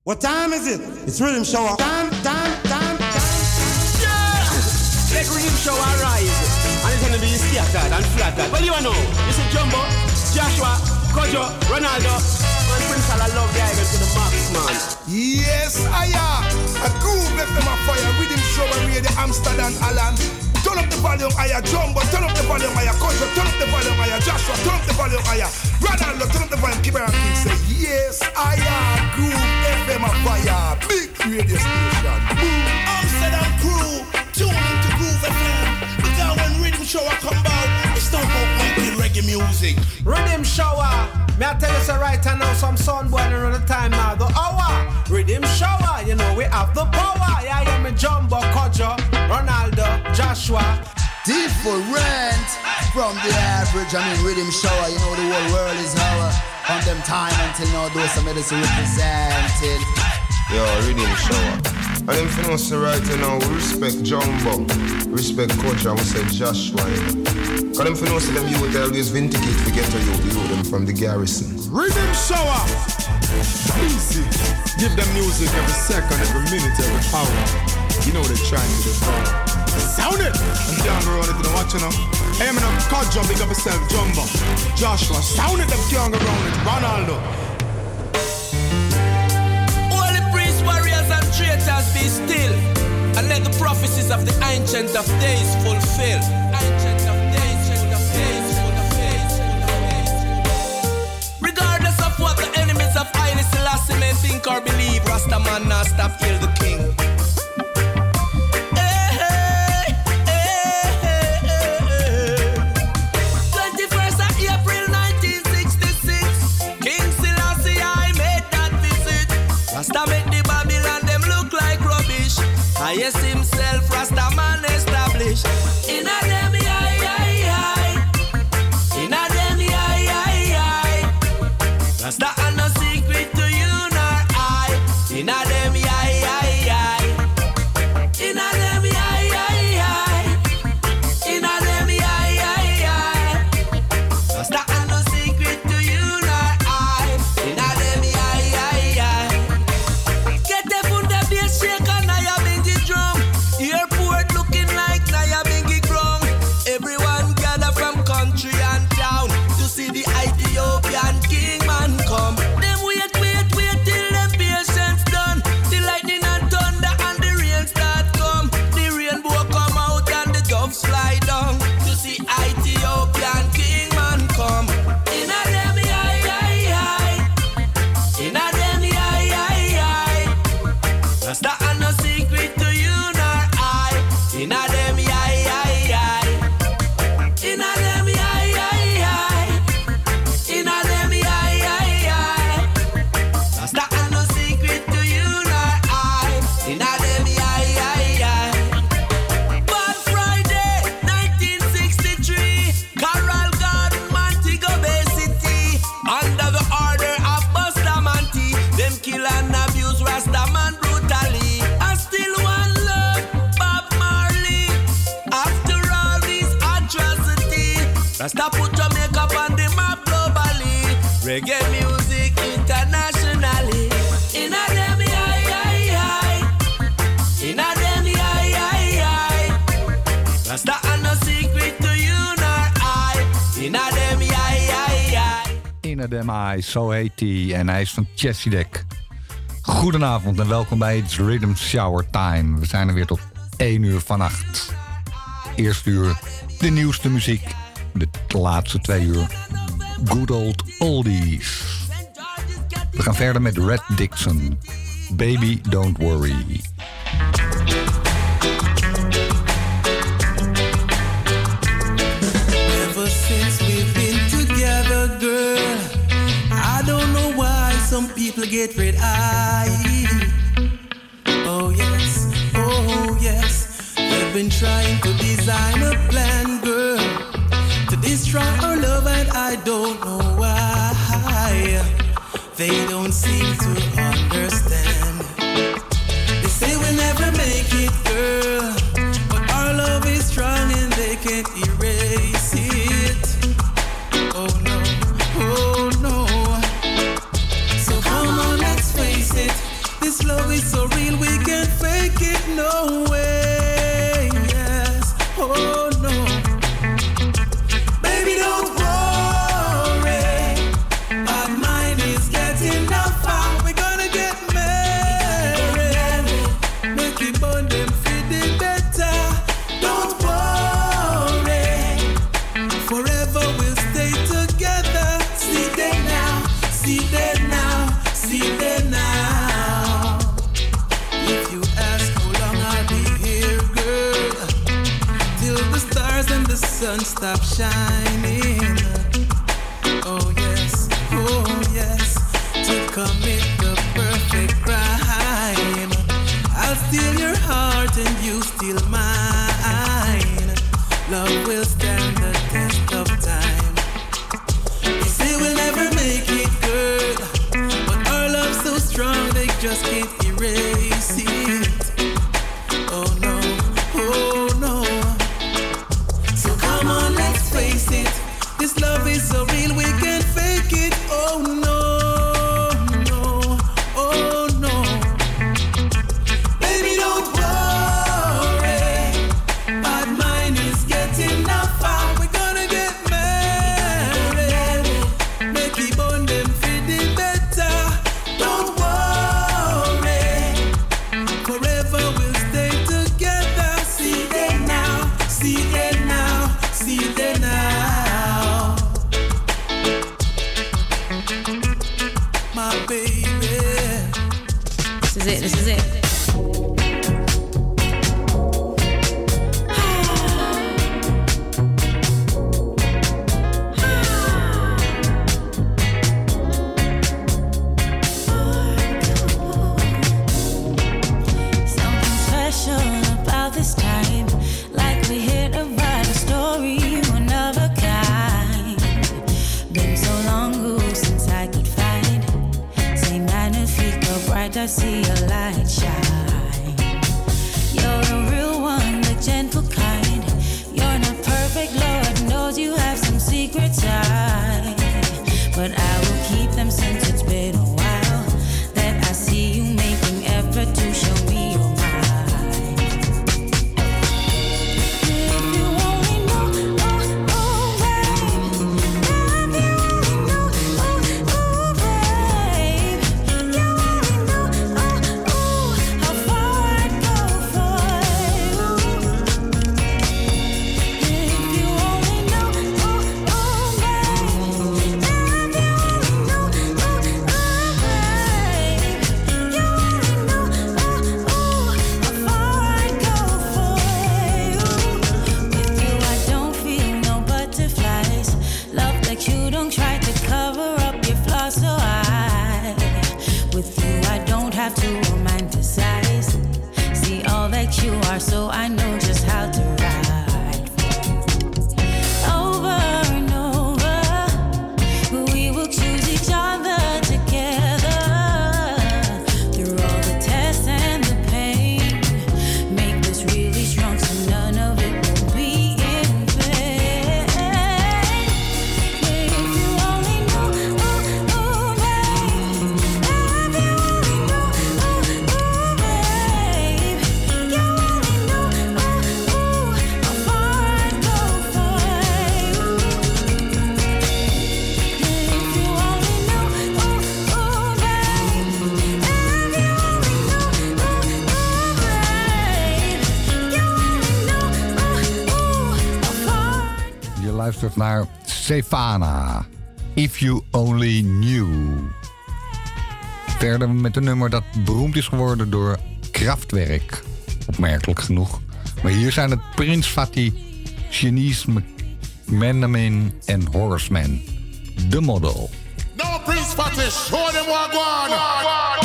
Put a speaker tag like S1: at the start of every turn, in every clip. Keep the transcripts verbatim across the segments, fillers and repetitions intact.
S1: What time is it? It's Rhythm Shower. Time, time, time, time.
S2: Yeah! Let Rhythm Shower rise. And it's gonna be scattered and flattered. Well, you know, you see Jumbo, Joshua, Kojo, Ronaldo, and Prince Allah love the idol to the max, man.
S3: Yes, I am. A groove left them a fire. Rhythm Shower, radio Amsterdam, Alan. Turn up the volume, higher, Jumbo. Turn up the volume, higher, Kojo. Turn up the volume, higher, Joshua. Turn up the volume, higher. Ronaldo, turn up the volume. Keep it on King. Say, yes, I am. Groove F M a fire. Big radio station. Boom.
S4: Amsterdam crew, tune into Groove F M. Because when Rhythm Shower come out, it's not about pumping reggae music.
S2: Rhythm Shower. May I tell you so right now, some sun boiling around the time now. The hour. Rhythm Shower. You know we have the power. Yeah, I am a Jumbo, Kojo, Ronaldo, Joshua.
S5: Different from the average. I mean, Rhythm Shower. You know the whole world is our. On them time until now, those some medicine represented.
S6: Yo, Rhythm Shower. And them for us right now, we respect Jumbo, respect Kojo, and we say Joshua. Because them for us, them you would always vindicate to get to you, you them from the garrison.
S3: Rhythm Shower. Easy. Give them music every second, every minute, every hour. You know they're trying to devour. Sound it! I'm down the road into the watch now. Hey, I'm in a Kojo, big up yourself, Jumbo. Joshua, sound it, them young around it. Ronaldo.
S4: All the priests, warriors, and traitors be still. And let the prophecies of the Ancient of Days fulfill. Ancient of Days, Ancient of Days, Ancient of Days. Regardless of what the enemies of Haile Selassie may think or believe, Rasta man now stop heal the king. Rasta make the Babylon them look like rubbish. Highest himself, Rasta man established. In a them eye, eye, eye. In a them eye, eye, eye. Rasta are no secret to you nor I. In a them eye, eye, eye. In a them eye, eye, eye. In a them eye, eye, eye. Rasta are no secret to you nor I. In a them eye, eye, eye. Shake a Naya Bingy drum. Airport looking like Naya Bingy ground. Everyone gather from country and town to see the Ethiopian king man come. Them wait, wait, wait till them patience done. The lightning and thunder and the rain start come. The rainbow come out and the doves fly down to see Ethiopian king man come. In a them eye, eye, eye. In a them eye, eye, eye. Rasta are no secret to you nor I. In a them eye, eye, eye. In a them eye, eye, eye. In a them eye, eye, eye. Rasta are no secret to you nor I. In a them eye, eye, eye. Bad Friday, nineteen sixty-three. Coral Garden, Montego Bay City. Under the order of Bustamante, them kill and abuse Rasta man brutally. I still want love, Bob Marley. After all these atrocities, Rasta put Jamaica on the map globally. Reggae music internationally. In a them eye, eye, eye. In a them eye, eye, eye. Rasta are no secret to you nor I. In a them eye, eye, eye.
S7: In a Them Eye, zo heet hij. En hij is van Chesidek. Goedenavond en welkom bij It's Rhythm Shower Time. We zijn er weer tot één uur vannacht. Eerste uur de nieuwste muziek. De laatste twee uur good old oldies. We gaan verder met Red Dixon. Baby Don't Worry.
S8: Ever since we've been together, girl, I don't know why some people get red eye. Oh yes, oh yes, they've been trying to design a plan, girl, to destroy our love, and I don't know why. They don't seem to understand. They say we'll never make it, girl, but our love is strong and they can't erase it. Oh no, oh no. So come on, let's face it, sun stop shining. Oh yes, oh yes, to commit the perfect crime. I'll steal your heart and you steal mine. Love will stand the test of time. They say we'll never make it, girl, but our love's so strong they just can't erase it. Oh no, oh no. So come on, let's face it. This love is so real we can't fake it. Oh no, no, oh no. Baby, don't worry. Bad mind is getting up far. We're gonna get married. Make it bond them feeling better. Don't worry. Forever we'll stay together. See them now, see them now, see them now. My baby.
S9: This is it, this is it.
S10: Something special about this time, like we hit a brighter story, one of a kind. Been so long ago since I could find same magnifique bright, I see a light shine. You're the real one, the gentle kind. You're not perfect, Lord knows you have some secret side, but I will keep them since it's been a while that I see you making effort to show me you're mine. If you only know, oh, oh, babe. If you only know, oh, oh, babe. You only know, oh, oh, how far I'd go for you. If you only know, oh, oh, babe. If you only know, oh, oh, babe. You only know, oh, oh, how far I'd go for you. With you I don't feel no butterflies. Love that you don't try to cover up your flaws, so I, with you I don't have to romanticize. See all that you are, so I know just how to ride. Over and over, we will choose each other together. Through all the tests and the pain, make this really strong so none of it will be in vain. If you only know, oh, oh, babe. If you only know, oh, oh, babe. You only know, oh, oh, how far I'd go for you. If you only know, oh, oh, babe. If you only know, oh, oh, babe. You only know, oh, oh, how far.
S7: Je luistert naar Stefana. If You Only Knew. Verder met een nummer dat beroemd is geworden door Kraftwerk. Opmerkelijk genoeg. Maar hier zijn het Prins Fatty, Shanice McManaman en Horseman. The Model.
S11: No, Prince Fatty, show them what go on.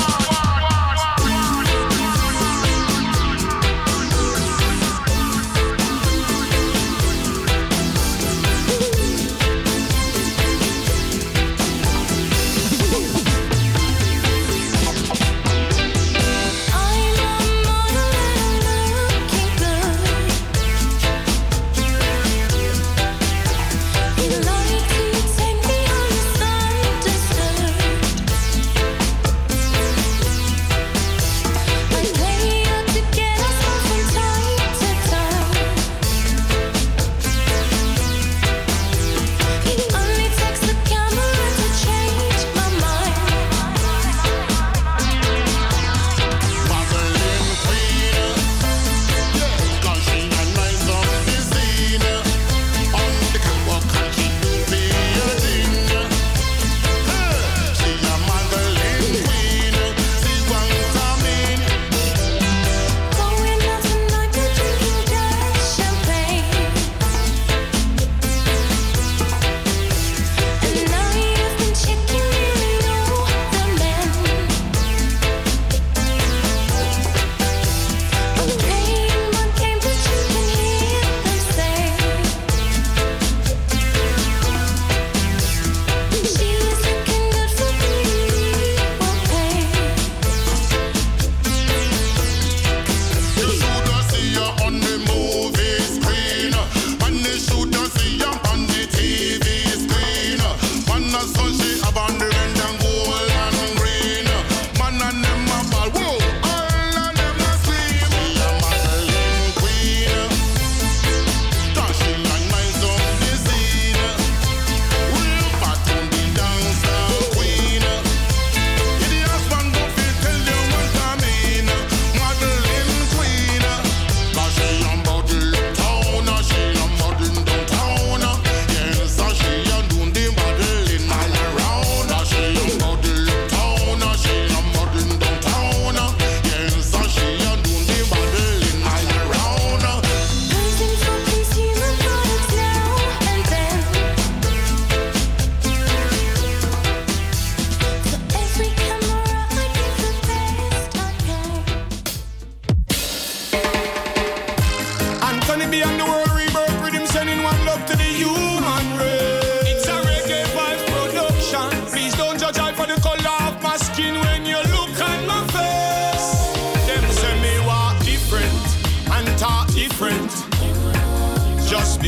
S10: I'm a model looking good. You'd like to take me on a side to side.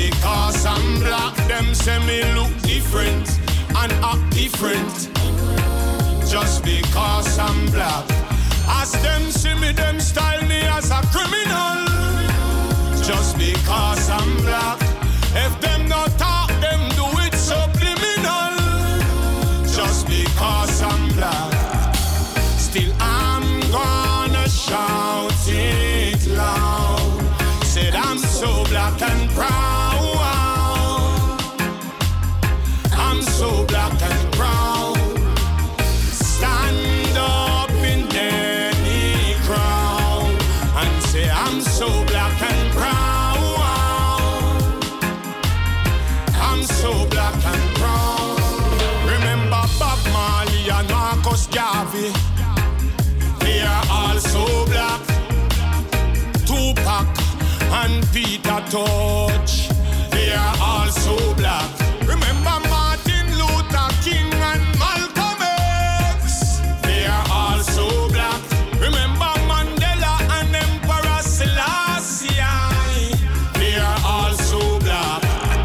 S11: because I'm black, them say me look different and act different. Just because I'm black, as them see me, them style me as a criminal. Just because I'm black, if them not talk, them do it subliminal. Just because I'm black, still I'm gonna shout it loud. Said I'm so black and proud. I'm so black and proud. Stand up in any crowd and say I'm so black and proud. I'm so black and proud. Remember Bob Marley and Marcus Garvey, they are all so black. Tupac and Peter Tosh, they are all so black. Remember Martin Luther King and Malcolm X, they are all so black. Remember Mandela and Emperor Selassie, they are all so black.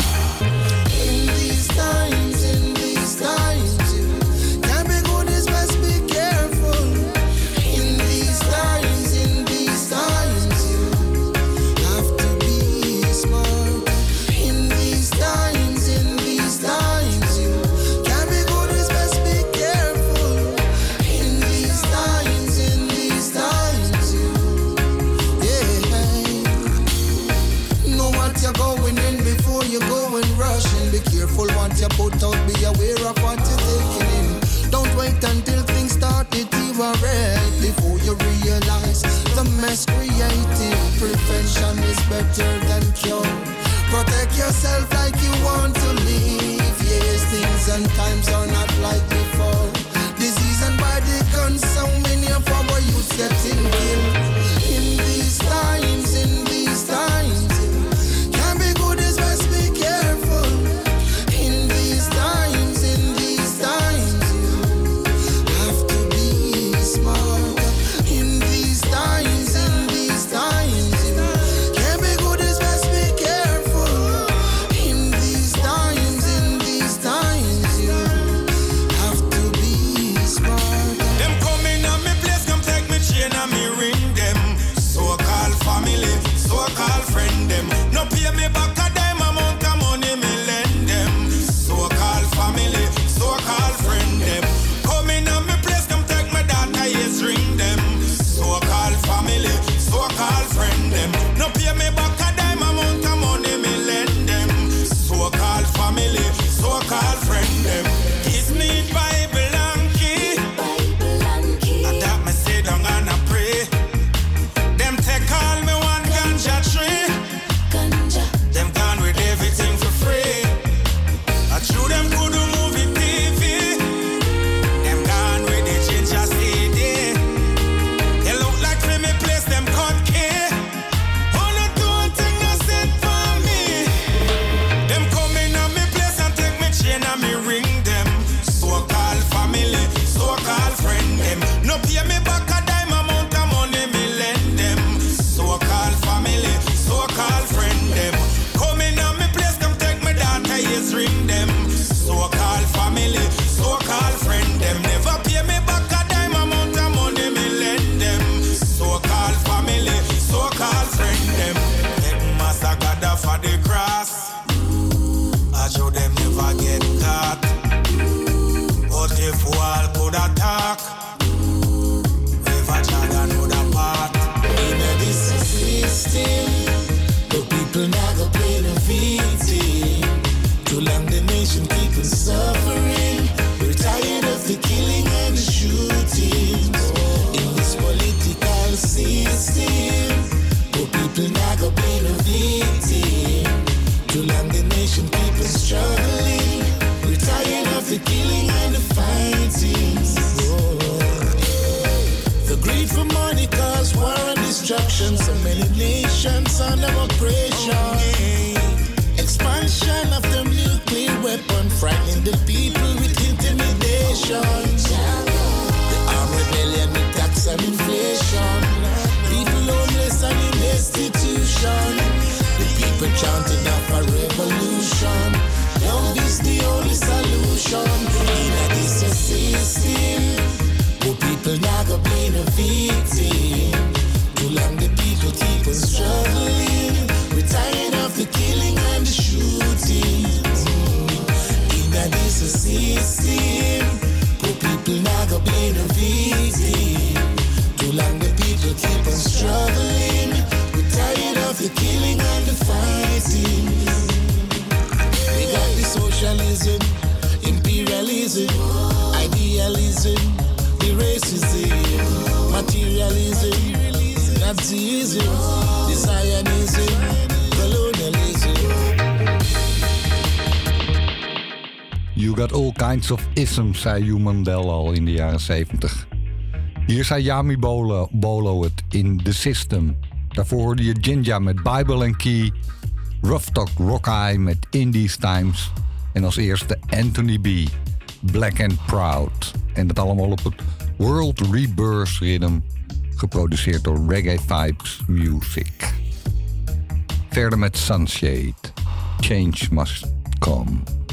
S12: In these times, in these times, you can't be good, it's best be careful. In these times, in these times, you have to be smart. In these times, in these times, you can't be good, it's best be careful. In these times, in these times, you, yeah. Know what you're going in before you go and rushing. Be careful what you put out, be aware of what you're taking in. Don't wait until things start to deteriorate before you realize the mess created. Prevention is better than cure. Protect yourself like you want to live. Yes, things and times are not like before. Disease and body guns, so many of our youth getting killed. In these times, in these times, can't be good, it's best be careful. In these times, in these times, have to be smart. In these times, in these times, can't be good, it's best be careful. In these times, in these times, have to be smart.
S11: Them coming on me place, come take me chain and me ring them. So-called family, so-called friend them. No pay me back a dime amount of money me lend them. So-called family, so-called friend them. Coming on me place, come take my data, yes, ring them. So-called family, so-called friend them. No pay me back a dime amount of money me lend them. So-called family, so-called friend them. Kiss me Bible and key. I that me sit down and I pray. Them take all me one ganja tree. Them gone with everything for free. I chew them good movie T V. Them gone with the ginger C D. They look like for me place them cut key. Oh no, do one thing I said for me. Them coming on me place and take me chain and me ring them. So-called family, so-called friend them. No pay me back a dime amount of money me lend them. So-called family, so-called friend them. Coming on me place, come take my data, yes, ring them. So-called family, so-called friend them. Never pay me back a dime amount of money me lend them. So-called family, so-called friend them. Take Master God for the cross. I show them never get caught. But if all could attack, never tried another part.
S12: In this system, the people now go play the victim. Too long the nation keep on suffering. We're tired of the killing and the shootings. In this political system, the people now go play the victim. Too long the nation keep on struggling. We're tired of the killing and the fighting. The greed for money cause war and destruction. So many nations under oppression. Expansion of the nuclear weapon, frightening the people with intimidation. The armed rebellion with tax and inflation. People homeless and in destitution. The people chanting out forever easy. The Zionism, colonialism.
S7: You got all kinds of isms, zei Hugh Mandel al in de jaren zeventig. Hier zei Yami Bolo, Bolo het in The System. Daarvoor hoorde je Jinja met Bible and Key, Rough Talk Rock Eye met In These Times en als eerste Anthony B, Black and Proud. En dat allemaal op het World Rebirth Rhythm, geproduceerd door Reggae Vibes Music. Verder met Sunshade, Change Must Come.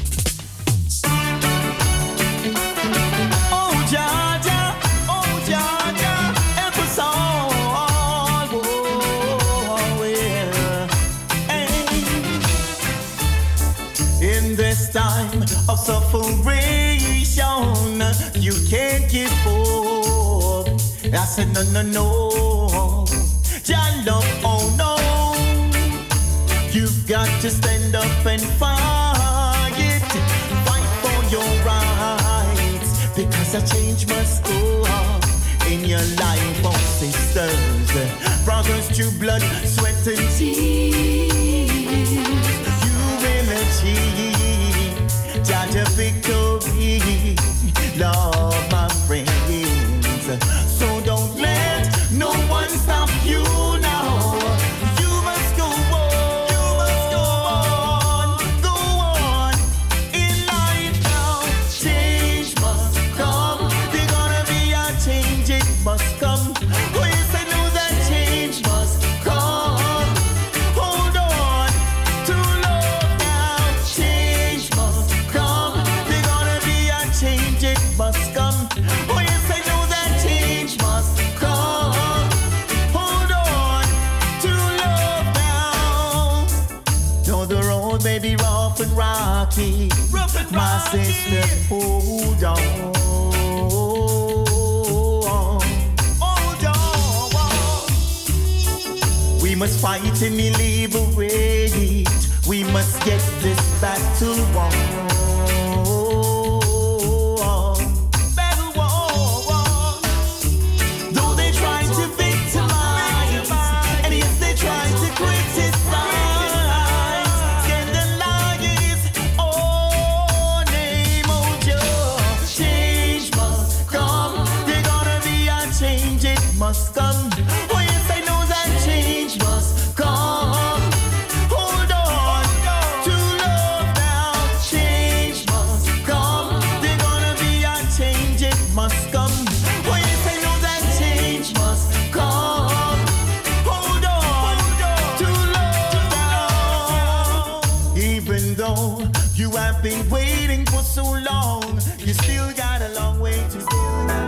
S13: Time of separation, you can't give up. I said no, no, no. Jah love, oh no. You've got to stand up and fight, fight for your rights, because a change must go on in your life, oh sisters, brothers, true blood, sweat and tears. You will achieve Jah victory, love my friends. So don't let no one stop you now. You must go on, you must go on, go on in life now. Change must come. There's gonna be a change, it must come. Oh yes, I know that change must come. Hold on to love now. Change must come. There's gonna be a change, it must come. Oh yes, I know that change must come. Hold on to love now. Though the road may be rough and rocky, rough and my rocky. Sister, hold on. Hold on. We must fight and liberate. We must get this battle won. Must come. Oh yes, I know that change must come. Hold on to love now. Change must come. There's gonna be a change, it must come. Oh yes, I know that change must come. Hold on to love now. Even though you have been waiting for so long, you still got a long way to go.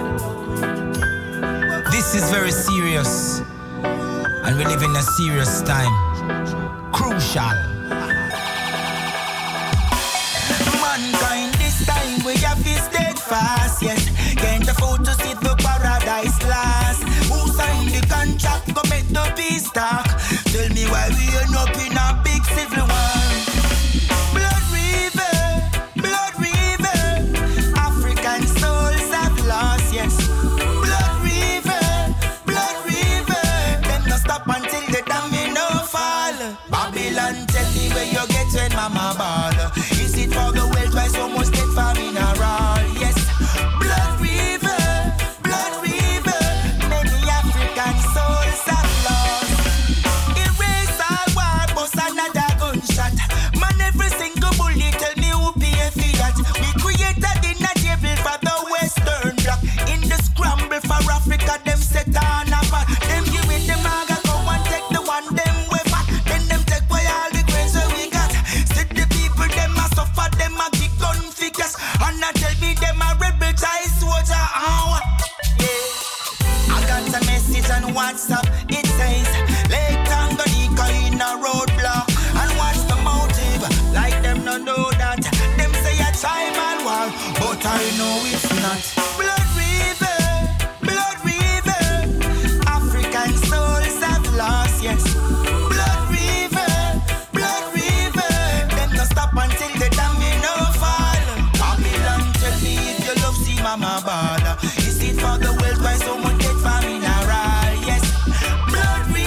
S14: This is very serious, and we live in a serious time. Crucial. Mankind, this time we have to steadfast, yes. Can't afford to sit for paradise last. Who signed the contract, go make the peace talk. Tell me why we end up in a big civil war. Blood river, blood river. African souls have lost, yes. Until the domino fall. Babylon, tell me where you get when mama ball. Is it for the wealth why so much get for mineral? Yes, blood river, blood river. Many African souls have lost. Erase all war, bust another gunshot. Man, every single bullet tell me who pay for that. We created in a table for the Western Bloc. In the scramble for Africa, them set on a path. Them give it the maga. And I tell me them a rebel tie soldier. Oh, yeah. I got a message on WhatsApp. It says Lake Tanganyika in a roadblock. And what's the motive? Like them no know that. Them say a time and war, but I know it's not. Blood river, blood river. African souls have lost, yes. Blood river, blood river. Them no stop until the domino fall. Tell me if you love see mama ball. Is it for the world why so much get for mineral? Yes, blood river.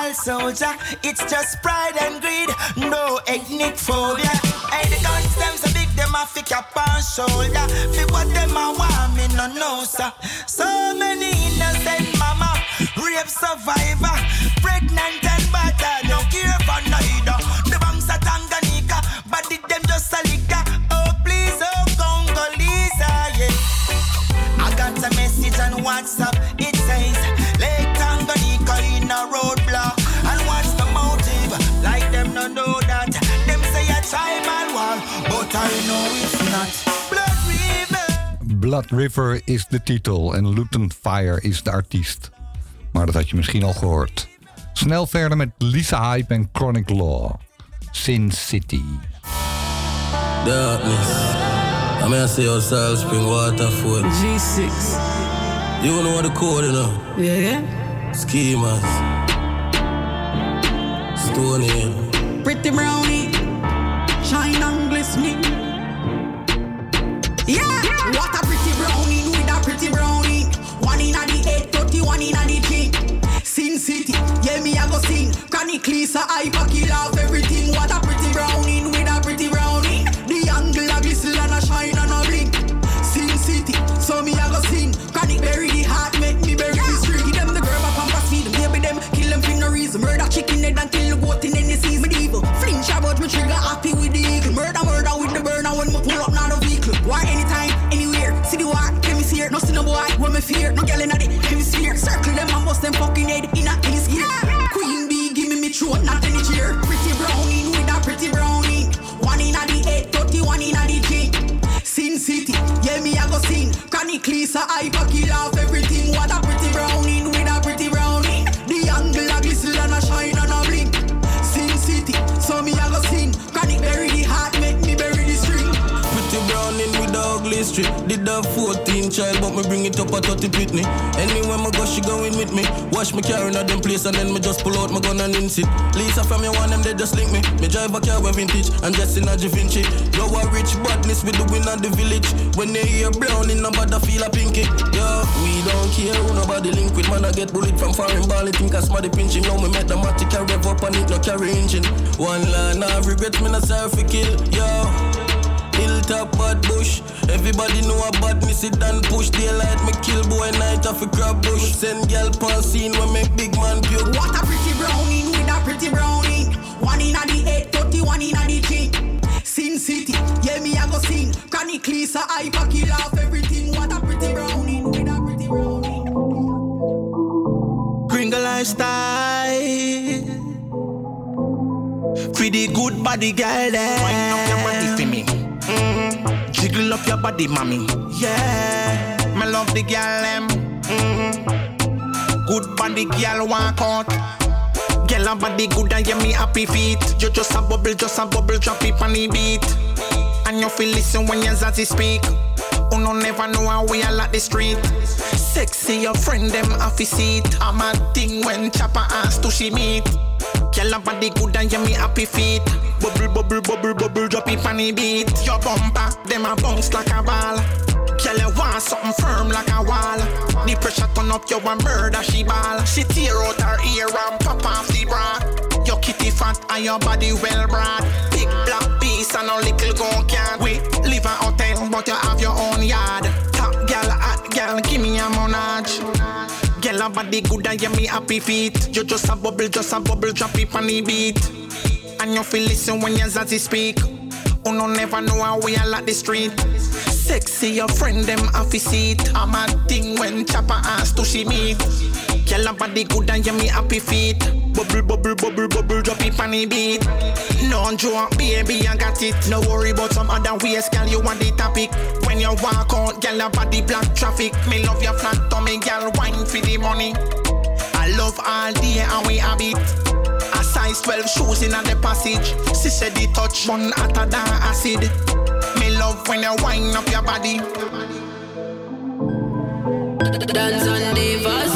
S14: all soldier. It's just pride and greed, no ethnic phobia. Hey, the guns them so big, them a fi cap on shoulder. Fi what them a want, me no know, sir. So many innocent mama, rape survivor, pregnant and battered, no care for neither. The banks are Tanganyika, but did them just a liquor. Oh please, oh Congolese, yeah. I got a message on WhatsApp, it says Lake Tanganyika in a roadblock. And what's the motive? Like them no know that. Them say a tribal war, but I know it's not. Blood River.
S7: Blood River is de titel en Luton Fire is de artiest. Maar dat had je misschien al gehoord. Snel verder met Lisa Hype en Chronic Law. Sin City.
S15: Darkness. I'm gonna say outside spring water food. G six. You know what the code, you know? Yeah, yeah. Schemas. Stone Hill.
S16: Pretty brownie. Shine and glistening. Yeah! What a pretty brownie with a pretty brownie. One in a the eight thirty, one in a the king. Sin City, yeah me I go sing. Chronic Lisa, I pack it off everything. What a pretty brownie with a pretty brownie. The angle a glisten and a shine and a blink. Sin City, so me I go sing. Chronic bury the heart, make me bury the string. Give them the girl back and pass feed them, baby them. Kill them for no reason. Murder chicken head and kill the goat in any season. Medieval, flinch about me trigger happy with the eagle. Murder, murder with the burner when me pull up now the vehicle. War anytime, anywhere. See the war, hemisphere. No see no boy, when me fear. No girl in the hemisphere. Circle them and bust them fucking head in a any scare. Queen bee, give me me throat, not any chair. Pretty brownie with a pretty brownie. One in a the eight thirty, one in a the G. Sin City, yeah me I go sing. Chronic Lisa, I pack it off everything. What a pretty brownie with a pretty brownie. The angle a glisten and a shine and a blink. Sin City, so me I go sing. Chronic bury the heart, make me bury the string.
S15: Pretty browning with the ugly street. Did have fourteen child, but me bring it up at thirty Pitney. Anywhere me go, she going with me. Watch me carrying at them place and then me just pull out my gun and insit. Lisa from your one, them they just link me. Me drive a car with vintage and just in a Da Vinci. Yo, a rich badness with the win of the village. When they hear browning, nobody feel a pinky. Yo, we don't care who nobody link with. Man, I get bullet from foreign ball. Think I smart the pinching. Now me make the matic a rev up and it no carry engine. One line, I regret me not sorry for kill. Yo. Hilltop bad bush. Everybody know a bad me sit and push. Daylight me kill boy night off a crab bush. Send girl pan scene when make big man puke.
S16: What a pretty brownie with a pretty brownie. One in a the eight thirty, one in a the G. Sin City, yeah me I go sing. Chronic Lisa, I pack it off everything. What a pretty brownie with a pretty brownie.
S14: Gringo lifestyle. Pretty good body girl there. Wind up your body for me. Mm-hmm. Jiggle up your body, mommy. Yeah, me love the girl them. Mm-hmm. Good body girl walk out. Girl a body good and yeah me happy feet. You just a bubble, just a bubble, drop it on the beat. And you feel listen when your zazzy speak. You no never know how we all at the street. Sexy your friend them happy seat. I'm a thing when chopper ass to she meet. Girl a body good and yeah me happy feet. Bubble, bubble, bubble, bubble, drop it on the beat. Your bumper, them a bounce like a ball. Girl you want something firm like a wall. The pressure turn up, you a murder she ball. She tear out her ear and pop off the bra. Your kitty fat and your body well brought. Big black piece and a little gun can. We live a hotel but you have your own yard. Top girl, hot girl, give me a monage. Girl a body good and yeah me happy feet. You just a bubble, just a bubble, drop it on the beat. And you feel listen when your zazzy speak. You no never know how we all at the street. Sexy your friend them happy seat. I'm a thing when chopper ass to she meet. Girl a body good and yeah me happy feet. Bubble, bubble, bubble, bubble, drop it on the beat. No joke, baby, I got it. No worry about some other ways, girl, you want the topic. When you walk out, girl, a body black traffic. Me love your flat tummy, girl, wine for the money. I love all day and we have it. A size twelve shoes in the passage. She said the touch one hotter than acid. Me love when you wind up your body.
S17: Dance on Divas.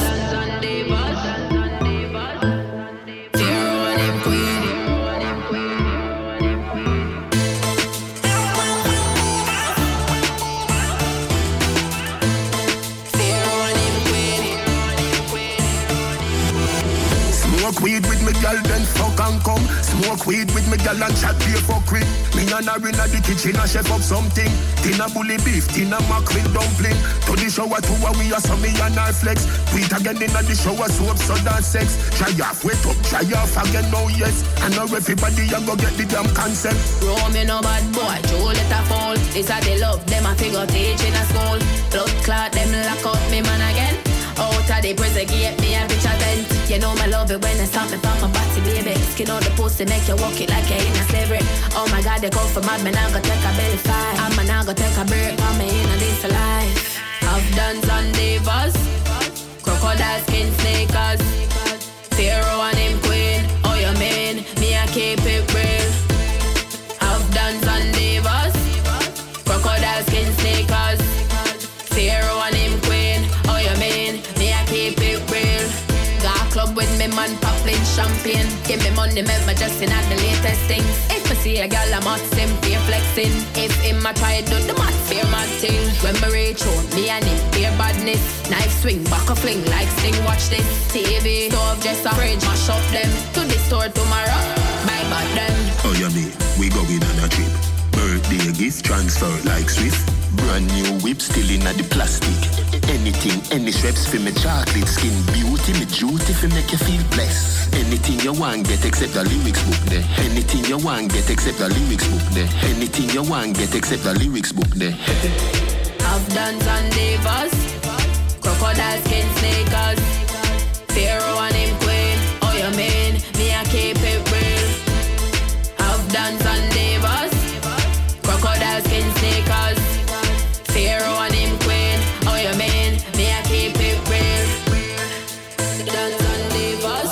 S18: weed with me girl, then fuck and come. Smoke weed with me girl and chat pay for quick. Me and her in the kitchen and chef up something. Tina bully beef, tina mackerel dumpling. To the shower two a we a so me and her flex. Tweet again in the shower soap, so that sex. Try off, wait up, try off again, no yes. And now everybody a go get the damn concept.
S17: Roll me no bad boy, Joe let her fall. This a they love, them a figure teach in a school. Blood clot, them lock out me man again. Out of the prison gate, me a bitch a tent. You know me love it when they stop me from my body, baby. Skin out the pussy, make you walk it like you in a slavery. Oh my God, they come for mad, me now go take a belly fight. I'm a now go take a break, I'm me in a this life. I've done some divas, crocodile skin sneakers, Pharaoh and him queen. Oh you mean, me I keep it real. I've done some divas, crocodile skin sneakers, Pharaoh and him queen. Oh you mean, me I keep it real. Got club with me man popping champagne. Give me money, make me just in at the latest thing. If I see a girl, I'm out simply flexing. If him I try do the mat, fear my thing. When me reach home, me and him fear badness. Knife swing, back a fling like sting. Watch this T V, stove, just a fridge, mash up them. To the store tomorrow, buy back them.
S18: Oh yeah me, we going on a trip. Birthday gift transfer like Swift. Brand new whip still in the plastic. Anything, any straps for me chocolate skin. Beauty, me duty for make you feel blessed. Anything you want get except the lyrics book there. Anything you want get except the lyrics book there. Anything you want get except the lyrics book there.
S17: I've done some divas, crocodile skin sneakers, Pharaoh and him queen. Oh you mean, me I keep it real. I've done some divas, crocodile skin sneakers, Pharaoh and him queen. Oh you mean, me I keep it real. Done some divas,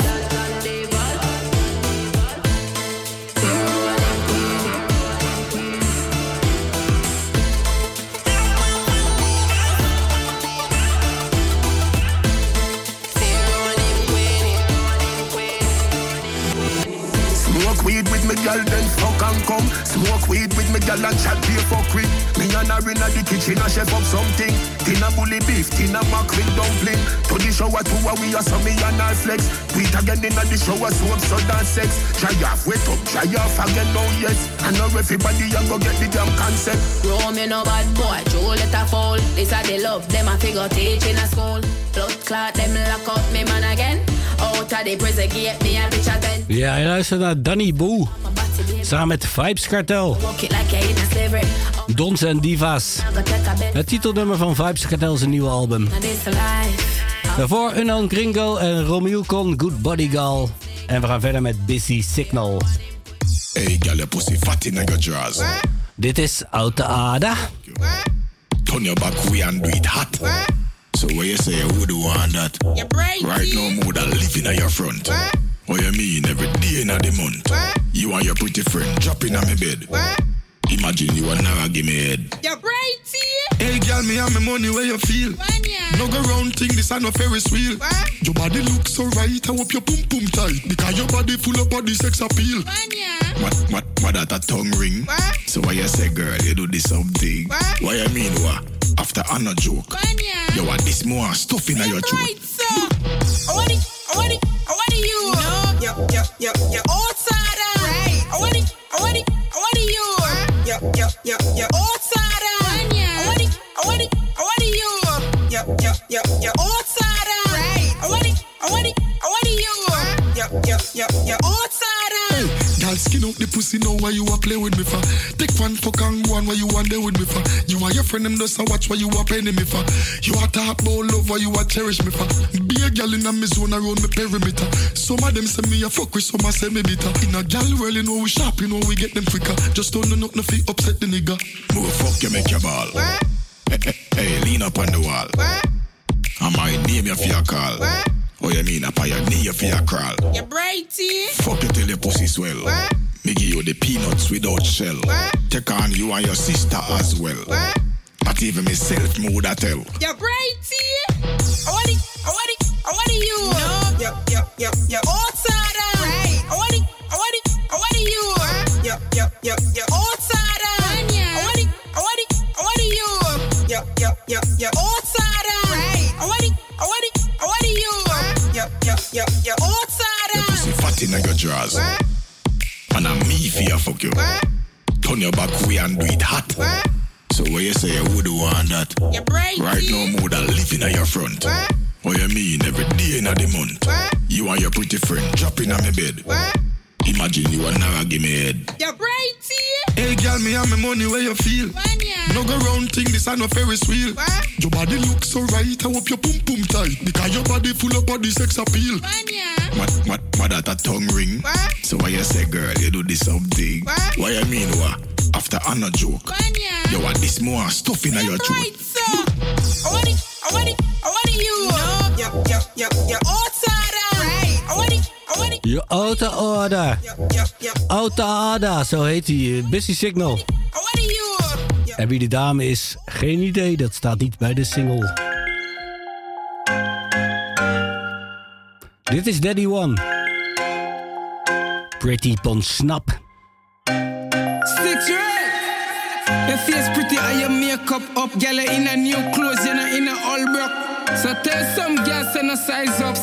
S17: Pharaoh and him queen.
S18: Smoke weed with me girl, then fuck and come. Smoke weed with me girl and chat pay for quick. Me and her in the kitchen and chef up something. Tina bully beef, tina mackerel dumpling. To the shower two a we a so me and her flex. Tweet again in the shower soap, so that sex. Try off, wait up, try off again, no yes. And now everybody a go get the damn concept.
S17: Roll me no bad boy, Joe let her fall. This a they love, them a figure teach in a school. Blood clot, them lock out me man again. Out of the prison gate, me a bitch a tent.
S19: Ja, je luistert naar Danny Boe. Samen met Vibes Kartel. Dons en Divas. Het titelnummer van Vibes Kartel is een nieuwe album. Daarvoor Unknown Gringo en Romeo Con Good Body Gal. En we gaan verder met Busy Signal.
S18: Hey, girl, your pussy fat in your drawers.
S19: Dit is Oude Ada.
S18: Turn your back way and do it hot. So what you say, who do want that? Right now, more than living on your front. What you mean, every day in the month? You and your pretty friend dropping on my bed. Imagine you will never give me head.
S16: You're brighty.
S18: Hey, girl, me and my money where you feel. No go round thing, this ain't no Ferris wheel. Your body looks so right, I hope your pum pum tight. Because your body full of body sex appeal. What, what, what that a tongue ring? What? So why you say, girl, you do this something? What? Why you mean what? After I'm not joke. You want this more stuff in your throat.
S16: Right, so. I want it, I want it, I want it you. No. Yep, yep, yep, yep. Outside. Right. I want it, I want it, I want it you. Yep, yep, yep, yep. Outside. I want it, I want it, I want it you. Yep, yep, yep, yep. Outside. Right. I want it, I want it, I want it you. Yep, yep, yep, yep. Outside.
S18: Girl, skin out the pussy now why you a play with me for. Take one fuck and go on why you want there with me for. You and your friend them just a watch why you a penny me for. You a talk about love why you a cherish me for. Be a girl in a me zone around me perimeter. Some of them say me a fuck with, some a say me bitter. In a girl world you know we sharp, you know we get them quicker. Just don't know nothing fi upset the nigga. Move fuck you make your ball. Hey, hey, hey, lean up on the wall. I might name you for your call. What? Oh, you mean a pioneer for your crawl?
S16: You're brighty.
S18: Fuck you till your pussy swell. What? Me give you the peanuts without shell. What? Take on you and your sister as well. What? Not even myself me woulda tell.
S16: You're brighty. I want it, I want it, I want it you. No. Yep, yep, yep, yep. Outside. Right. I want it, I want it, I want it you. What? Yep, yep, yep, yep. Outside. I want it, I want it, I want it you. Yep, yep, yep, yep. Outside. Right. I want it, I want it, I want it you. Yep, yep, yep, yep. Outside.
S18: it in your drawers. And I'm me for you, fuck you. Turn your back way and do it hot. So what you say you would want that? Right now more than living at your front. What you mean every day in the month? You and your pretty friend dropping on my bed. Imagine you and never give me head.
S16: You're brighty.
S18: Hey girl, me and my money where you feel. No go round thing, this ain't no Ferris wheel. Your body looks so right, I hope your pum pum tight. Because your body full of body sex appeal. What, what, what that a tongue ring? So why you say girl, you do this something? Why you mean what? After I'm a joke. You want this more stuff in your throat.
S16: Right, so. I want it, I want it, I want it you. No, yep, yep, yep, yep. Outside, right. I want it.
S19: Je auto order. Auto order, zo heet hij. Busy Signal. En wie de dame is, geen idee. Dat staat niet bij de single. Dit is Daddy One. Pretty Pon Snap.
S20: Six right. Your face pretty and your makeup up. Girl in a new clothes, you know in a all broke. So tell some girls and a size up.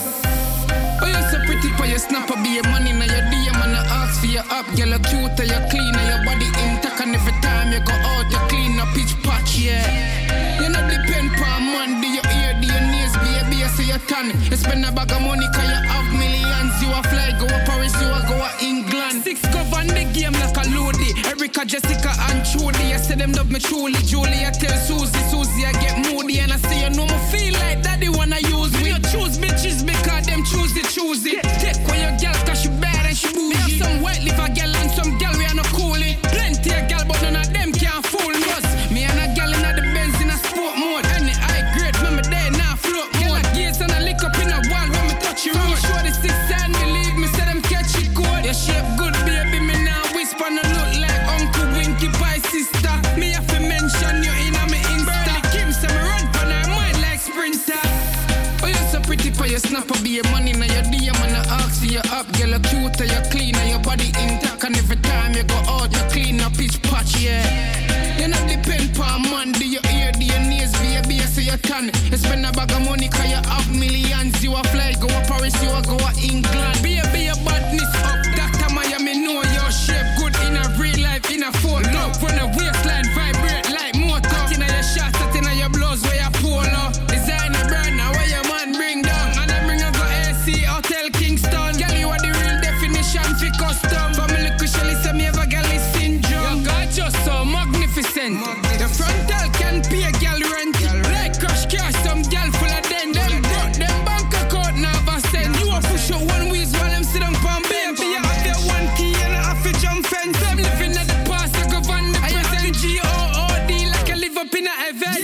S20: Oh, you're so pretty for your snapper, be your money, now your D M and I ask for your up. Girl, you're cute, and you're clean, and your body intact, and every time you go out, you clean a pitch patch, yeah. You know, depend per man, do your ear, do your nails, baby, you see your tan. You spend a bag of money, cause you have millions. You a fly, go to Paris, you a go to England. Six govern the game like a loady. Erica, Jessica, and Trudy. I say them love me truly. Julie, I tell Susie, Susie, I get moody, and I say, you know, me feel like daddy wanna use me. You choose bitches because them choose it. Choose it. Take away your girl cause she bad and she bougie. Me have some white liver girl and some girl we are not coolie. Plenty of girl but none of them can't fool me. Cause me and a girl in the Benz in a sport mode. Any high grade when me there now float mode. Girl a gaze and a lick up in a wall when me touch you road. Show the six sign believe me say them catch it good. Your shape good baby me now whisper no look like Uncle Winky Pie sister. Me have to mention you in a me Insta. Kim say me run for her mind like sprinter. Oh you so pretty for your snapper be your money now your D M and I ask for you up. Girl you cute and you clean and your body intact. And every time you go out you clean up pitch patch, yeah. You not depend per man, do your ear, do your nails, baby, you see your tan. You spend a bag of money cause you have millions. You a fly, go to Paris, you a go to England. Baby, your badness up, Doctor Miami know your shape good in a real life, in a photo. Love when a waistline vibrate like motor. That in your shot, that in your blouse where you polo. Designer brand, now where your man bring down. And I bring a go A C, Hotel Kingston. Girl, you are the real definition for custom. Family Shelly say me have a galley syndrome. Your God just so magnificent. The frontal can pay a girl rent. Like crash cash, some girl full of den. Them broke them bank account now have a send. You a push out one wheels while them sit on palm bench. You have your one key and I have to jump fence. I'm living at the past, I go van the present. G O O D like I live up in a heaven.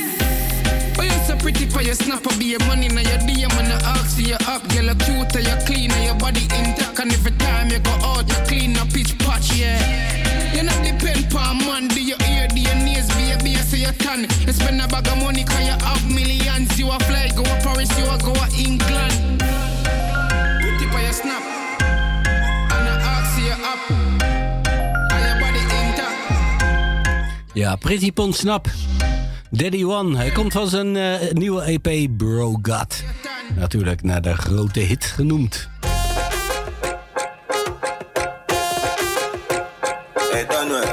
S20: Oh, you so pretty for your snapper, be your money, now your D M and I ask for you up. Girl, you cute and you clean and your body intact. And every time you go out, you clean up pitch patch, yeah. You not depend per man, do your ear, do your nails, baby, you see your tan. You spend a bag of money cause you have millions. You a fly, go to Paris, you a go to England. Pretty for your snap, and I ask you up. And your body intact.
S19: Ja, Pretty Pon Snap. Daddy One, hij komt van zijn uh, nieuwe E P Bro God. Natuurlijk naar de grote hit genoemd.
S21: Hey, Daniel.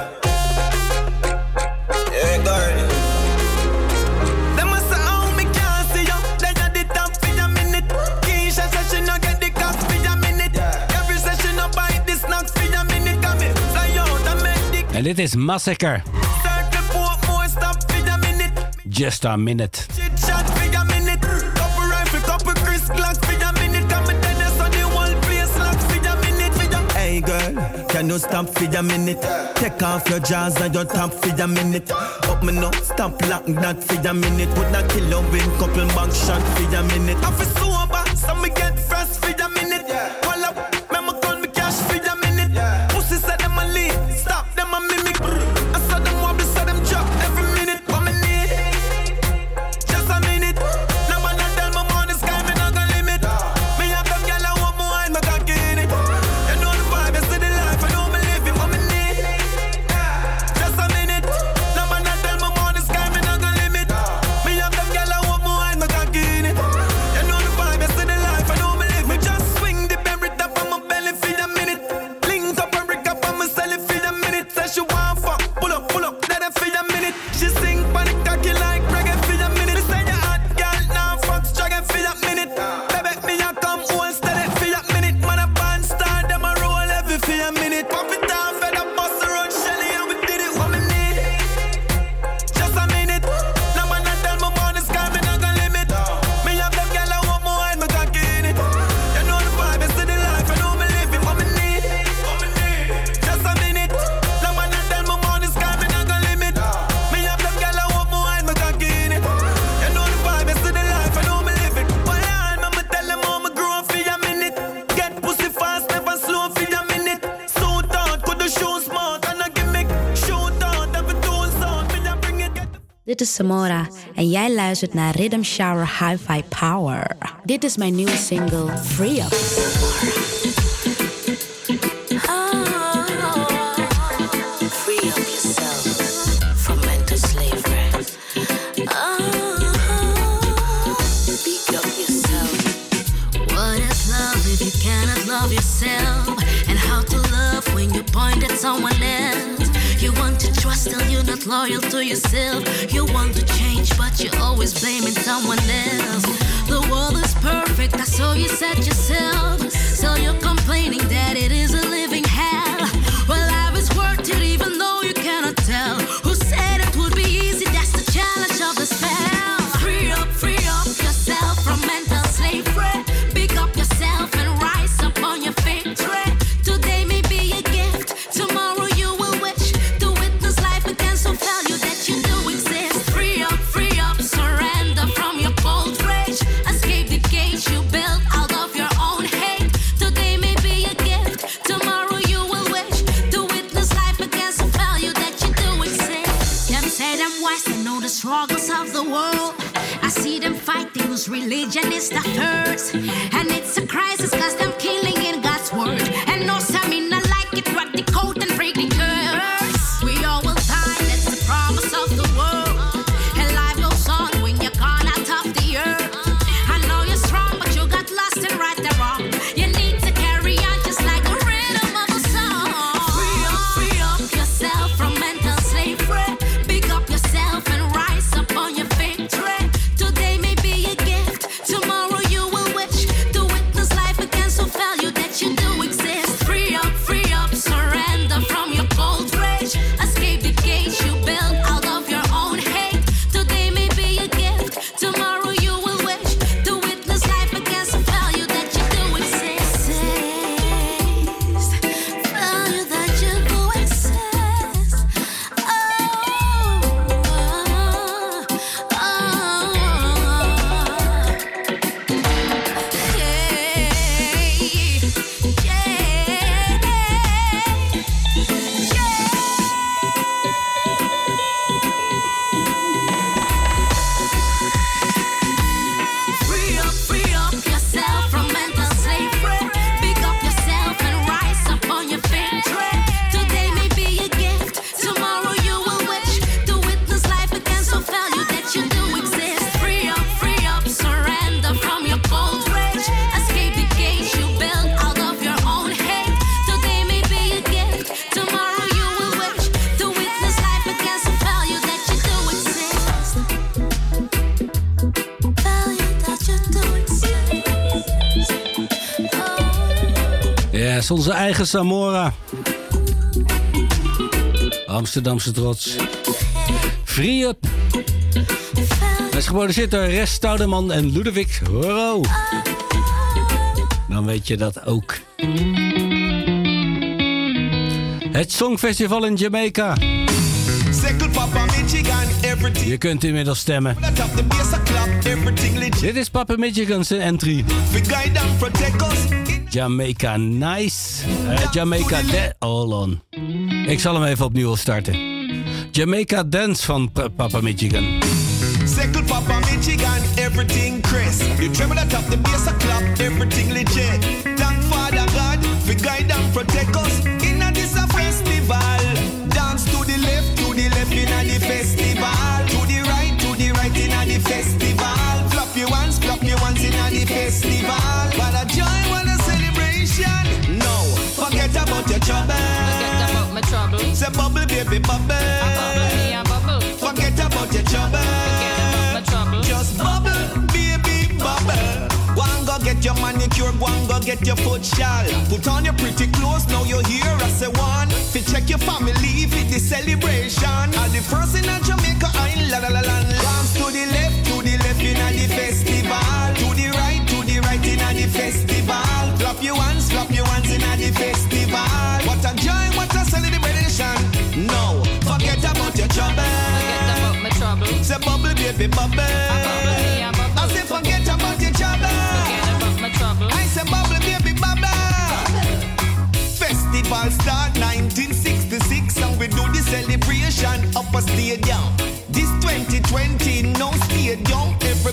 S21: Hey, Garden.
S22: Them must have me can't see you. They got the top for your minute. Keisha says she no get the cops for your minute. Every session no buy the snacks for your minute. Come in, fly out and make the...
S19: En dit is Massacre. Just a minute.
S22: Chit chat for your minute. Couple rifle, couple Chris Glocks for your minute. Come and tell us on the whole place lock for your minute. For your... Hey girl, can you stop for your minute? Take off your jaws and your top for your minute. Up me no, stop lock that for your minute. Put that killer win, couple back shot for your minute. I feel sober, so me get fresh for your minute. Call up, me me call me cash for your minute. Pussy said them a lead, stop them a mimic. I saw them wobble, saw them drop every minute. What me need? Just a minute. Now man I tell my money sky me not gonna limit. Me have them gyal I want more and me cocky in it. You know the vibe, you see the life, I know me live it. What me need? Just a minute. Now man I tell my money sky me not gonna limit. Me have them gyal I want more and me cocky in it. You know the vibe,
S10: Dit is Samora en jij luistert naar Rhythm Shower Hi-Fi Power. Dit is mijn nieuwe single Free Up.
S1: Love yourself and how to love when you point at someone else. You want to trust, still you're not loyal to yourself. You want to change, but you're always blaming someone else. The world is perfect, that's how you set yourself. So you're complaining that it is a living hell. Well, life is worth it even though you cannot tell. Who said it would be easy? That's the challenge of the spell. Free up, free up yourself from mental slavery. Pick up yourself and rise up on your victory. Today may be a gift, tomorrow you will wish to witness life again, so value that you do exist. Free up, free up, surrender from your cold rage. Escape the cage you built out of your own hate. Today may be a gift, tomorrow you will wish to witness life again, so value that you do exist. Them say them wise, they know the struggles of the world. I see them fighting whose religion is the first. And it's a crisis cause them killing in God's word. And no stamina like it, rock the code and break the curse. We all will die, that's the promise of the world. And life goes on when you're gone out of the earth. I know you're strong but you got lost and right the wrong. You need to carry on just like the rhythm of a song. Free up, free up yourself from mental slavery. Pick up yourself and rise up on your victory. Today may be a gift, tomorrow you will wish to witness life again, so value that you do exist. Free up, free up, surrender from your cold rage. Escape the cage you built out of your own hate. Today may be a gift, tomorrow you will wish to witness life again, so value that you do exist. Value that you do exist. Oh, oh, oh. Free up, free up yourself from mental slavery. Pick up yourself and rise up on your victory. Today may be a gift, tomorrow you will wish to witness life again, so value that you do exist. Free up, free up, surrender from your cold rage. Escape the cage you built out of your own hate. Today may be a gift, tomorrow you will wish to witness life again, so value that you do exist. Value that you do exist.
S19: Ja, is onze eigen Samora. Amsterdamse trots. Free Up. Hij is geproduceerd door Res Stoudeman en Ludovic Horo. Dan weet je dat ook. Het Songfestival in Jamaica. Je kunt inmiddels stemmen. Dit is Papa Michigan's entry. Jamaica Nice. Uh, Jamaica Dance. Hold on. Ik zal hem even opnieuw starten. Jamaica Dance van P- Papa Michigan.
S11: Circle Papa Michigan, everything Chris. You tremble at up the bass a clap, everything legit. Thank Father God, for guide and protect us. In a this a festival. Dance to the left, to the left in a the festival. To the right, to the right in a the festival. Flop your hands, flop your hands in a the festival. What a joy, what a celebration. No, forget about your trouble. Forget about my trouble. Say bubble, baby, bubble. I bubble, me, I bubble. Forget about your trouble. Forget about my trouble. Just bubble, baby, bubble. One go get your manicure, one go get your foot shawl. Put on your pretty clothes, now you're here as a one. Fi check your family, fi the celebration. All the first in a Jamaica Island, la la la la. Dance to the left, to the left in a the festival. To the right, to the right in a the festival. Flop your hands, flop your hands in a the festival. What a joy, what a celebration. No, forget about your trouble. Forget about my trouble. Say bubble, baby, bubble. I bubble, me, I bubble. I say forget about your trouble. Forget about my trouble. I say bubble, baby, bubble. Festival start nineteen sixty-six and we do the celebration up a stadium. This twenty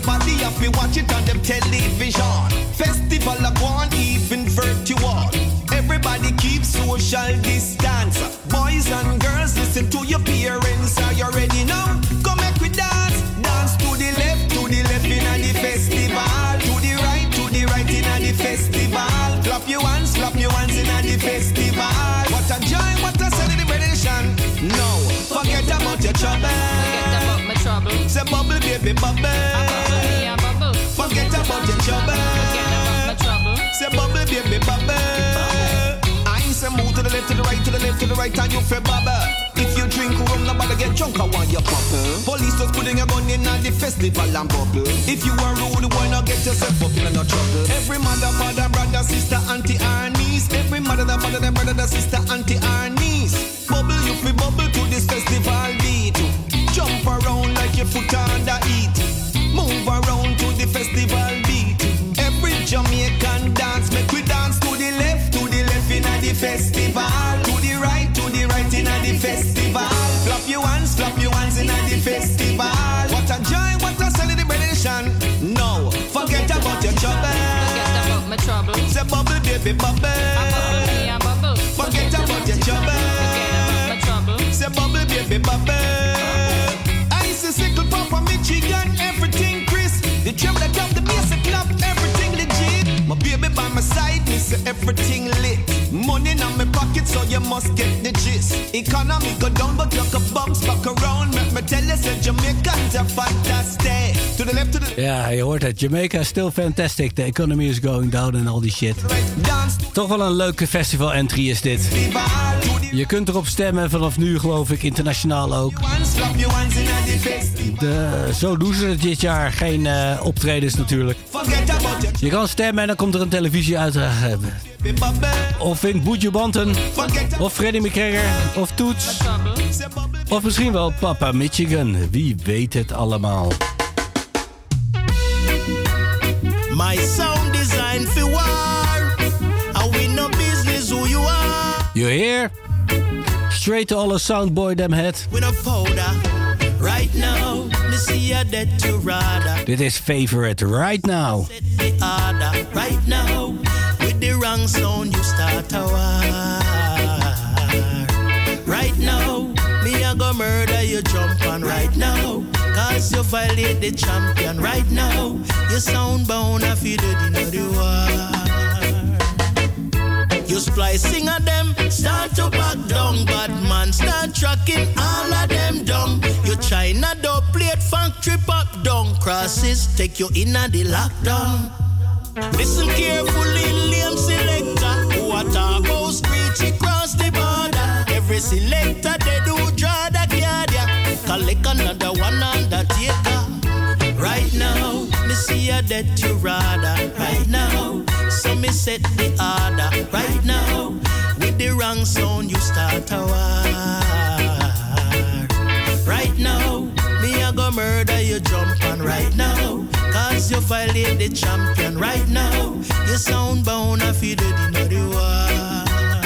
S2: Everybody have to watch it on them television. Festival of one, even virtual. Everybody keep social distance. Boys and girls, listen to your parents. Are you ready now? Come make we dance. Dance to the left, to the left in the festival. To the right, to the right in the festival. Clap your hands, clap your hands in the festival. What a joy, what a celebration. No, forget about your trouble.
S17: Forget about my trouble.
S2: Say bubble, baby, bubble.
S17: Bubble, yeah, bubble.
S2: Forget about your trouble.
S17: Forget about my trouble.
S2: Say bubble, baby, bubble. Say move to the left, to the right, to the left, to the right, and you feel bubble. If you drink rum, nobody get drunk, I want your bubble. Police was putting a gun in at the festival and bubble. If you are rude, why not get yourself up in no trouble? Every mother, father, brother, sister, auntie, and niece. Every mother, the father, the brother, the sister, auntie, and niece. Bubble, you feel bubble to this festival beat. Jump around like your foot under heat. Move around to the festival beat. Every Jamaican dance, make we dance to the left, to the left in the festival. To the right, to the right in the festival. Flap your hands, flap your hands in the festival. What a joy, what a celebration. No, forget about your trouble.
S17: Forget about my trouble.
S2: Say bubble, baby, bubble.
S17: Bubble, yeah, bubble.
S2: Forget about your trouble.
S17: Forget about my trouble.
S2: Say bubble, baby, bubble. Ice is sickle, Papa, Michigan, everything, Chris. The trouble that come, the music club, everything legit. My baby by my side, me say everything lit. Money in my pocket, so you must get the gist. Economy go down, but look a bounce back around. Let me tell you, say Jamaicans are fantastic. To the left, to the...
S19: Ja, je hoort het. Jamaica is still fantastic. The economy is going down en al die shit. Toch wel een leuke festival entry is dit. Je kunt erop stemmen vanaf nu, geloof ik, internationaal ook. De, zo doen ze het dit jaar. Geen uh, optredens natuurlijk. Je kan stemmen en dan komt er een televisieuitdracht. Of vindt Buju Banton, of Freddie McGregor, of Toets. Of misschien wel Papa Michigan. Wie weet het allemaal.
S12: My sound design for war. I win no business who you are.
S19: You hear? Straight to all a soundboy them head.
S12: With a powder. Right now, me see you dead to rather.
S19: Dit is Favorite Right Now.
S12: Set the order. Right now, with the wrong sound you start a war. Right now, me a go murder you jump on right now. Cause you violate the champion right now. You sound bound if you did in the war. You splicing of them, start to back down. Bad man start tracking all of them down. You China door plate funk trip up down. Crosses take you in a the lockdown. Listen carefully, lame selector. What about screech across the border? Every selector they do draw the card, yeah. Collect another one undertaker. Right now, me see you dead to rather. Right now, so me set the order. Right now, with the wrong sound you start a war. Right now, me a go murder you jump on right now. Cause you violate the champion right now. You sound bound if you did in the war.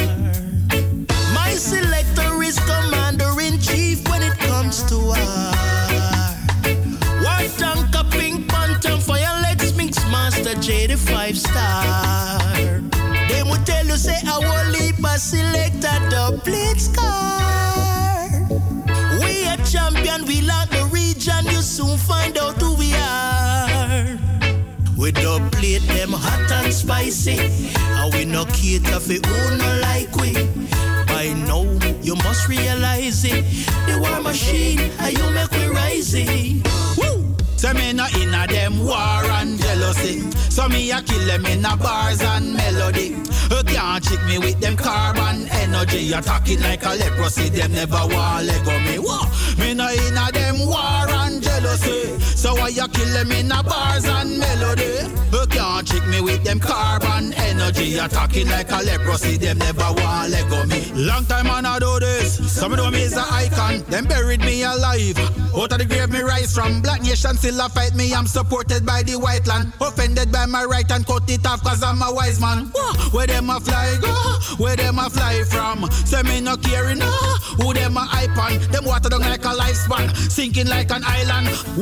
S12: My selector is commander-in-chief when it comes to war. War tanker, pink phantom, fire legs, mix master, J the five star. They would tell you say I will leap a selector, the plate scar. We a champion, we lock the region, you soon find out who we are. We don't plate them hot and spicy, and we no cater for who no like we. By now, you must realize it. The war machine, and you make we rising. Woo! So me no inna them war and jealousy. So me a kill them in a bars and melody. You can't trick me with them carbon energy. Attacking like a leprosy, them never want let go me. Whoa. Me no inna them war and jealousy. So why you kill them in a bars and melody? You can't trick me with them carbon energy. Attacking like a leprosy, them never want let go me. Long time man I do this. Some of them is an icon. Them buried me alive. Out of the grave me rise from. Black nation still a fight me. I'm supported by the white land. Offended by my right and cut it off cause I'm a wise man. Where them a fly go? Where them a fly from? Say me no caring no. Who them a hype on? Them water down like a lifespan. Sinking like an island. One by one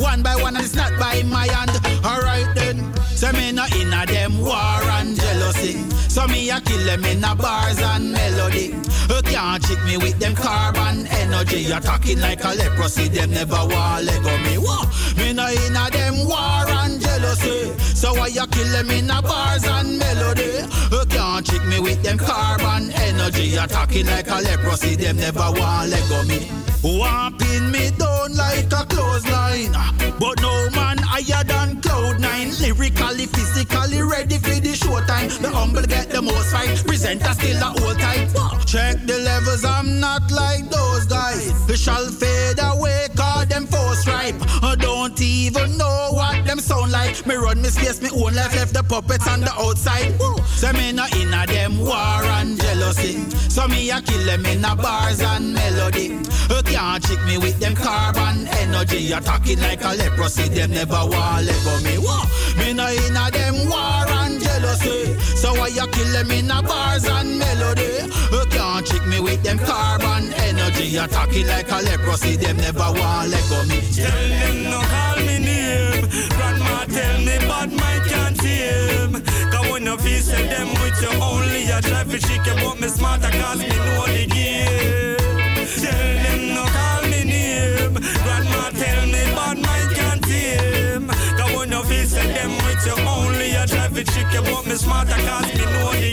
S5: one and it's not by my hand. Alright then. So me no inna them war and jealousy. So me a kill them in a bars and melody. You can't trick me with them carbon energy. You're talking like a leprosy. Them never want let go me. Whoa. Me no inna them war and jealousy. So why you kill them in a bars and melody? You can't trick me with them carbon energy. You're talking like a leprosy. Them never want let go me. Want pin me down like a clothesline, but no man higher than cloud nine. Lyrically, physically ready for the showtime. The humble get the most fight. Presenter still the old type. Check the levels, I'm not like those guys. They shall fade away, call them force ripe. I don't even know what them sound like. Me run me space, me own life, left the puppets on the outside. So me no inna them war and jealousy. So me a kill them in a bars and melody. You can't trick me with them carbon energy. You're talking like a leprosy. Them never want let go me. Whoa. Me no inna them war and jealousy. So why you kill them in a bars and melody? You can't trick me with them carbon energy. You're talking like a leprosy. Them never want let go me.
S11: Tell them no call me name. Grandma tell me bad mind can't tame. Cause when you feel say them with you only, I try to chick you, but me smarter cause me know the game. Tell them no call me name. Grandma tell me bad mind can't tame. Cause when you feel say them with you only, I try to chick you, but me smarter cause me know the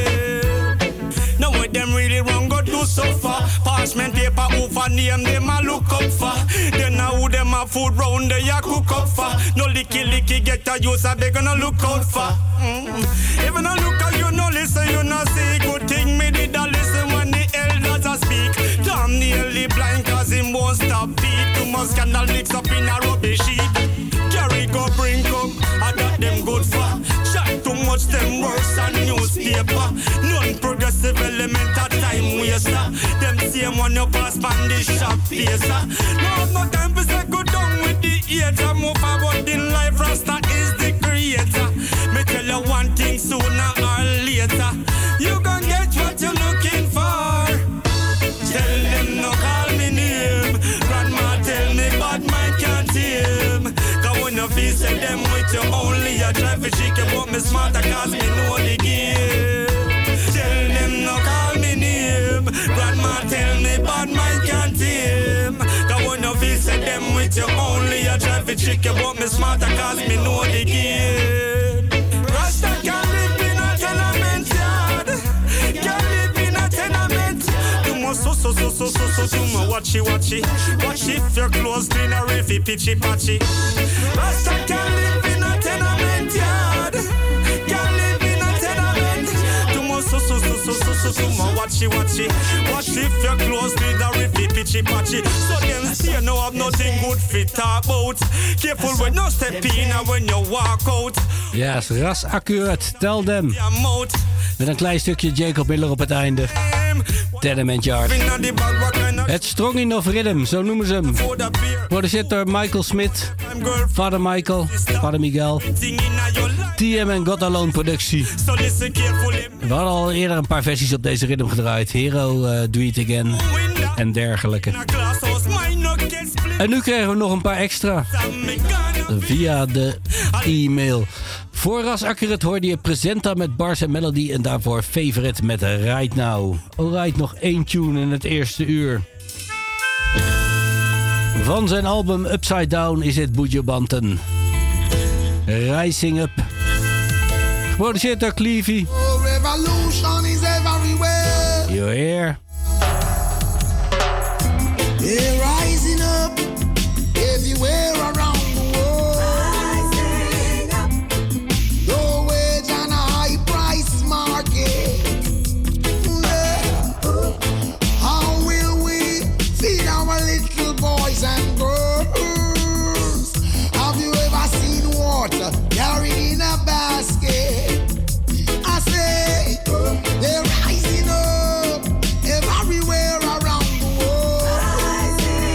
S11: game. Now what them really wrong go do so far. Parchment paper over name them a look up for. Then now who them a food round there ya cook up for. No licky licky get a use a they gonna look out for. Mm. Even a look at you no listen you no see. Good thing me did a listen when the elders a speak. Damn nearly blind cause him won't stop beat. Too much scandal mix up in a rubbish heap. Carry go bring come, I got them good for. Chat too much them worse than newspaper. Non-progressive element at time waster. Them same one you pass pan the shop pacer. No have no time for say go down with the hater. Move forward in life, Rasta is the creator. Me tell you one thing sooner or later. You gon' get what you're looking for. Tell them no call me name. Grandma tell me bad mind can't tame. Cause when you feel say them with you only, I try to chick you, but me smarter cause me know the game. Tell them no call me name. Grandma tell me bad mind can't tame. Cause when you feel say them with you only, I try to chick you, but me smarter cause me know the game. Rasta can't live in a tenement yard. Can't live in a tenement. So so so so so so so mo watchy watchy. Watch if your clothes clean or if it pitchy patchy. Rasta can live in a tenement yard. Can live in a tenement. Too much so so so so so so so mo watchy watchy. Watch if your clothes clean or if it pitchy patchy. So them say no have nothing good fit talk about. Careful when you step in and when you walk out.
S19: Yes, ras accurate. Tell them. Met een klein stukje Jacob Miller op het einde. Tenement Yard. Het Stronging of Rhythm, zo noemen ze hem. Geproduceerd door Michael Smith, Vader Michael, Vader Miguel. T M en God Alone productie. We hadden al eerder een paar versies op deze rhythm gedraaid. Hero, uh, Do It Again en dergelijke. En nu kregen we nog een paar extra. Via de e-mail. Voor Ras Accurate hoorde je Presenta met Bars en Melody en daarvoor Favorite met Right Now. Alright, nog één tune in het eerste uur. Van zijn album Upside Down is het Buju Banton. Rising Up. Geproduceerd door Clevie.
S12: Oh, revolution is everywhere.
S19: You're here.
S12: They're rising up everywhere around. And girls, have you ever seen water carried in a basket? I say they're rising up everywhere around the world.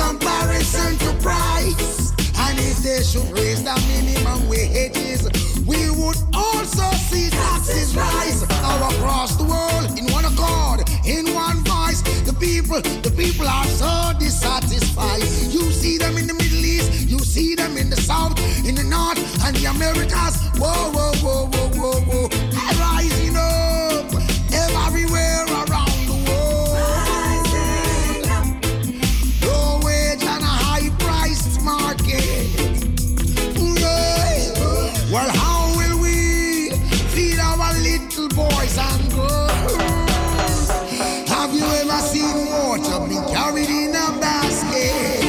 S12: comparison to price. And if they should raise the minimum wages, we would also see taxes rise all across the world in one accord, in one voice. The people, the people are so dissatisfied. You see them in the Middle East, you see them in the South, in the North, and the Americas. Whoa, whoa, whoa, whoa, whoa, whoa. Rising up everywhere around the world. Rising up. Low wage and a high priced market. Yeah. Well, how will we feed our little boys and girls? Have you ever seen water being carried in a basket?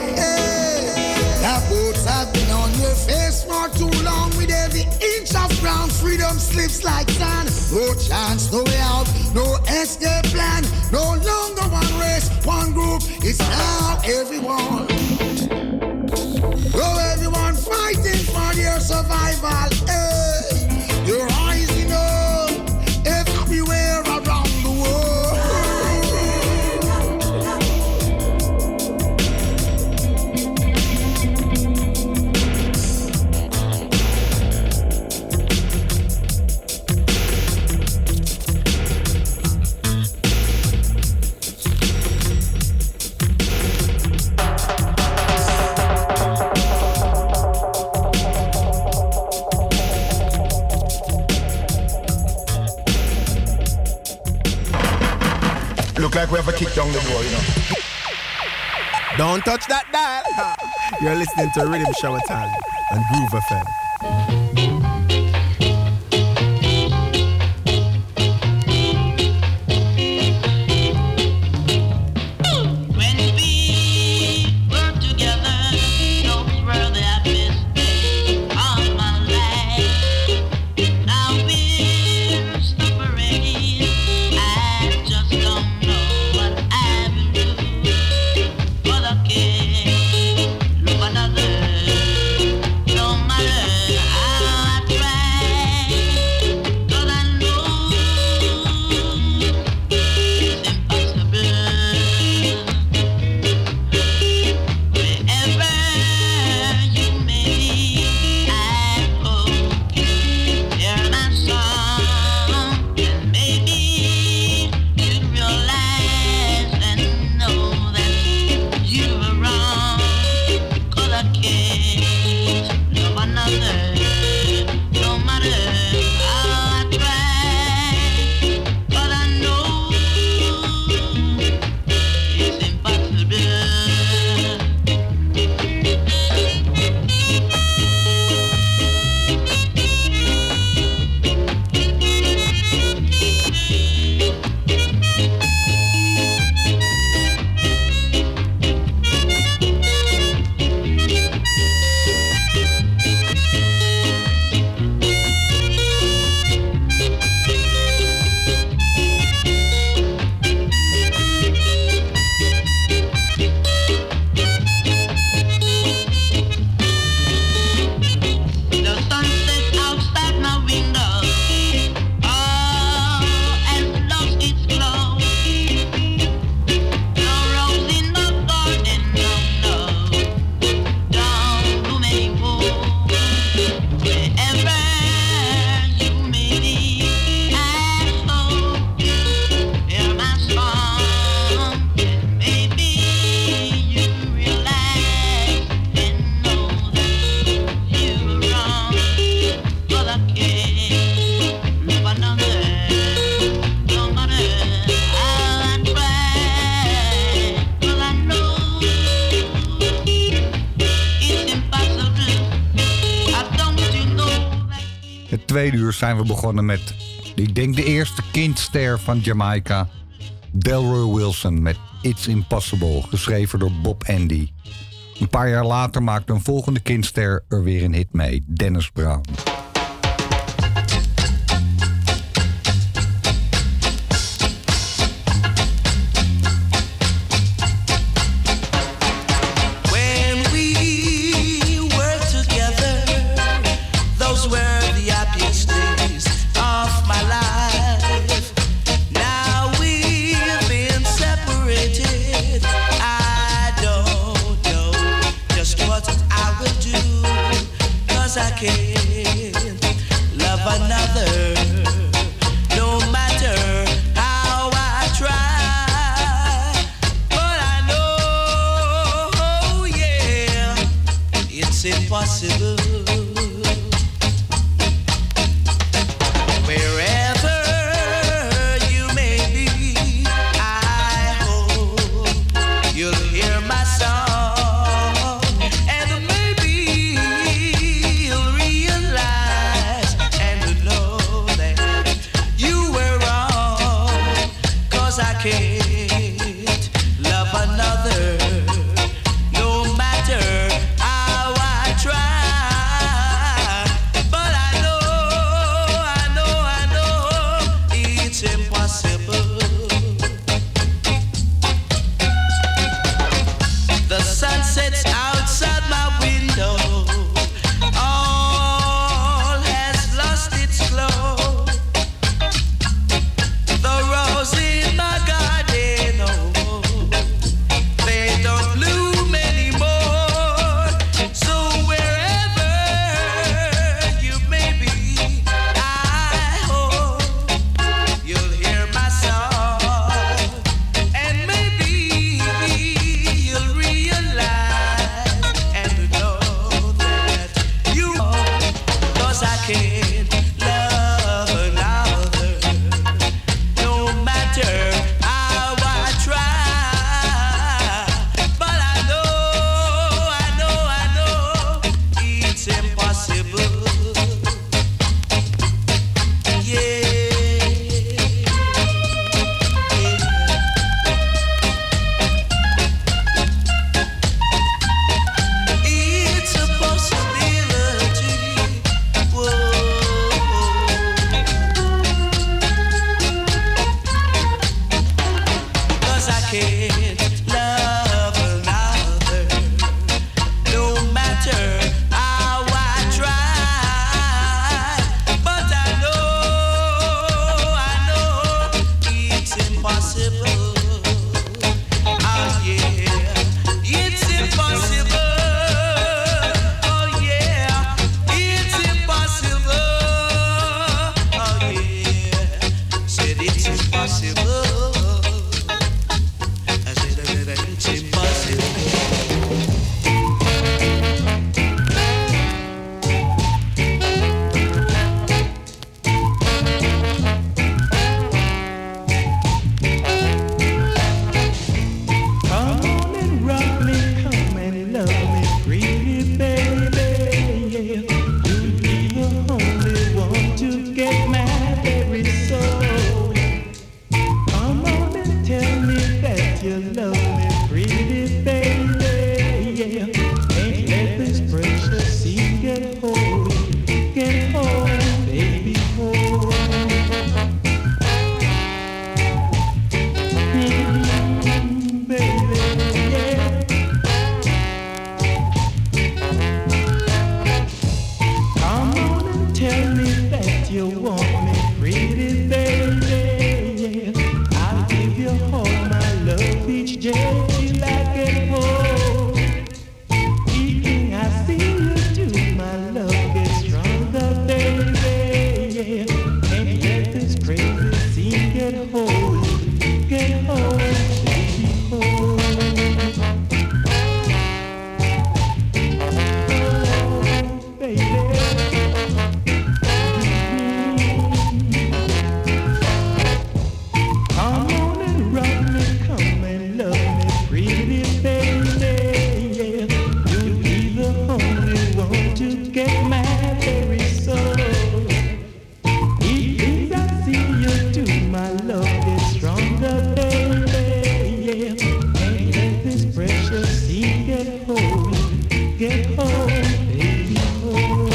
S12: The boats have been on your face for too long. With every inch of ground, freedom slips like sand. No chance, no way out, no escape plan. No longer one race, one group. It's now everyone. Oh, everyone fighting for their survival. Hey, you're rising up everywhere around the world.
S3: Look like we have a kick down the door, you know.
S22: Don't touch that dial. You're listening to Rhythm Shower Time on Groove F M.
S7: tweede uur zijn we begonnen met, ik denk de eerste kindster van Jamaica, Delroy Wilson met It's Impossible, geschreven door Bob Andy. Een paar jaar later maakte een volgende kindster er weer een hit mee, Dennis Brown.
S6: Now we've been separated. I don't
S12: 'cause I can't love another, no matter how I try. But I know, oh yeah, it's impossible. Wherever you may be, I hope you'll hear my song, and maybe you'll realize and know that you were wrong, 'cause I can't love another, no matter how I try. But I know, I know, I know it's impossible. The sun sets outside my window, all has lost its glow. The rose in my garden, oh, they don't bloom anymore. So wherever you may be, I hope you'll hear my song, and maybe you'll realize and know that you are, 'cause I can't love another, no matter how I try. But I know, I know, I know it's impossible. Yeah. It's a possibility. Whoa. 'Cause I can't love another, no matter how I try. But I know, I know it's impossible. Oh yeah, it's impossible. Oh yeah, it's impossible. Oh yeah, said it's impossible. I said that it's impossible.
S13: Come on and rock me, come and love me, pretty baby. Yeah. You'll be the only one to get my very soul. Come on and tell me that you love me, pretty baby. Yeah. Ain't let this precious sea get hold, get hold, baby, hold. Mm, baby, yeah. Come on and tell me that you want me, pretty baby. Yeah. I'll give you all my love each day till I get home. Evening I see you do, my love gets stronger, baby. Yeah. Ain't let this crazy scene get hold, get hold, baby, hold. Oh, baby. Come on and rock me, come and love me, pretty baby. Yeah. You'll be the only one to get my very soul. Each day I see you do, my love gets stronger, baby. Yeah. Ain't let this precious sea get hold, get hold, baby, hold.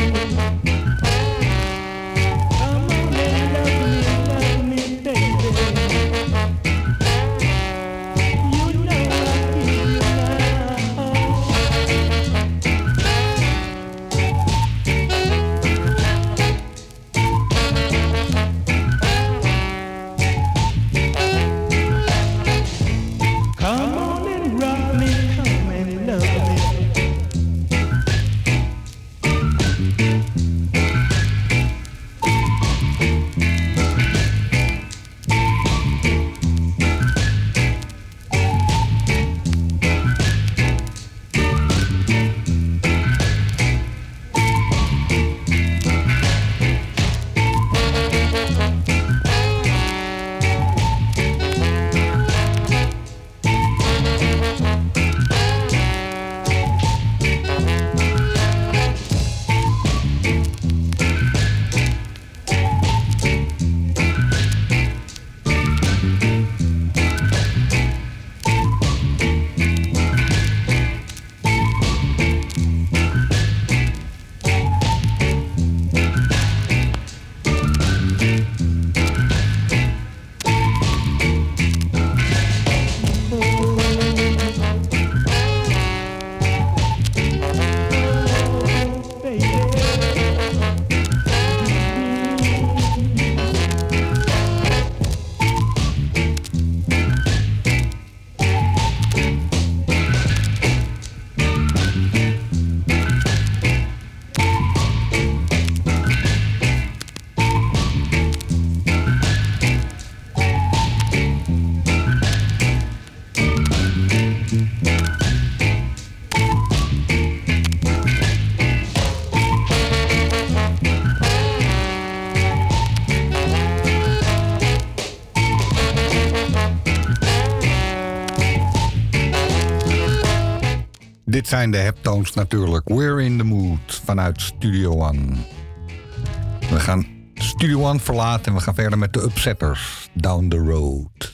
S13: Come on and love me, love me, baby. You know I feel love.
S7: Dit zijn de Heptones natuurlijk. We're in the mood vanuit Studio One. We gaan Studio One verlaten en we gaan verder met de Upsetters. Down the Road.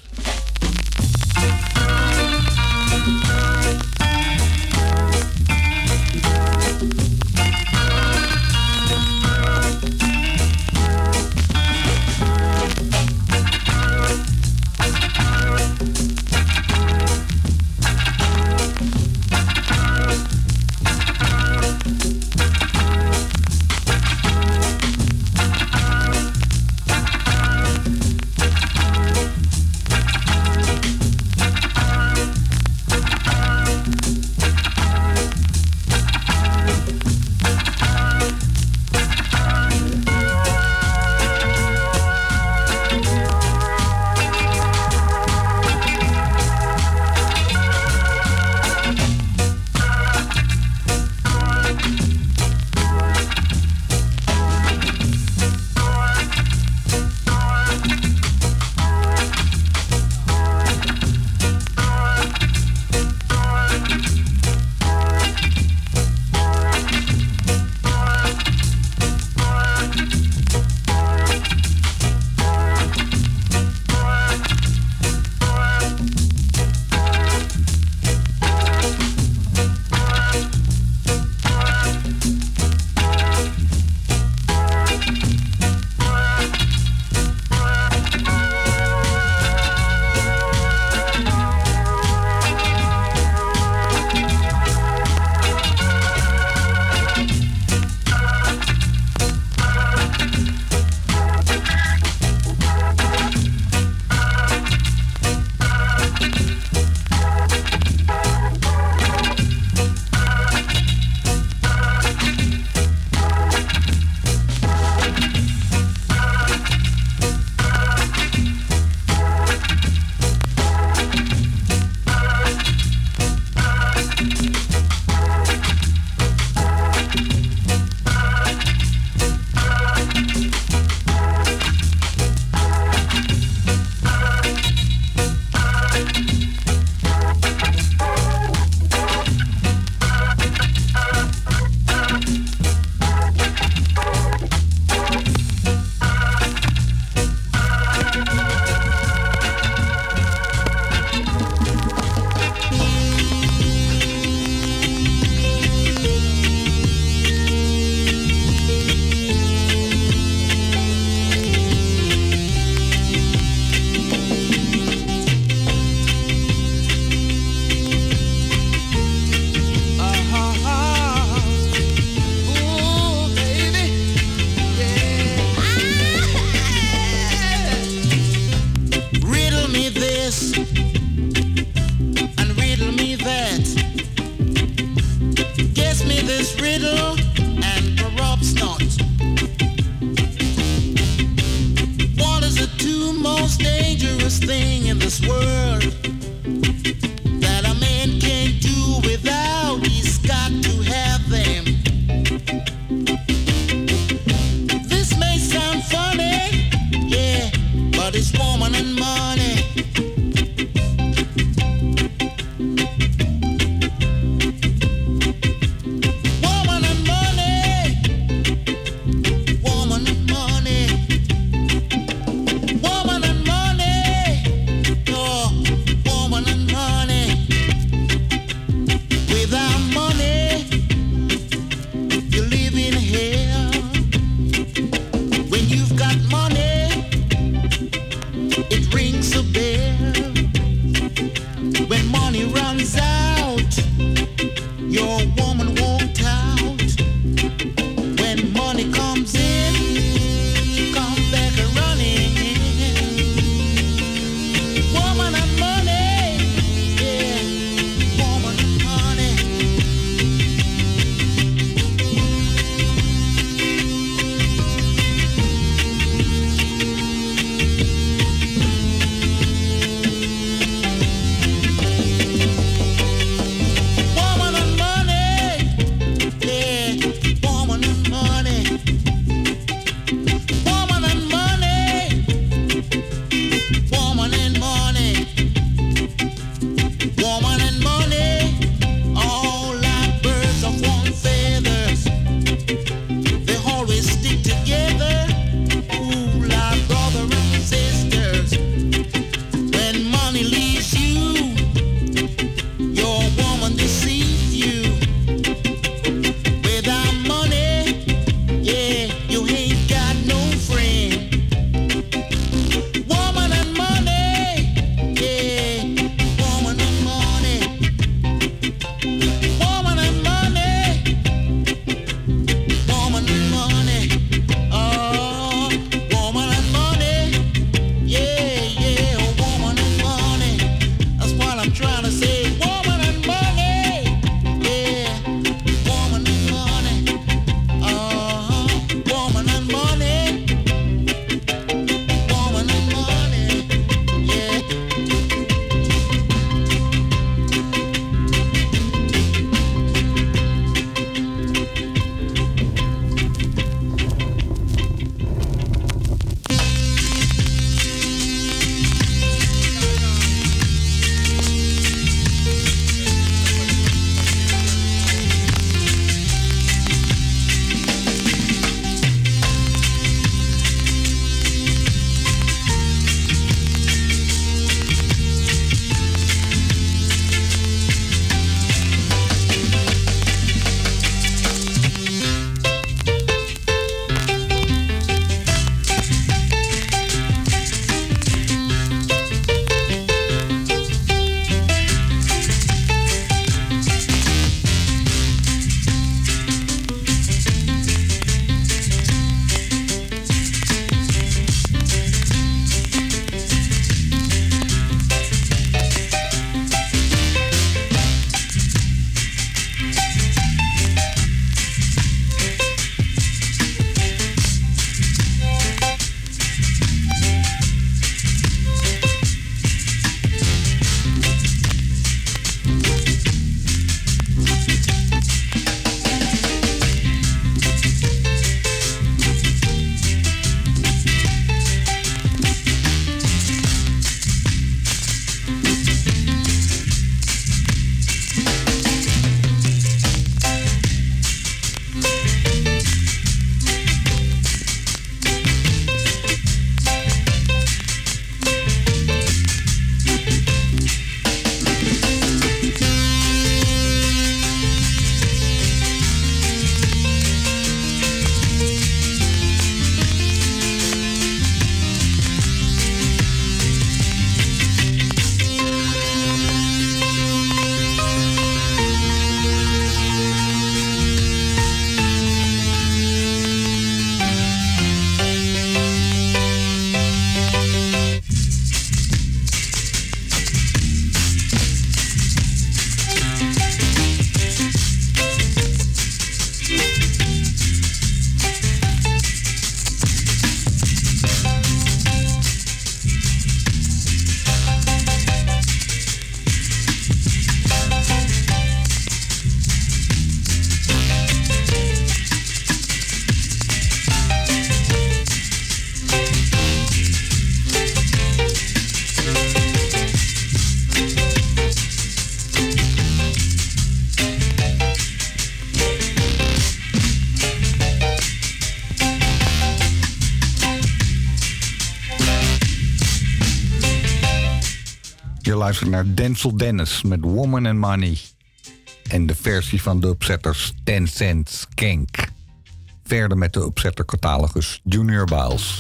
S7: Je luistert naar Denzel Dennis met Woman and Money. En de versie van de opzetters ten cent Skank. Verder met de opzetter catalogus Junior Biles.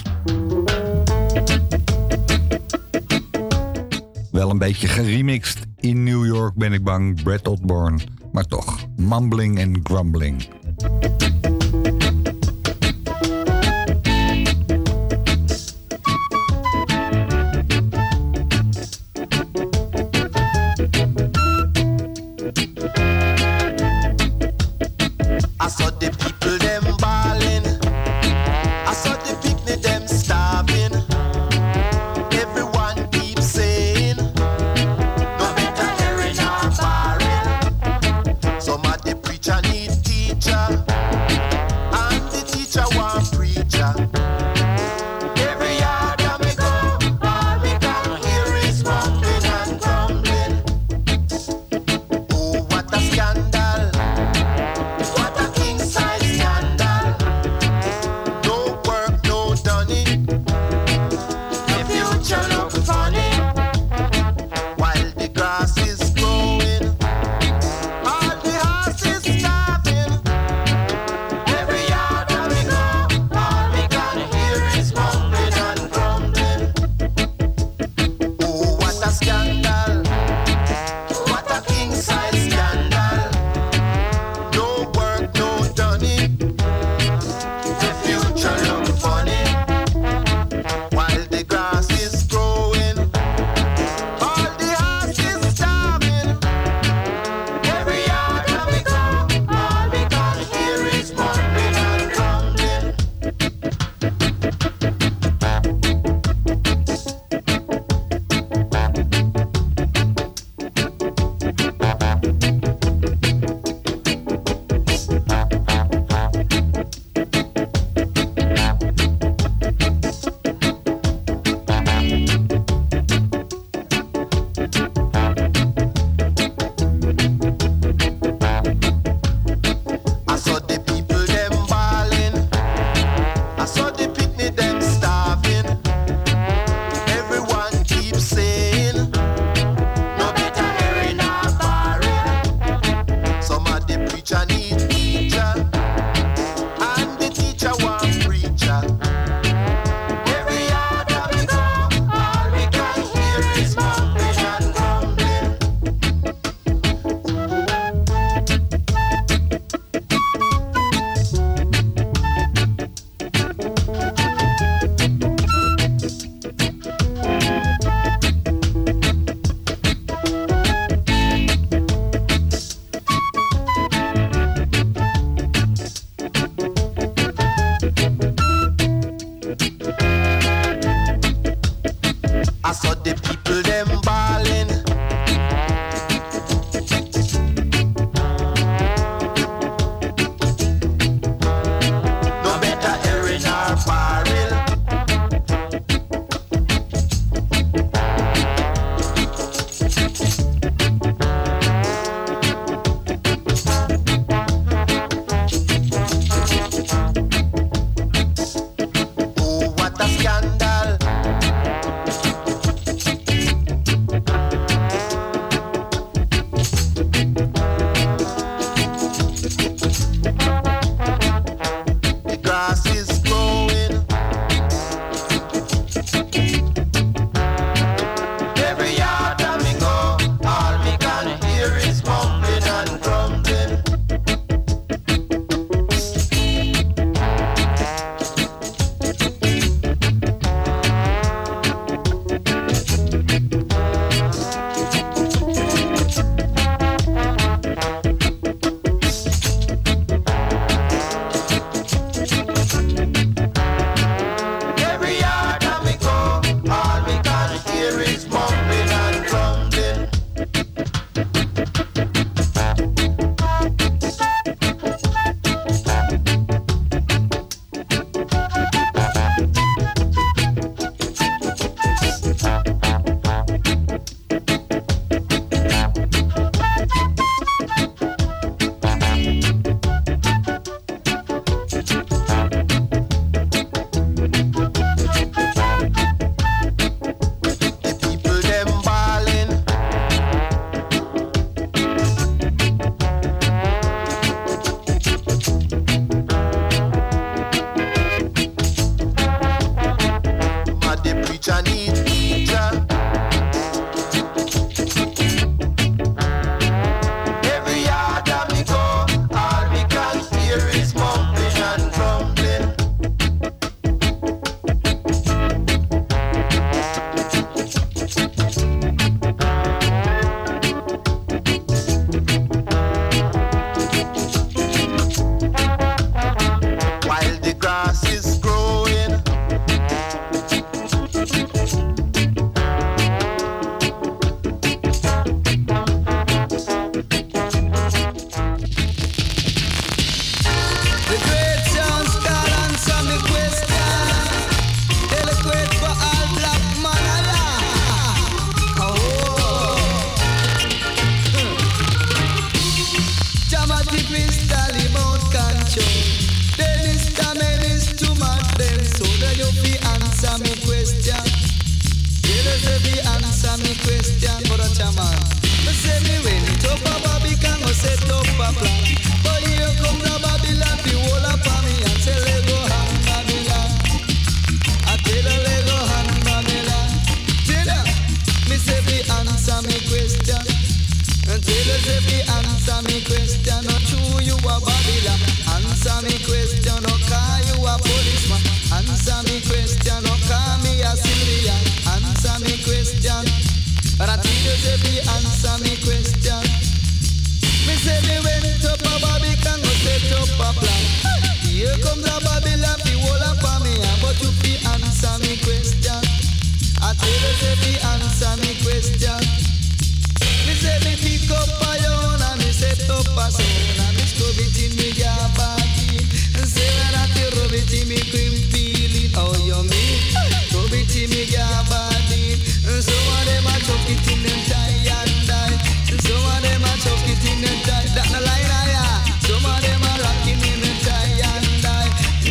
S7: Wel een beetje geremixed. In New York ben ik bang, Brad Osborne. Maar toch, mumbling en grumbling.
S12: I saw the people them balling. I saw the picnic them starving. Everyone keeps saying, no better hearing or barring. Some of the preacher need teacher, and the teacher want preacher. Every yard that we go, all we can hear is mumbling and grumbling. Oh, what a scandal! What a king size scandal!
S4: us if you answer me question, but a chairman. Me say me when it up a Babylon, go set up a plan. But here come the Babylon, the whole up on me and say Lego hand Babylon. I tell her Lego hand Babylon. Tell her, me say me answer me question. And tell us if you answer me question, not true you a Babylon. Answer me question, no call you a policeman. Answer me question, no call me a civilian. Answer me question, but I tell you if you answer me question. Me say me went up a Babylon, go set up a plan. Here comes a Babylon, the whole up on me, but you fi answer me question. I tell you if you answer me question. Me say me pick up a yawn and me set up a sound and me scrub it in me jar party. And say when I feel rub it in me cream feeling. Oh you mean? Rub it in me jar body. And some of them a chuck it in them tie and die. And some of them a chuck it in them tie. That no line I yeah. Some of them a rocking in them tie and die.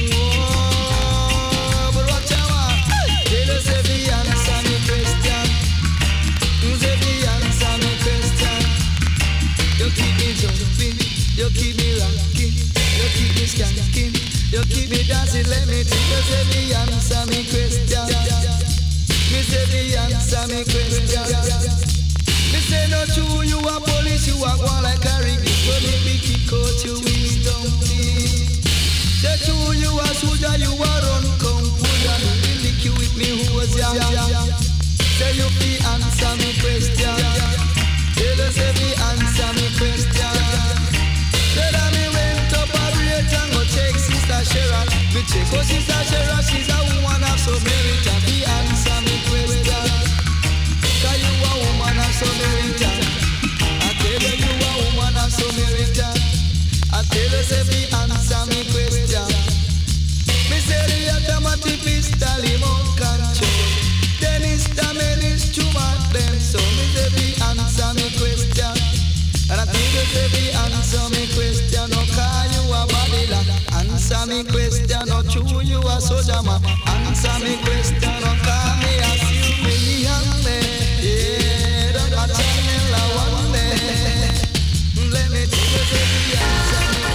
S4: Whoa, but watch out, tell us if you answer me question. Say the answer me question. You keep me jumping, you keep me rocking, you keep me skanking, you keep me dancing. Let me tell you, say the answer me question. Me say the answer me question. Me say no true, you a police, you a go like a rig. So let me kick out you with dumpty. Say true, you a soldier, you a run come food and me lick you with me hose ya. Say you fi answer me question. Tell us if you answer me question. Say that me went up a break and go check Sister Sharon. Me check oh Sister Sharon, she's a woman of some merit. And fi answer me question. Cause you a woman of some merit. I tell you you a woman of some merit. I tell us if you answer me question. Me say the automatic pistol him out control. Then it's the men is too much them. So me say be answer me question. And I think you say be answer me question. No call you a Babylon. Answer me question. No true you a soldier man. Answer me question. No call me a civilian man. Yeah, don't a channel a one man. Let me tell you say be answer me.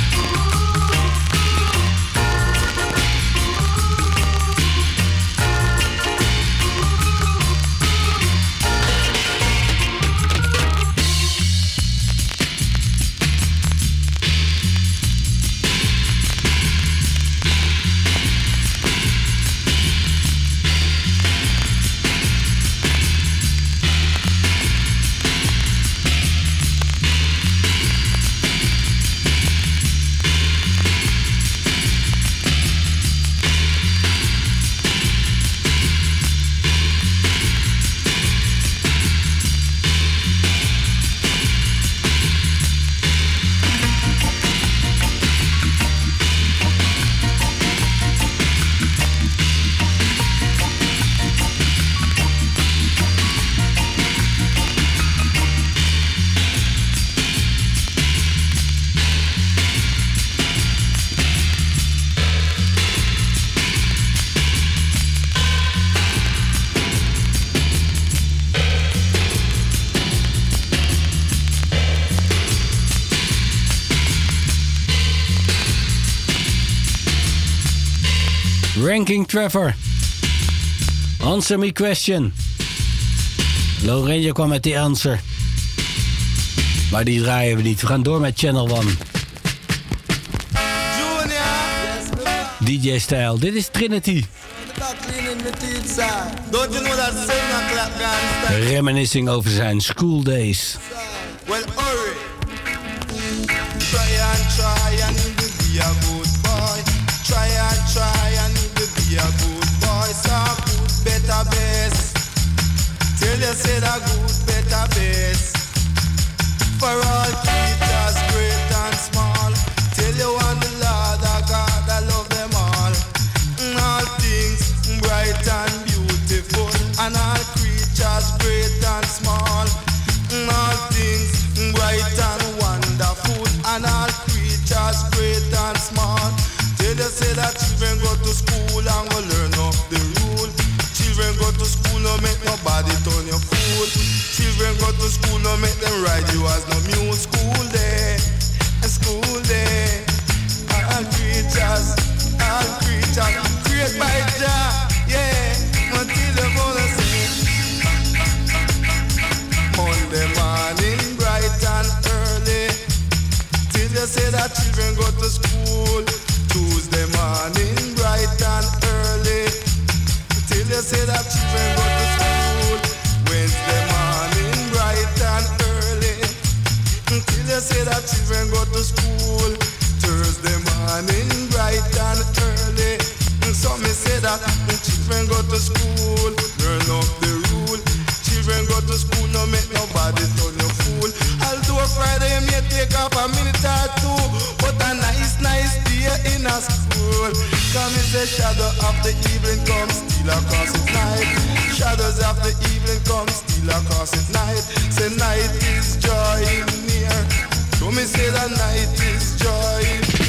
S19: Ranking Trevor. Answer me question. Loranje kwam met die answer. Maar die draaien we niet. We gaan door met Channel One. D J-stijl. Dit is Trinity. Reminiscing over zijn school days.
S11: Well, hurry. Try and try and you will be a good boy. Try and try and you will be a good boy. So good, better best. Tell you say that good, better best. For all teachers, great and small. Tell you on the Lord of God, I love them all. All things bright and beautiful. And all creatures, great and small. All things bright and wonderful. And all creatures, great and small. Tell you say that children go to school and go learn of the rule. Children go to school, no make no bad school. Children go to school, no make them ride you as no mule. School day, school day. All creatures, all creatures, created by Jah, yeah. Until the mother sing. Monday morning, bright and early. Till you say that children go to school. Tuesday morning, bright and early. Till you say that children go to school. Wednesday morning, bright and early. Till you say that children go to school. Thursday morning, bright and early. So me say that children go to school. Learn up the rule. Children go to school, no make nobody turn you fool. Although Friday may take up a minute or two, but a nice, nice day in a school. Come is the shadow of the evening comes still across its night. Shadows of the evening come still across its night. Say night is joy near. So me say that night is joy near.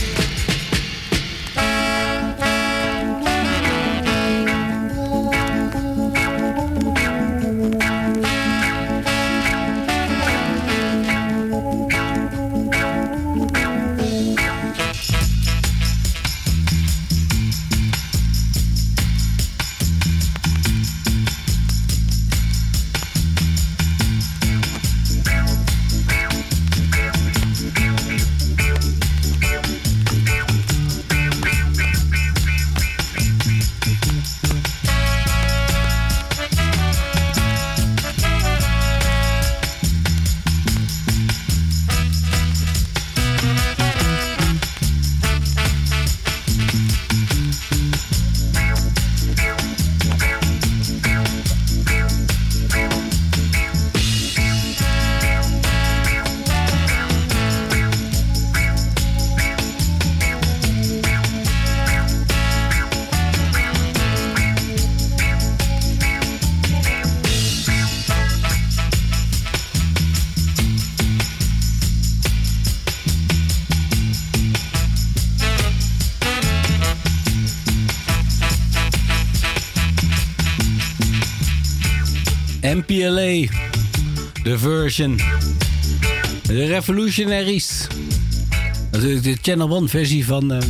S19: M P L A, de version. De Revolutionaries. Natuurlijk de Channel One versie van uh,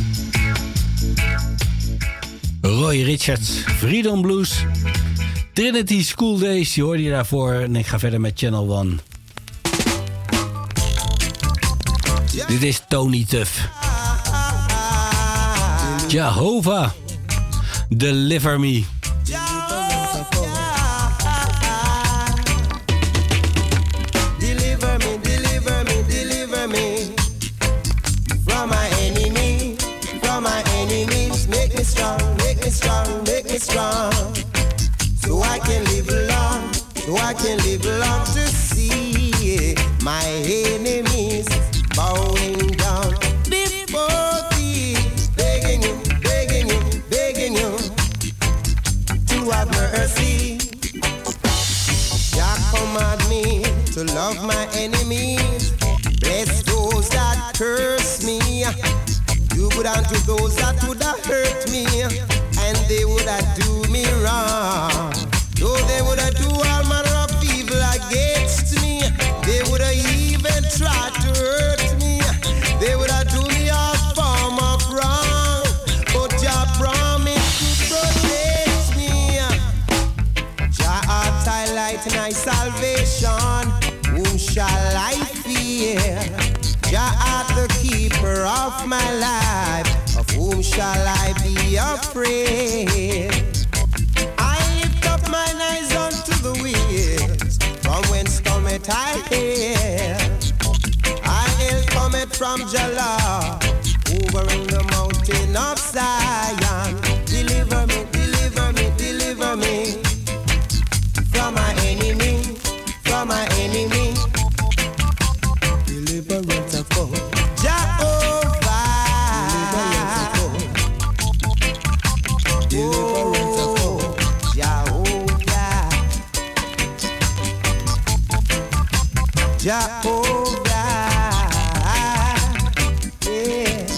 S19: Roy Richards. Freedom Blues. Trinity School Days, die hoorde je daarvoor. En ik ga verder met Channel One. Dit is Tony Tuff. Jehovah, deliver me.
S6: Strong, make me strong, so I can live long, so I can live long to see my enemies bowing down before thee, begging you, begging you, begging you to have mercy. Jah command me to love my enemies, bless those that curse me, do good unto those that would have hurt me. And they would have do me wrong. Though they would have do all manner of evil against me. They would have even tried to hurt me. They would have do me all form of wrong. But Jah promised to protect me. Jah art thy light and thy salvation. Whom shall I fear? Jah art the keeper of my life. Of whom shall I be afraid? I lift up mine eyes unto the hills, from whence cometh I help. I help cometh from Jah, over in the mountain of Zion. Deliver me, deliver me, deliver me from my enemy, from my enemy. Deliverance of God. Jehovah, yeah.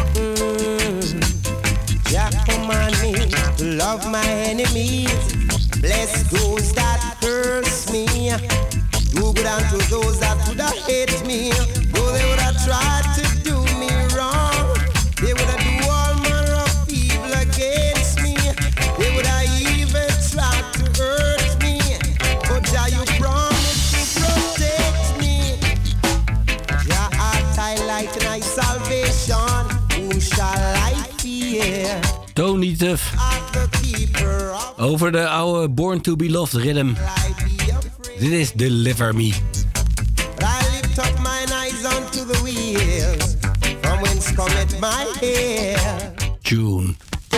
S6: Mm. Jah command me to love my enemies, Bless those that curse me. Do good unto those that would have hate me. Though they would have tried to do me wrong, they would have do all manner of evil against me. They would have even tried to hurt me. But Jah, you promised to protect me. Jah, art I light and I salvation. Whom shall I fear?
S19: Tony Tuff. Over de oude Born to Be Loved rhythm. Dit is Deliver Me.
S6: I lift up mine eyes unto the wheels, from whence cometh my hair.
S19: Tune.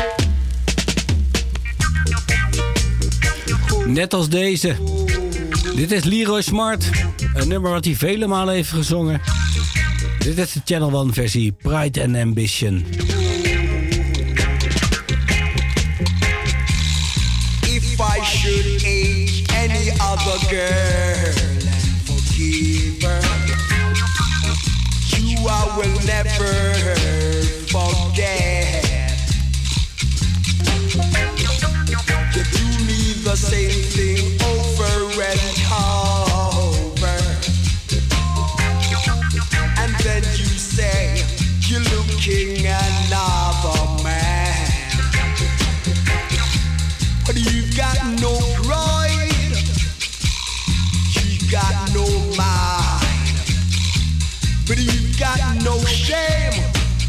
S19: Net als deze. Dit is Leroy Smart. Een nummer wat hij vele malen heeft gezongen. Dit is de Channel One versie. Pride and Ambition.
S8: If I should age any other girl and forgive her, you I will never forget. You do me the same thing over and over, and then you say you're looking another man, but you've got no pride, you've got no mind, but you've got no shame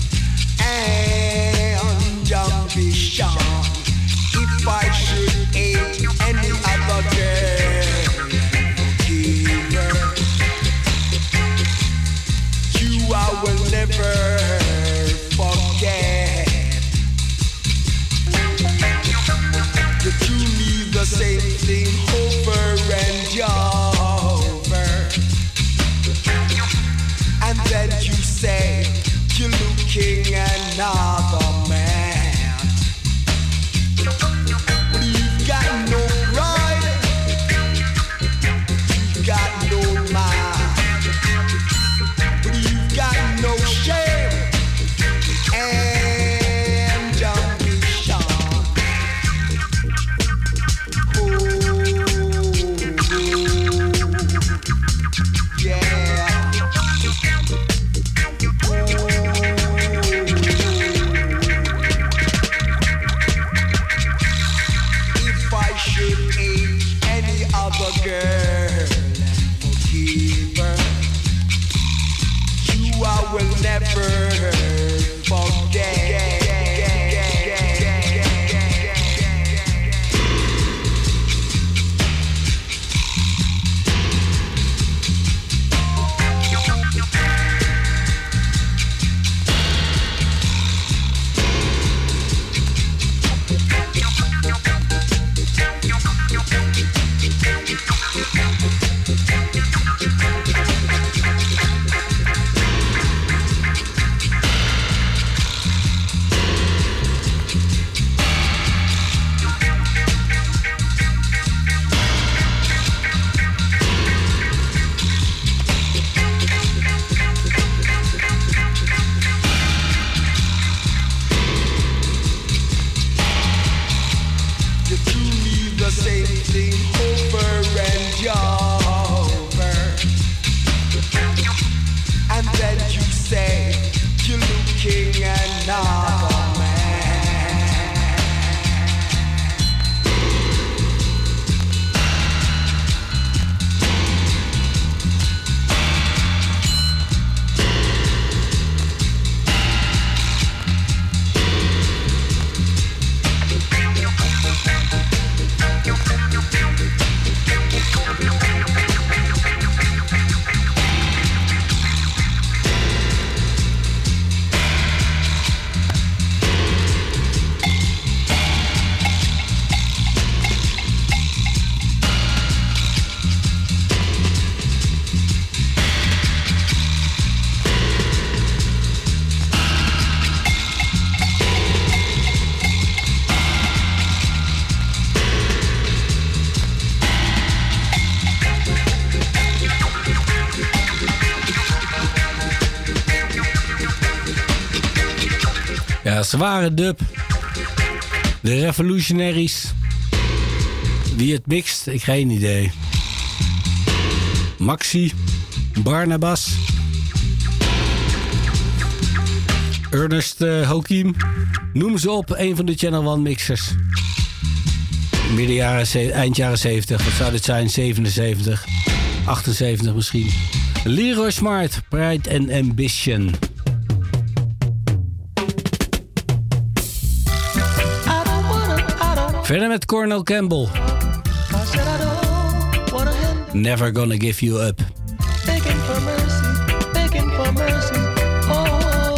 S8: and ambition. If I should hate any other girl, forgive her, you I will never forget. You do me the same thing over and over, and then you say you're looking another man. But you've got no pride, you've got no mind, but you've got no shame and ambition. Oh, yeah. If I should hate any other girl and forgive her, you I will never forget. You do me the same thing over and over, and then you say you're looking another man.
S19: Ja, zware dub. De Revolutionaries. Wie het mixt, ik geen idee. Maxi, Barnabas, Ernest uh, Hokiem. Noem ze op, een van de Channel One mixers. Midden jaren, eind jaren zeventig, wat zou dit zijn? zevenenzeventig, achtenzeventig misschien. Leroy Smart, Pride and Ambition. Verder met Cornel Campbell. Never Gonna Give You Up.
S9: Begging for mercy, begging for mercy. Oh,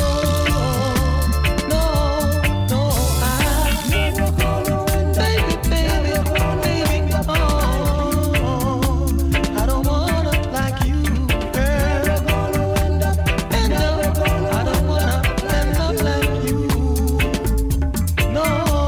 S9: no, no, I never gonna win, baby, baby, baby. Oh, I don't wanna like you, girl. Never gonna end up, end up. I don't wanna end up like you. No,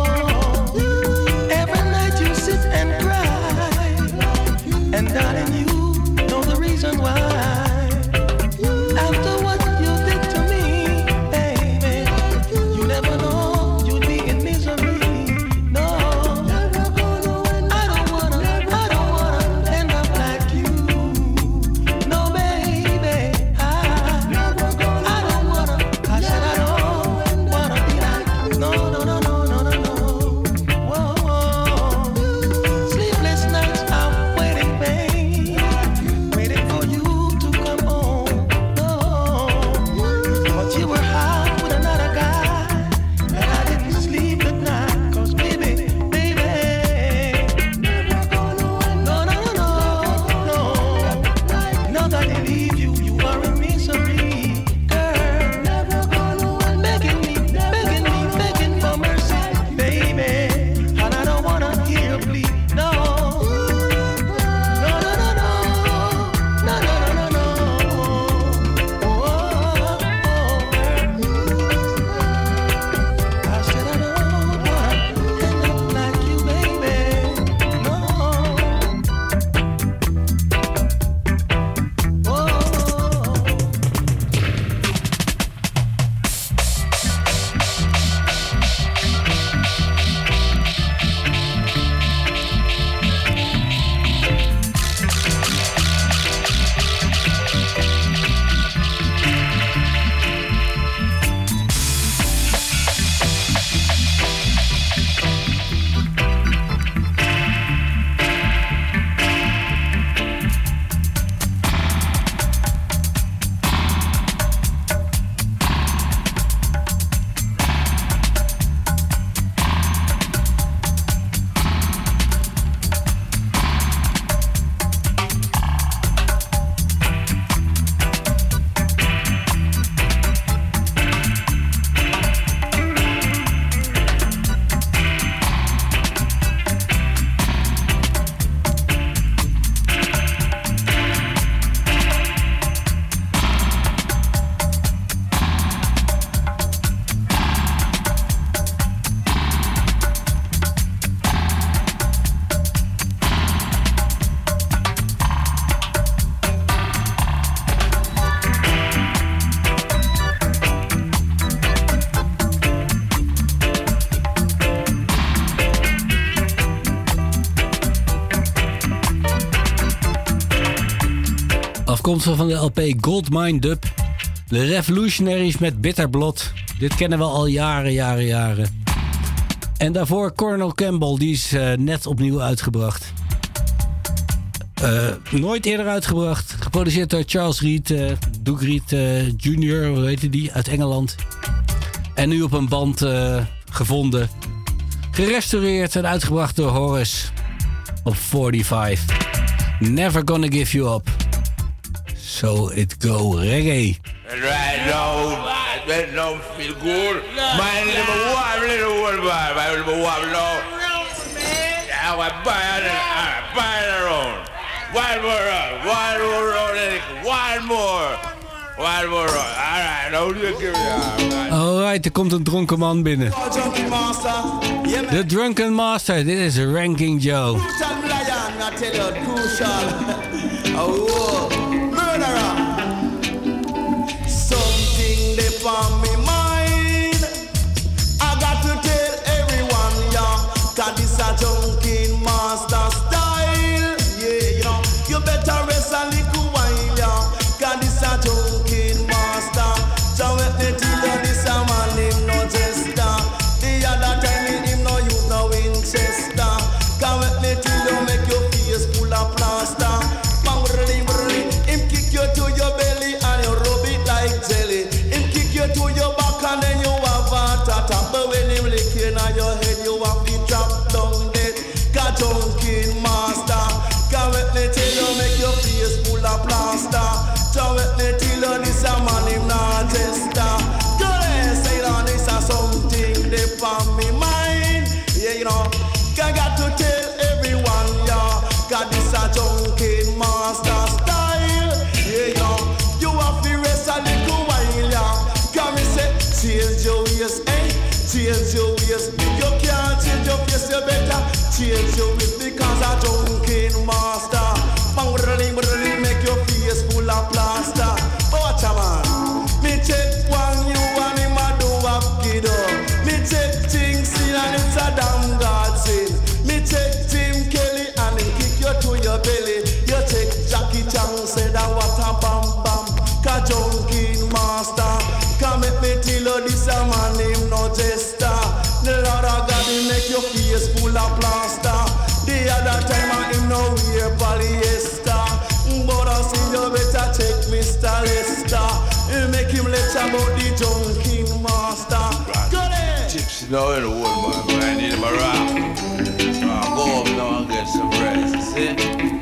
S9: every night you sit and cry, and darling, you know the reason why. After what you did to me, baby, you never know you'd be in misery. No, I don't wanna, I don't wanna end up like you. No, baby, I, I don't wanna. I said I don't wanna be like you. No, no, no, no, no, no, no. Whoa, whoa. Sleepless nights I'm waiting, babe, waiting for you to come home. No, but you were hot with another guy, and I didn't sleep at night. 'Cause baby, baby, no, no, no, no, no. Now that I leave you, you are in misery, girl. Begging me, begging me, begging for mercy, baby, and I don't wanna hear you plead. No, no, no, no, no, no, no, no, no, no. Oh, oh, I said I don't wanna end up like you, baby. No.
S19: Afkomstig van de L P Goldmine Dub. De Revolutionaries met Bitterblood. Dit kennen we al jaren, jaren, jaren. En daarvoor Cornel Campbell, die is uh, net opnieuw uitgebracht. Uh, nooit eerder uitgebracht. Geproduceerd door Charles Reed, uh, Doug Reed uh, junior, hoe heette die, uit Engeland. En nu op een band uh, gevonden. Gerestaureerd en uitgebracht door Horace op forty-five. Never Gonna Give You Up. So it go reggae.
S15: Right now, that don't feel good. My little wife, little wife, my little wife, no. I was buying it, I buy it around. One more round, one more round, one more. One more round. All right, now you give me a...
S19: Alright, er komt een dronken man binnen. De Drunken Master, dit is Ranking Joe.
S22: Something they on me mind. I got to tell everyone, yeah, that this a Drunken Master
S12: junkie master. Come let me tell you, make your face full of plaster. Come let me tell you, this a man him not tester. Go there, say that this a something deep on me mind. Yeah, you know, I got to tell everyone, yeah, got this a junkie master style. Yeah, you know, you have to rest a little while, yeah. Come and say, change your ways, eh? Change your ways. You can't change your face, you better change your ways because a junkie master. Bang, brrrling, brrrling, make your face full of plaster. But watch a man, me check one you and him a do a kiddo. Me check things in and it's a damn God sin. Me check Tim Kelly and him kick you to your belly. You check Jackie Chan, say that what a bam bam. Ka junkie master. Come make me tell you this a man him no jester. The Lord of God he make your face full of plaster. The other time I him no wear polyester. But I see you better check Mister Lester. He make him lecture about the junkie master. Go there.
S15: Chips now in the world, man. I need him a rock. So I go up now and get some rest. See?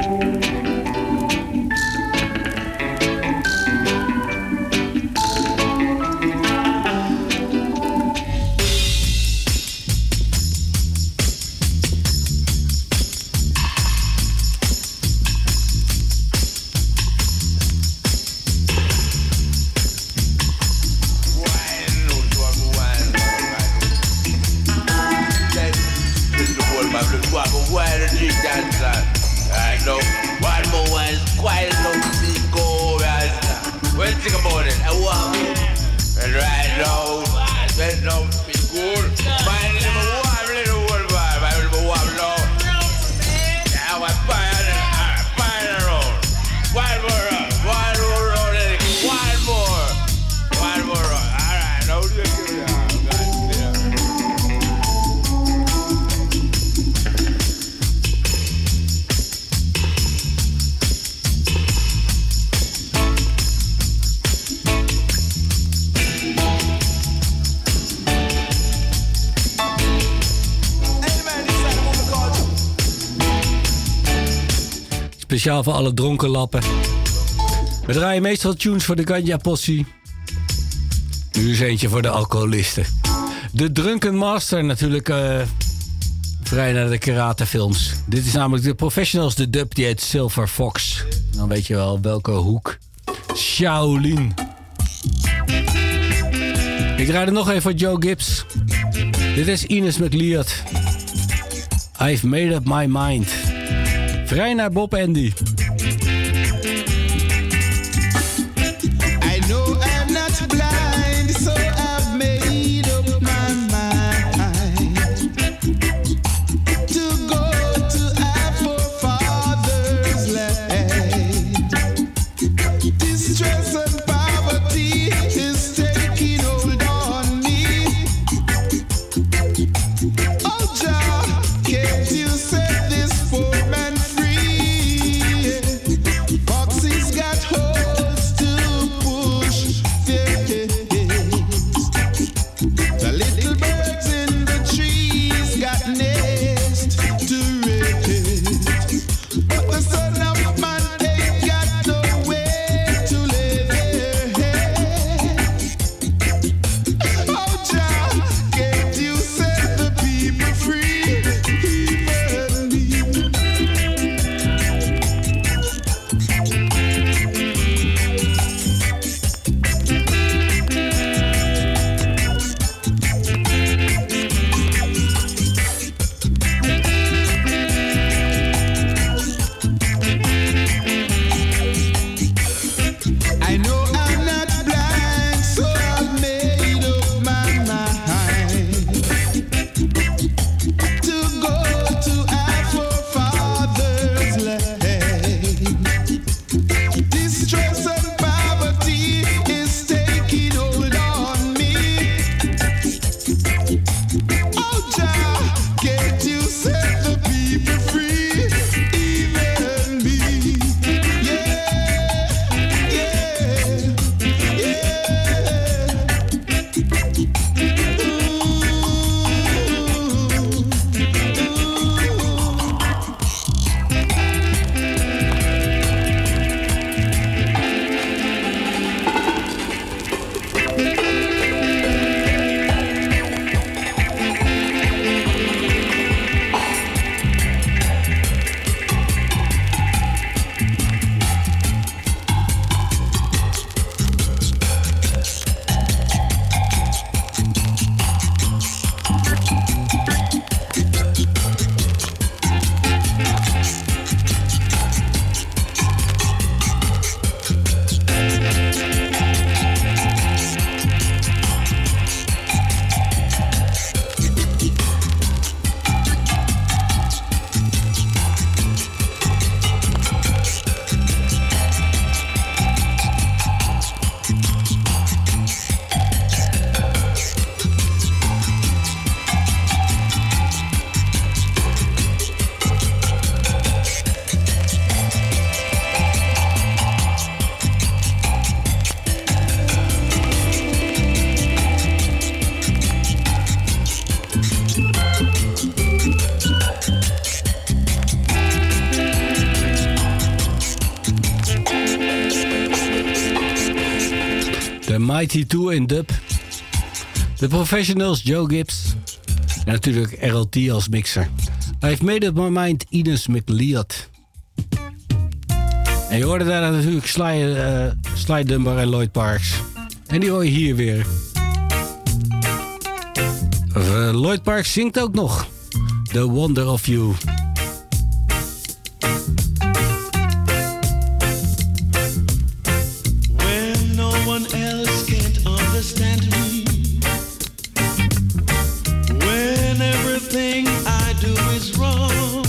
S19: Speciaal voor alle dronken lappen. We draaien meestal tunes voor de Ganja Possie. Nu is eentje voor de alcoholisten. De Drunken Master natuurlijk uh, vrij naar de karatefilms. Dit is namelijk de Professionals, de dub die heet Silver Fox. Dan weet je wel welke hoek. Shaolin. Ik draai er nog even voor Joe Gibbs. Dit is Ines McLeod. I've made up my mind. Vrij naar Bob Andy.
S14: I know I'm not blind, so I've made up my mind to go to our forefathers' land. Distress and poverty is taking hold on me. Oh, Jah, can't you set this poor man free?
S19: Mighty two in dub. The Professionals, Joe Gibbs. En natuurlijk R L T als mixer. I've made up my mind, Ines McLeod. En je hoorde daar natuurlijk Sly, uh, Sly Dunbar en Lloyd Parks. En die hoor je hier weer. Uh, Lloyd Parks zingt ook nog. The Wonder of You.
S16: When no one else can't understand me, when everything I do is wrong,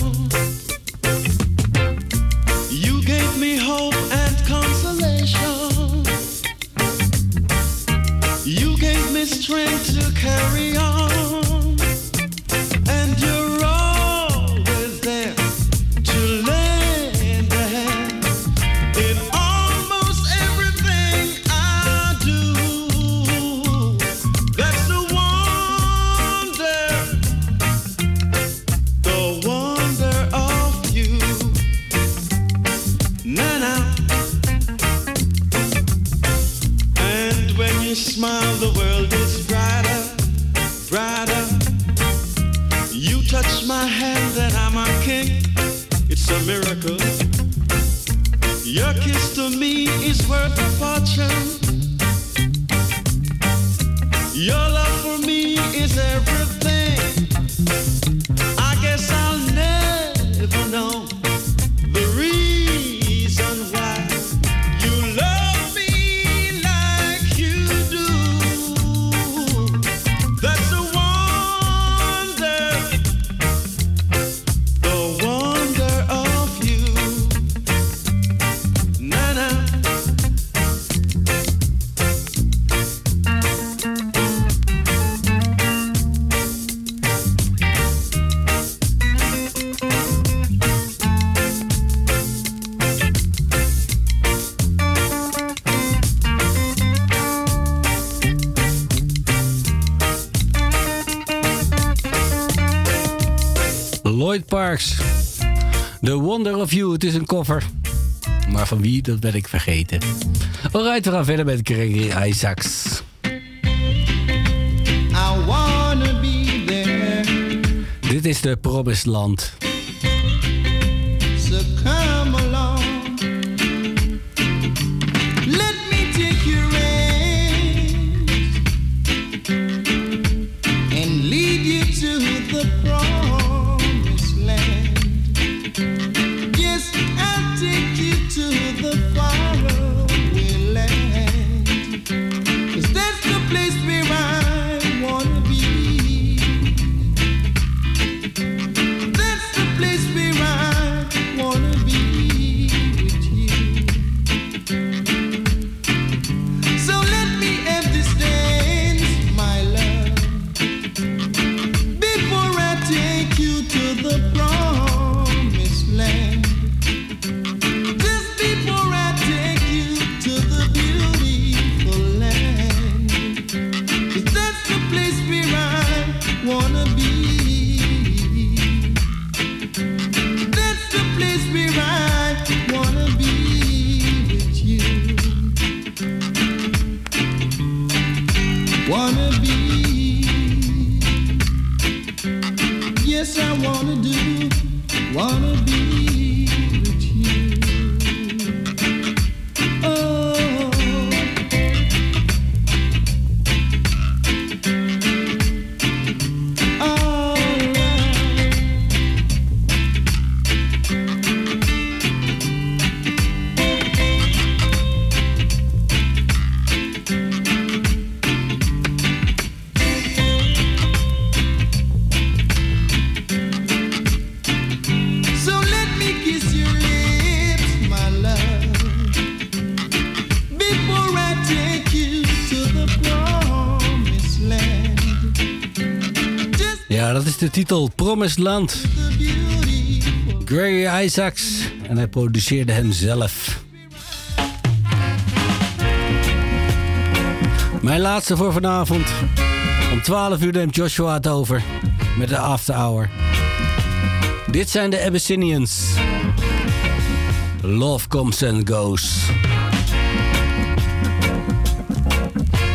S16: you gave me hope and consolation. You gave me strength to carry on. And you're always there to lend a hand in almost everything I do. That's the wonder, the wonder of you. Nana. And when you smile, the world is brighter, brighter. You touch my hand and I'm a king. It's a miracle. Your kiss to me is worth a fortune. Your love for me is everything. I guess I'll never know the reason why you love me like you do. That's the wonder, the wonder of you. Nana.
S19: Lloyd Parks. The Wonder of You. Het is een cover. Maar van wie, dat ben ik vergeten. Alright, we gaan verder met Gregory Isaacs.
S12: I wanna be there.
S19: Dit is de Promised Land.
S12: So come along. Let me take your hand and lead you to the promised land. Yes, I'll take you to the faraway land. 'Cause that's the place where I wanna be. That's the place where I wanna be with you. So let me have this dance, my love, before I take you to the promised land. Just before I take you to the beautiful land. 'Cause that's the place where I wanna be. That's the place where I wanna be with you. Wanna be. Yes, I wanna do. Wanna be with you. Oh. All right. So let me kiss your lips, my love, before I take you to the promised land.
S19: Ja, dat is de titel Promised Land. Gregory Isaacs. En hij produceerde hem zelf. Mijn laatste voor vanavond. Om twaalf uur neemt Joshua het over. Met de After Hour. Dit zijn de Abyssinians. Love comes and goes.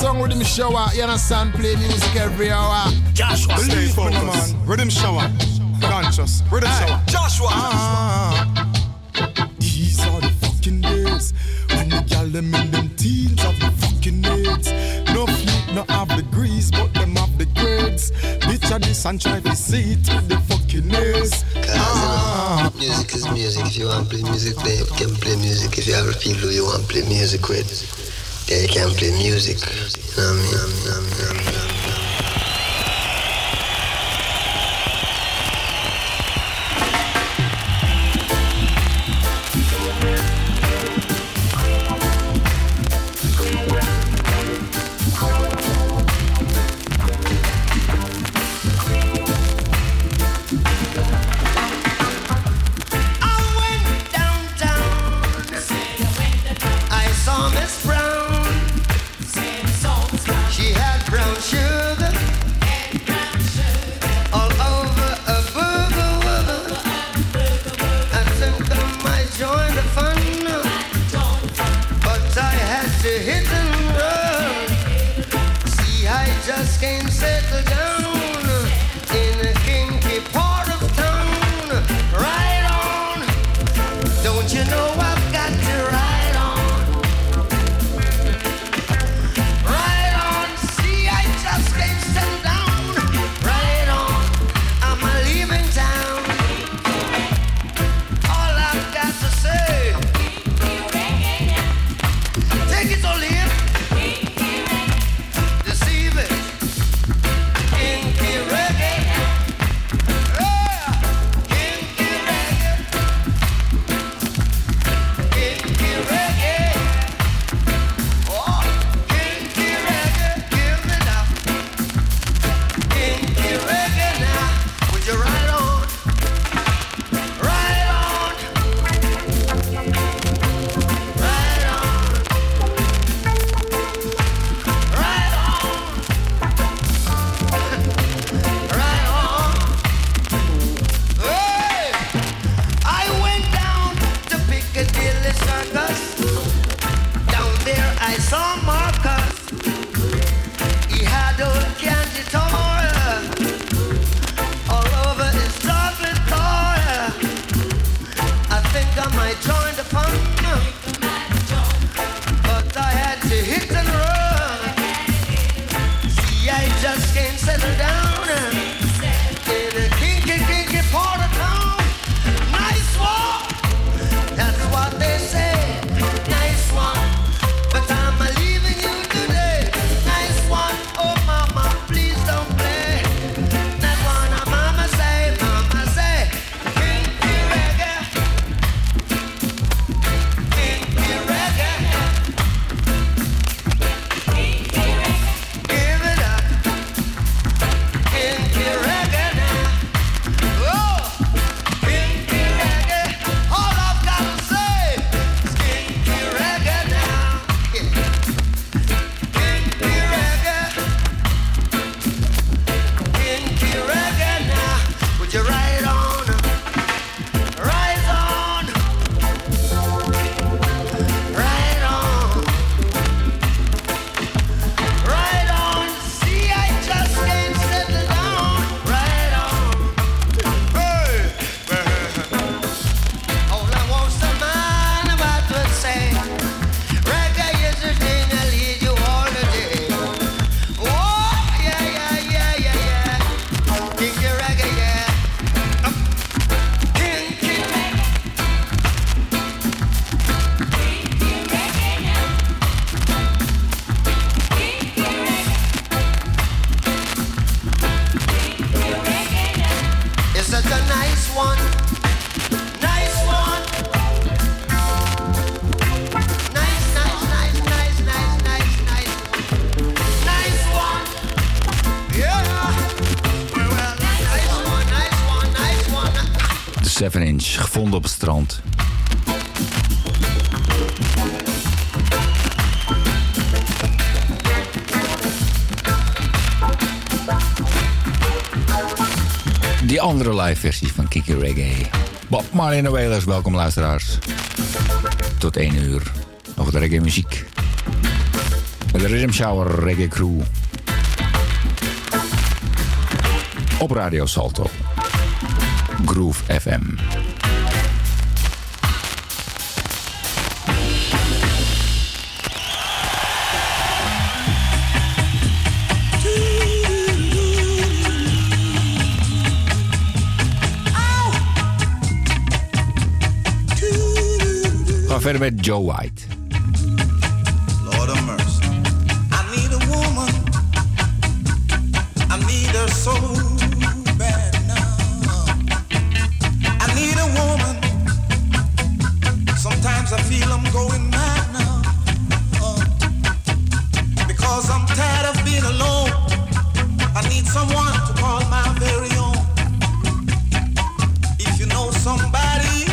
S3: song Rhythm Shower. You understand? Play music every hour.
S18: Joshua, stay
S3: Believe me,
S18: focused.
S3: man.
S18: Rhythm Shower. Conscious. Rhythm
S3: Hey,
S18: Shower.
S3: Joshua.
S18: Ah.
S3: These are the fucking days when the gal them in them teens have the fucking AIDS. No feet, no have the grease, but them have the grades. Bitch of this and try to see it with the fucking nails.
S20: Ah. Music is music. If you want to play music, play, you can play music. If you have people you want to play music with, then you can play music. You know what I mean? You know what I mean? You know what I mean?
S23: seven inch, gevonden op het strand. Die andere live versie van Kiki Reggae. Bob Marley en de Wailers, welkom luisteraars. Tot één uur. Nog de reggae muziek. de Rhythm Shower Reggae Crew. Op Radio Salto. Groove F M. We gaan verder met Joe White.
S1: Lord of mercy. I need a woman. I need her so bad now. I need a woman. Sometimes I feel I'm going mad now. Uh, because I'm tired of being alone. I need someone to call my very own. If you know somebody,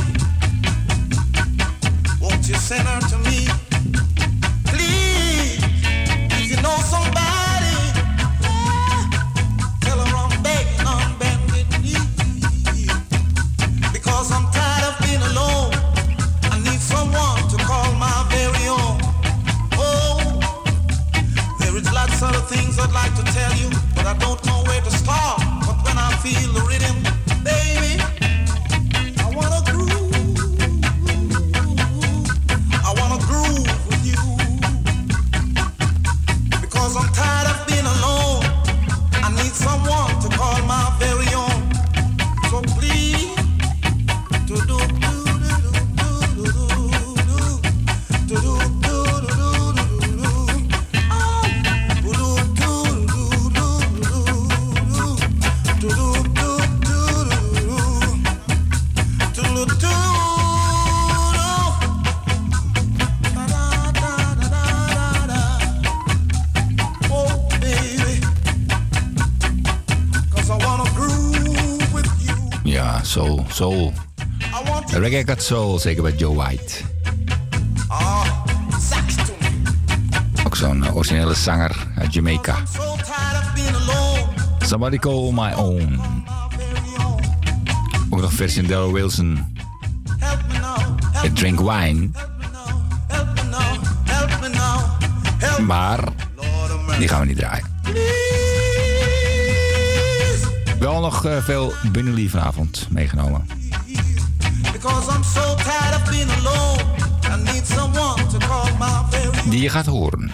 S1: won't you send her to me? Please, if you know somebody, ah, tell her I'm begging on bended knee. Because I'm tired of being alone. I need someone to call my very own. Oh, there is lots of things I'd like to tell you, but I don't know where to start. But when I feel the rhythm, baby, I wanna groove. I wanna groove with you. Because I'm tired of being alone. I need someone to call my very own. So please, do do do do do do do do do
S23: Ja, soul, soul. Reggae got soul, zeker bij Joe White. Ook zo'n uh, originele zanger uit Jamaica. Somebody Call My Own. Ook nog versie van Daryl Wilson. It Drink Wine. Maar die gaan we niet draaien. Wel nog uh, veel binnenlief vanavond meegenomen. Die je gaat horen.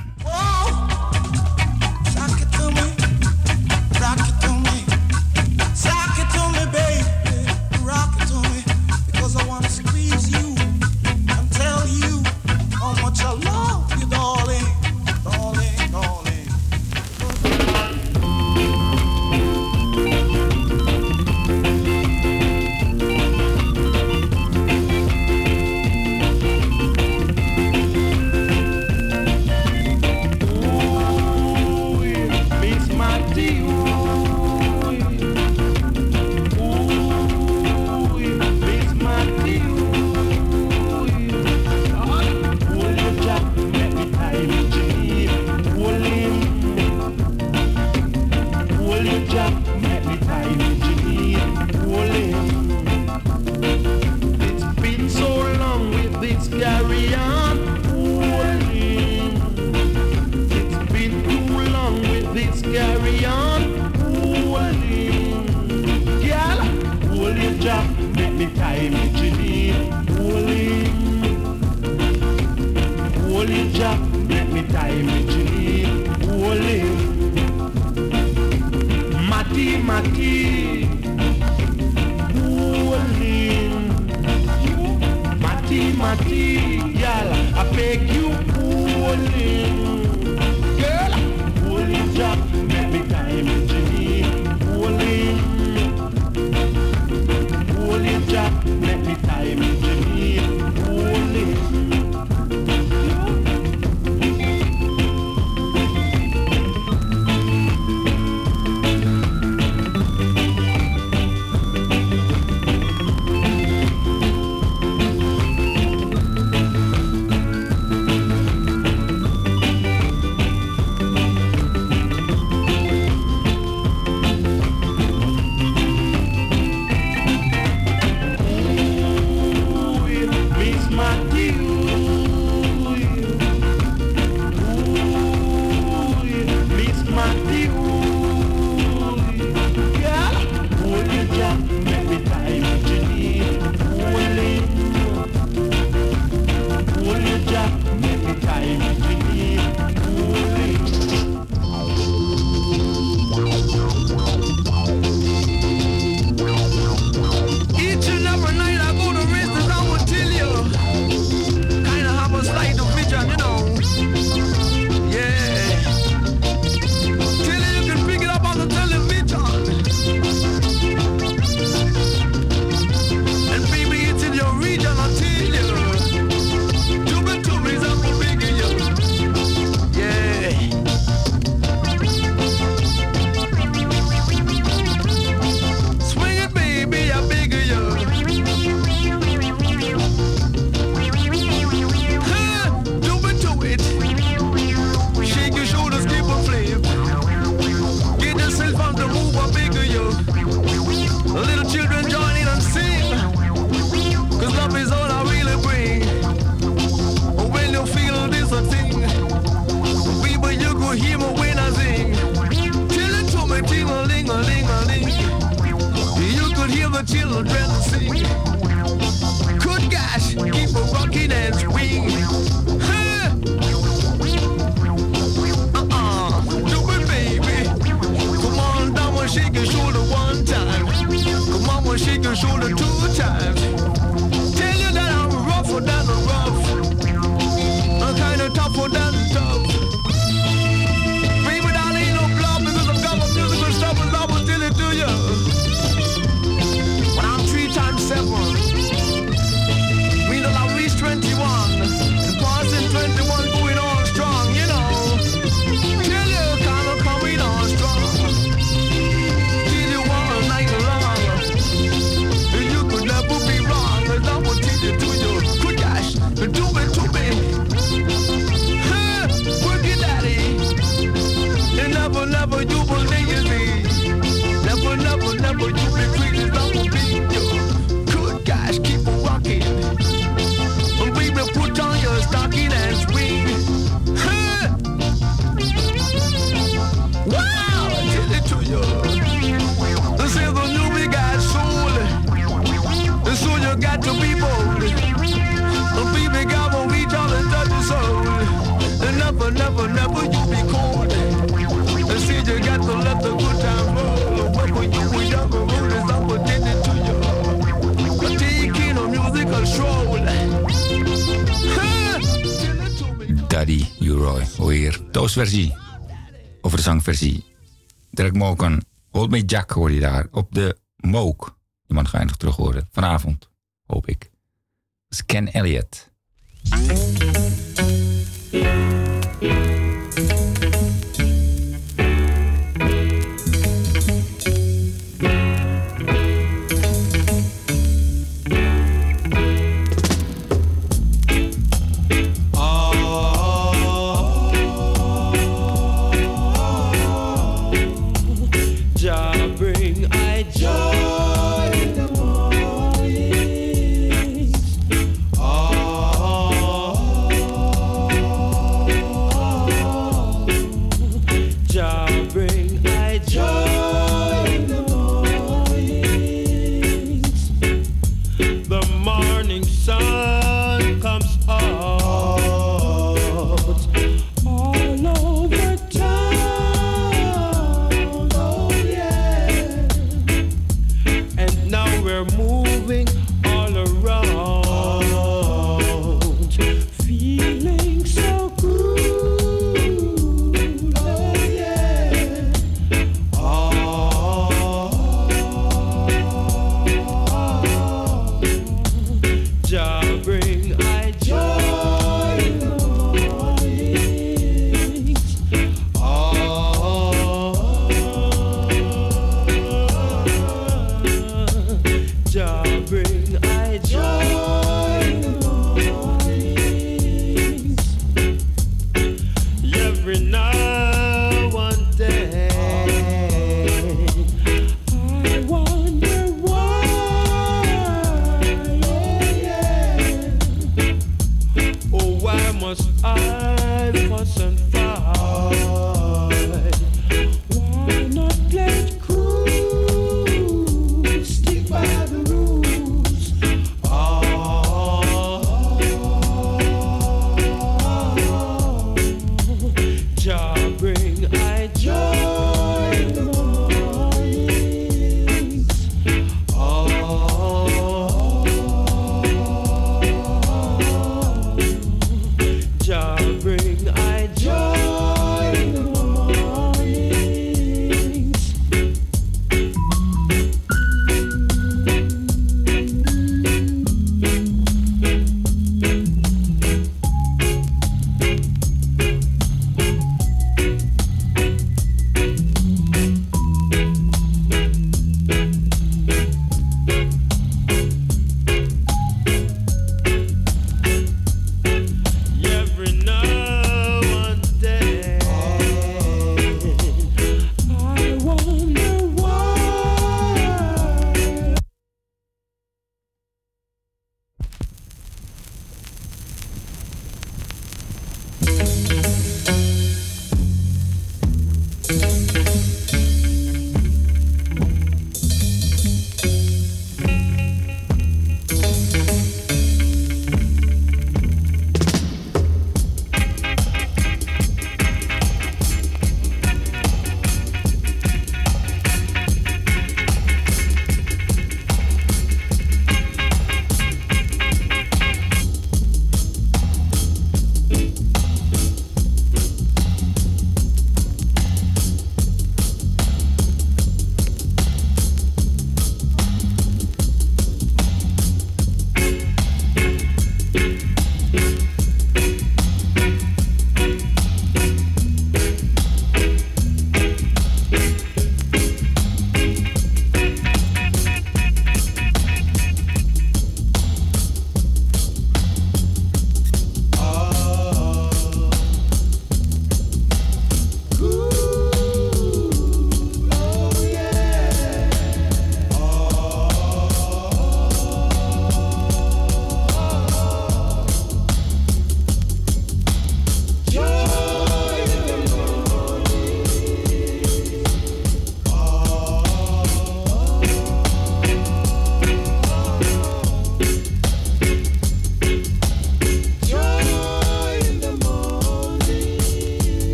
S10: little dread to sing. Good gosh, keep a rocking and swing. Huh? Uh-uh, do it, baby. Come on, down and shake your shoulder one time. Come on, and shake your shoulder two times. Tell you that I'm rougher than the rough. I'm kinda tougher than tough. Baby, that ain't no bluff because I've got my musical stuff and I will tell it to you. When I'm three times seven, mean that I reach twenty-one. And passing twenty-one going on strong, you know. Tell you kinda coming on strong. Till you all night long. And you could never be wrong. And I will tell it to you. Good gosh, do it to me. Huh, work it, daddy. And never, never you will leave me. Never, never, never you be crazy. I will be you. Good gosh, keep on rocking. And baby, put on your stocking and swing. Huh. Wow, I tell it to you. This is the new big ass soul. And so you got to be bold. And baby, God won't reach out and touch your soul. And never, never, never you be cold. And see you got to let the good time roll. When you were younger, roll is up and did it to you. But taking a musical stroll.
S23: Daddy U-Roy, hoor je hier. Toastversie. Over de zangversie. Derek Moken, Hold Me Jack hoor je daar. Op de Mook. Die man ga je nog terug horen. Vanavond, hoop ik. Dat is Ken Elliott.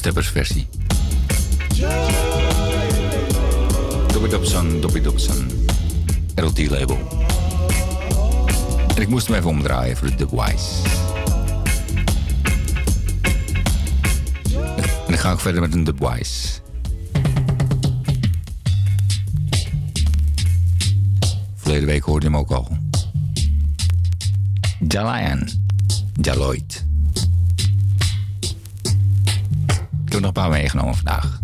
S23: Steppers versie. Dobby Dobson, Dobby Dobson. R L T label. En ik moest hem even omdraaien voor de Dubwise. En dan ga ik verder met een Dubwise. Verleden week hoorde je hem ook al. Jalayan. Jaloid. Ik heb er nog een paar meegenomen vandaag.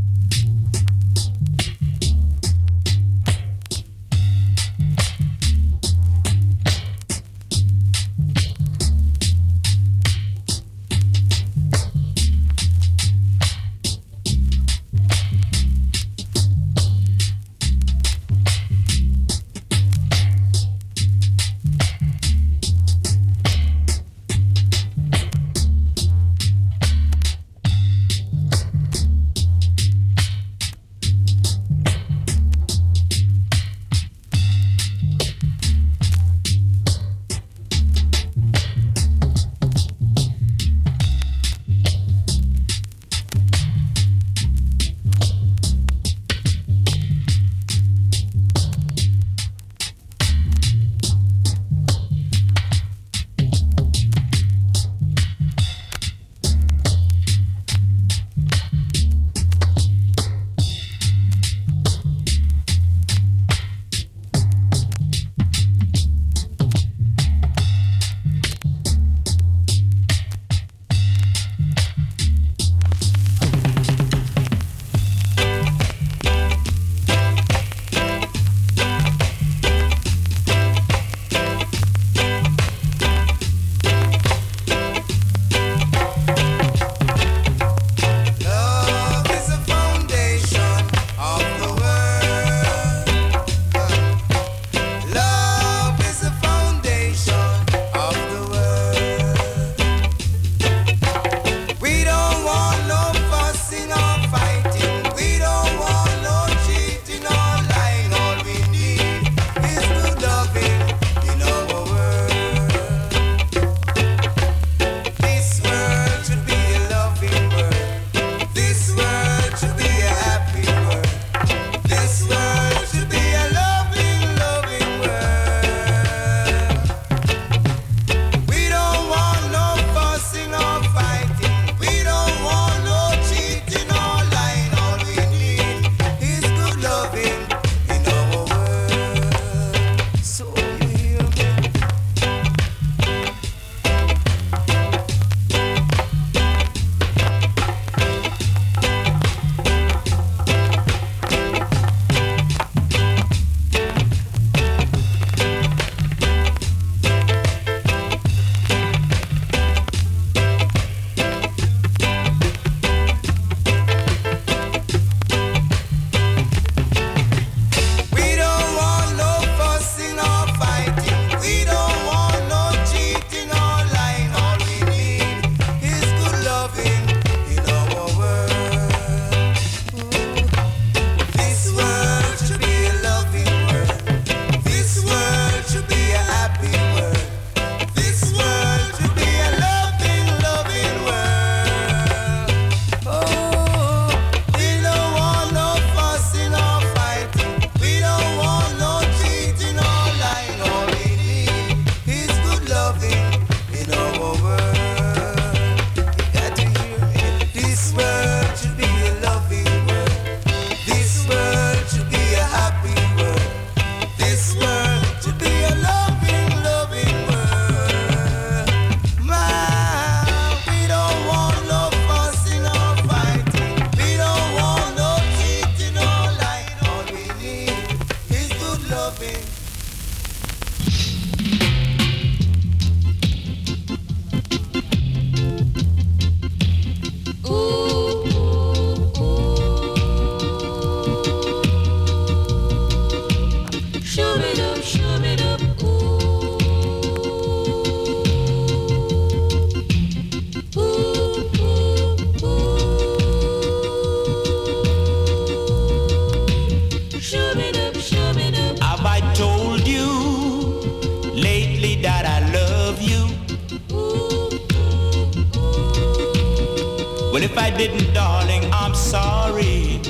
S22: Well, if I didn't, darling, I'm sorry.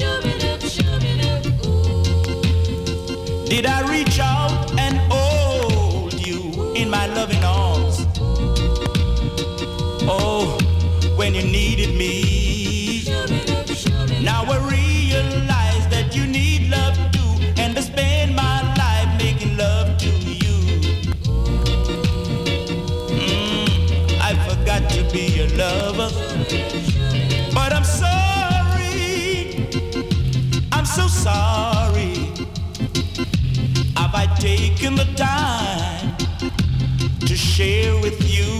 S22: Did I reach out and hold you in my loving arms? Oh, when you needed me. Now I realize that you need love too, and to spend my life making love to you. Mm, I forgot to be your lover, but I'm sorry, I'm so sorry. Have I taken the time to share with you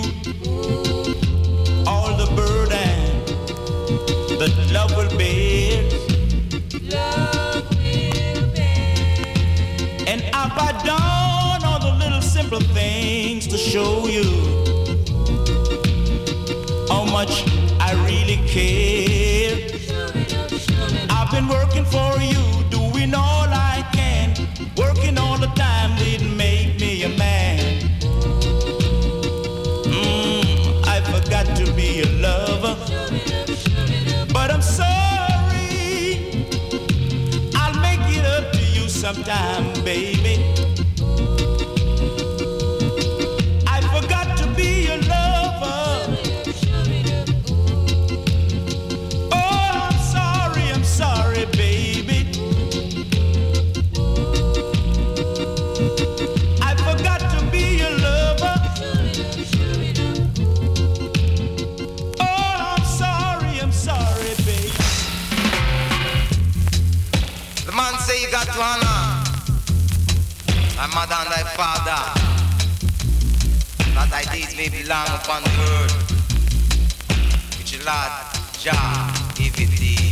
S22: all the burden that love will bear? Love will bear. And have I done all the little simple things to show you how much I really care? I've been working for you, doing all I can, working all the time didn't make me a man. Mm, I forgot to be a lover, but I'm sorry. I'll make it up to you sometime, baby. I forgot to be a lover. Oh, I'm sorry, I'm sorry, baby. I forgot to be a lover. Oh, I'm sorry, I'm sorry, baby.
S6: The man say you got to honor thy mother and thy father, that thy days may be long upon the earth, which the Lord Jah giveth thee.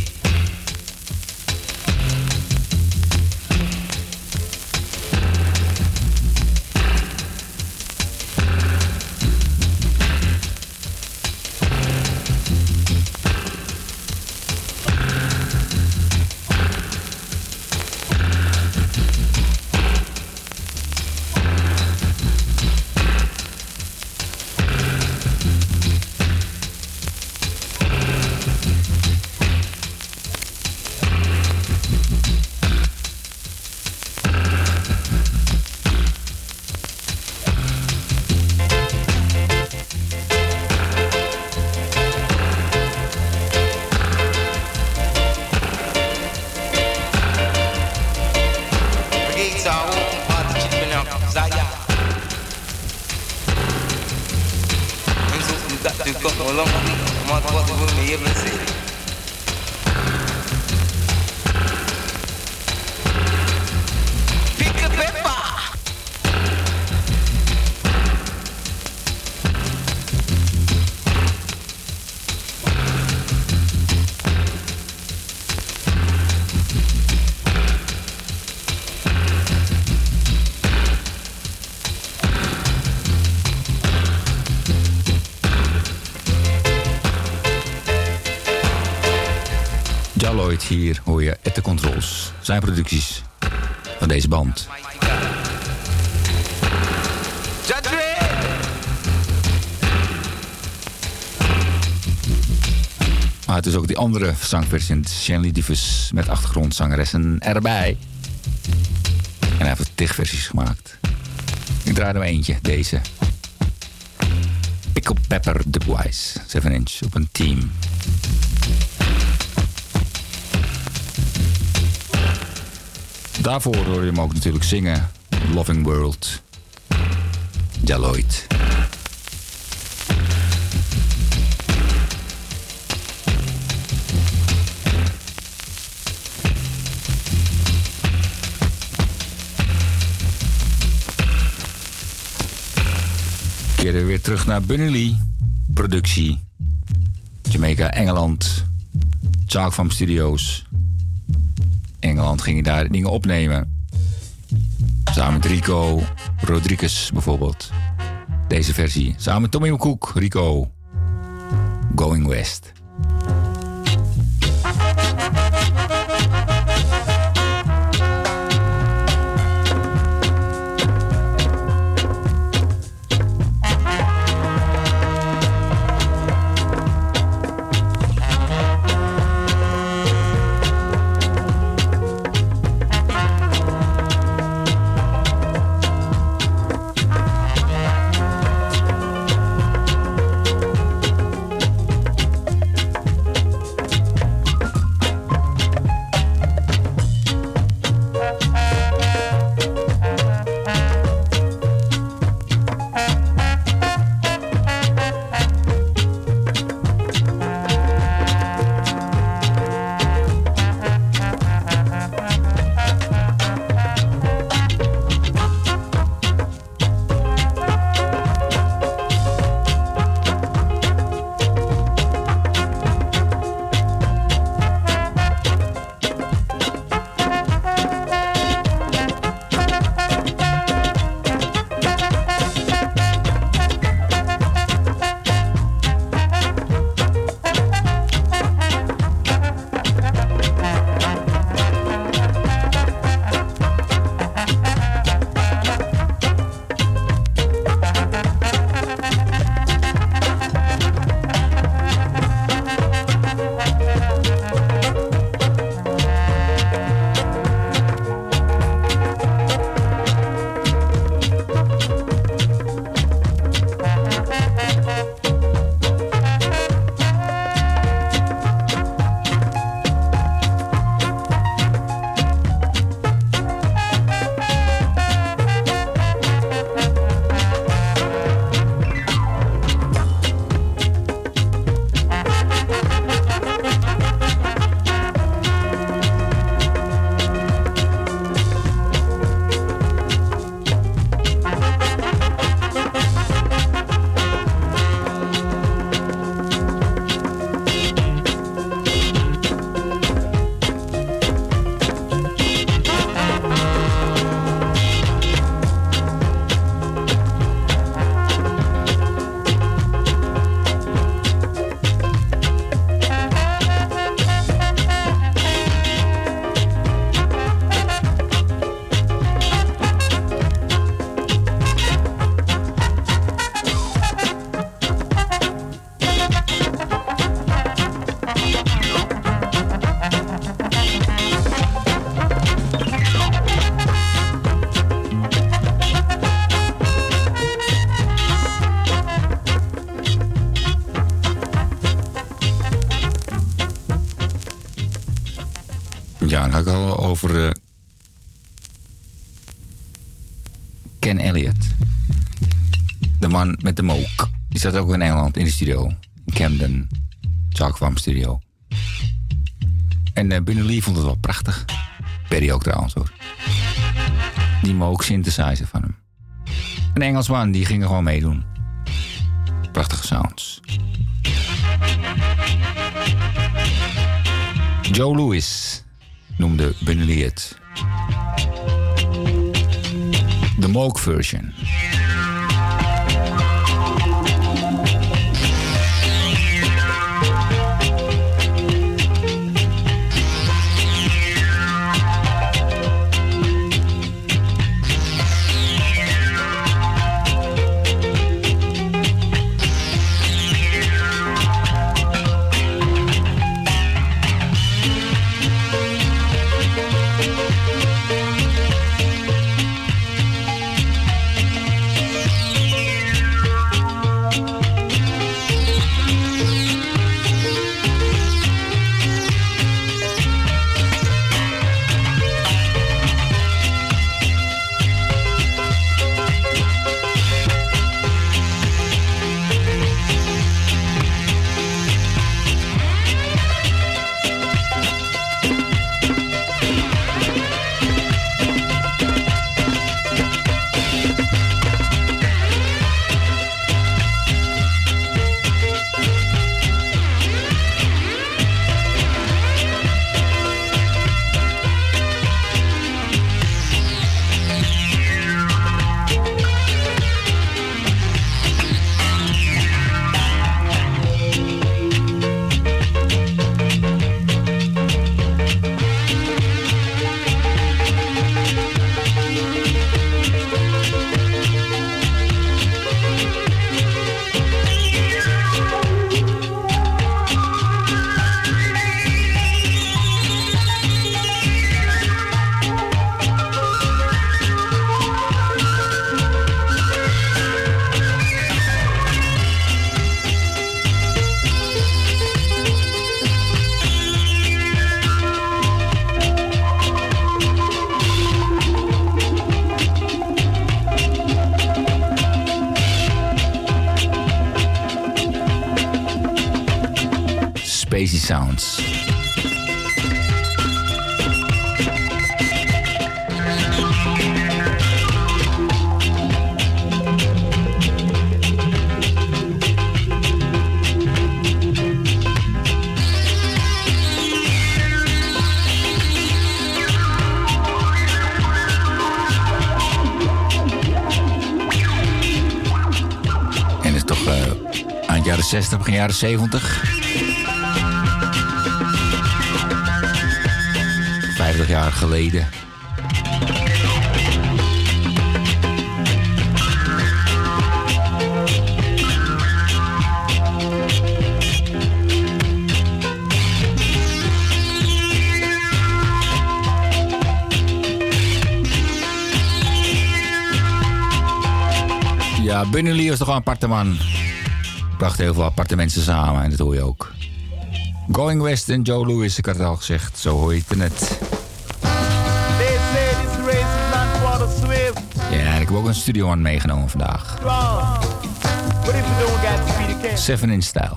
S23: Hier hoor je At The Controls, zijn producties van deze band. Maar het is ook die andere zangversie, Shanley Divus, met achtergrondzangeressen erbij. En hij heeft tig versies gemaakt. Ik draai er maar eentje, deze. Pickle Pepper Dubois, zeven inch op een team. Daarvoor hoor je hem ook natuurlijk zingen. Loving World. Jaloid. Keren we weer terug naar Bunny Lee. Productie. Jamaica, Engeland. Chalk Farm Studios. Engeland ging je daar dingen opnemen. Samen met Rico Rodriguez bijvoorbeeld. Deze versie. Samen met Tommy McCook, Rico. Going West. Ja, dan had ik al over uh, Ken Elliott. De man met de mook. Die zat ook in Engeland in de studio. In Camden. Chalk Farm Studio. En uh, Bunny Lee vond het wel prachtig. Perry ook trouwens hoor. Die mook synthesizer van hem. Een Engelsman, die ging er gewoon meedoen. Prachtige sounds. Joe Louis noemde Bunny Lee het. De mook version. Spacey sounds. En is toch uh, aan het jaren zestig, begin jaren zeventig. vijftig jaar geleden. Ja, Bunny Lee was toch wel een aparte man. Bracht heel veel aparte mensen samen en dat hoor je ook. Going West en Joe Louis, ik had het al gezegd, zo hoor je het net. Ja, en ik heb ook een studio aan meegenomen vandaag. Seven inch style.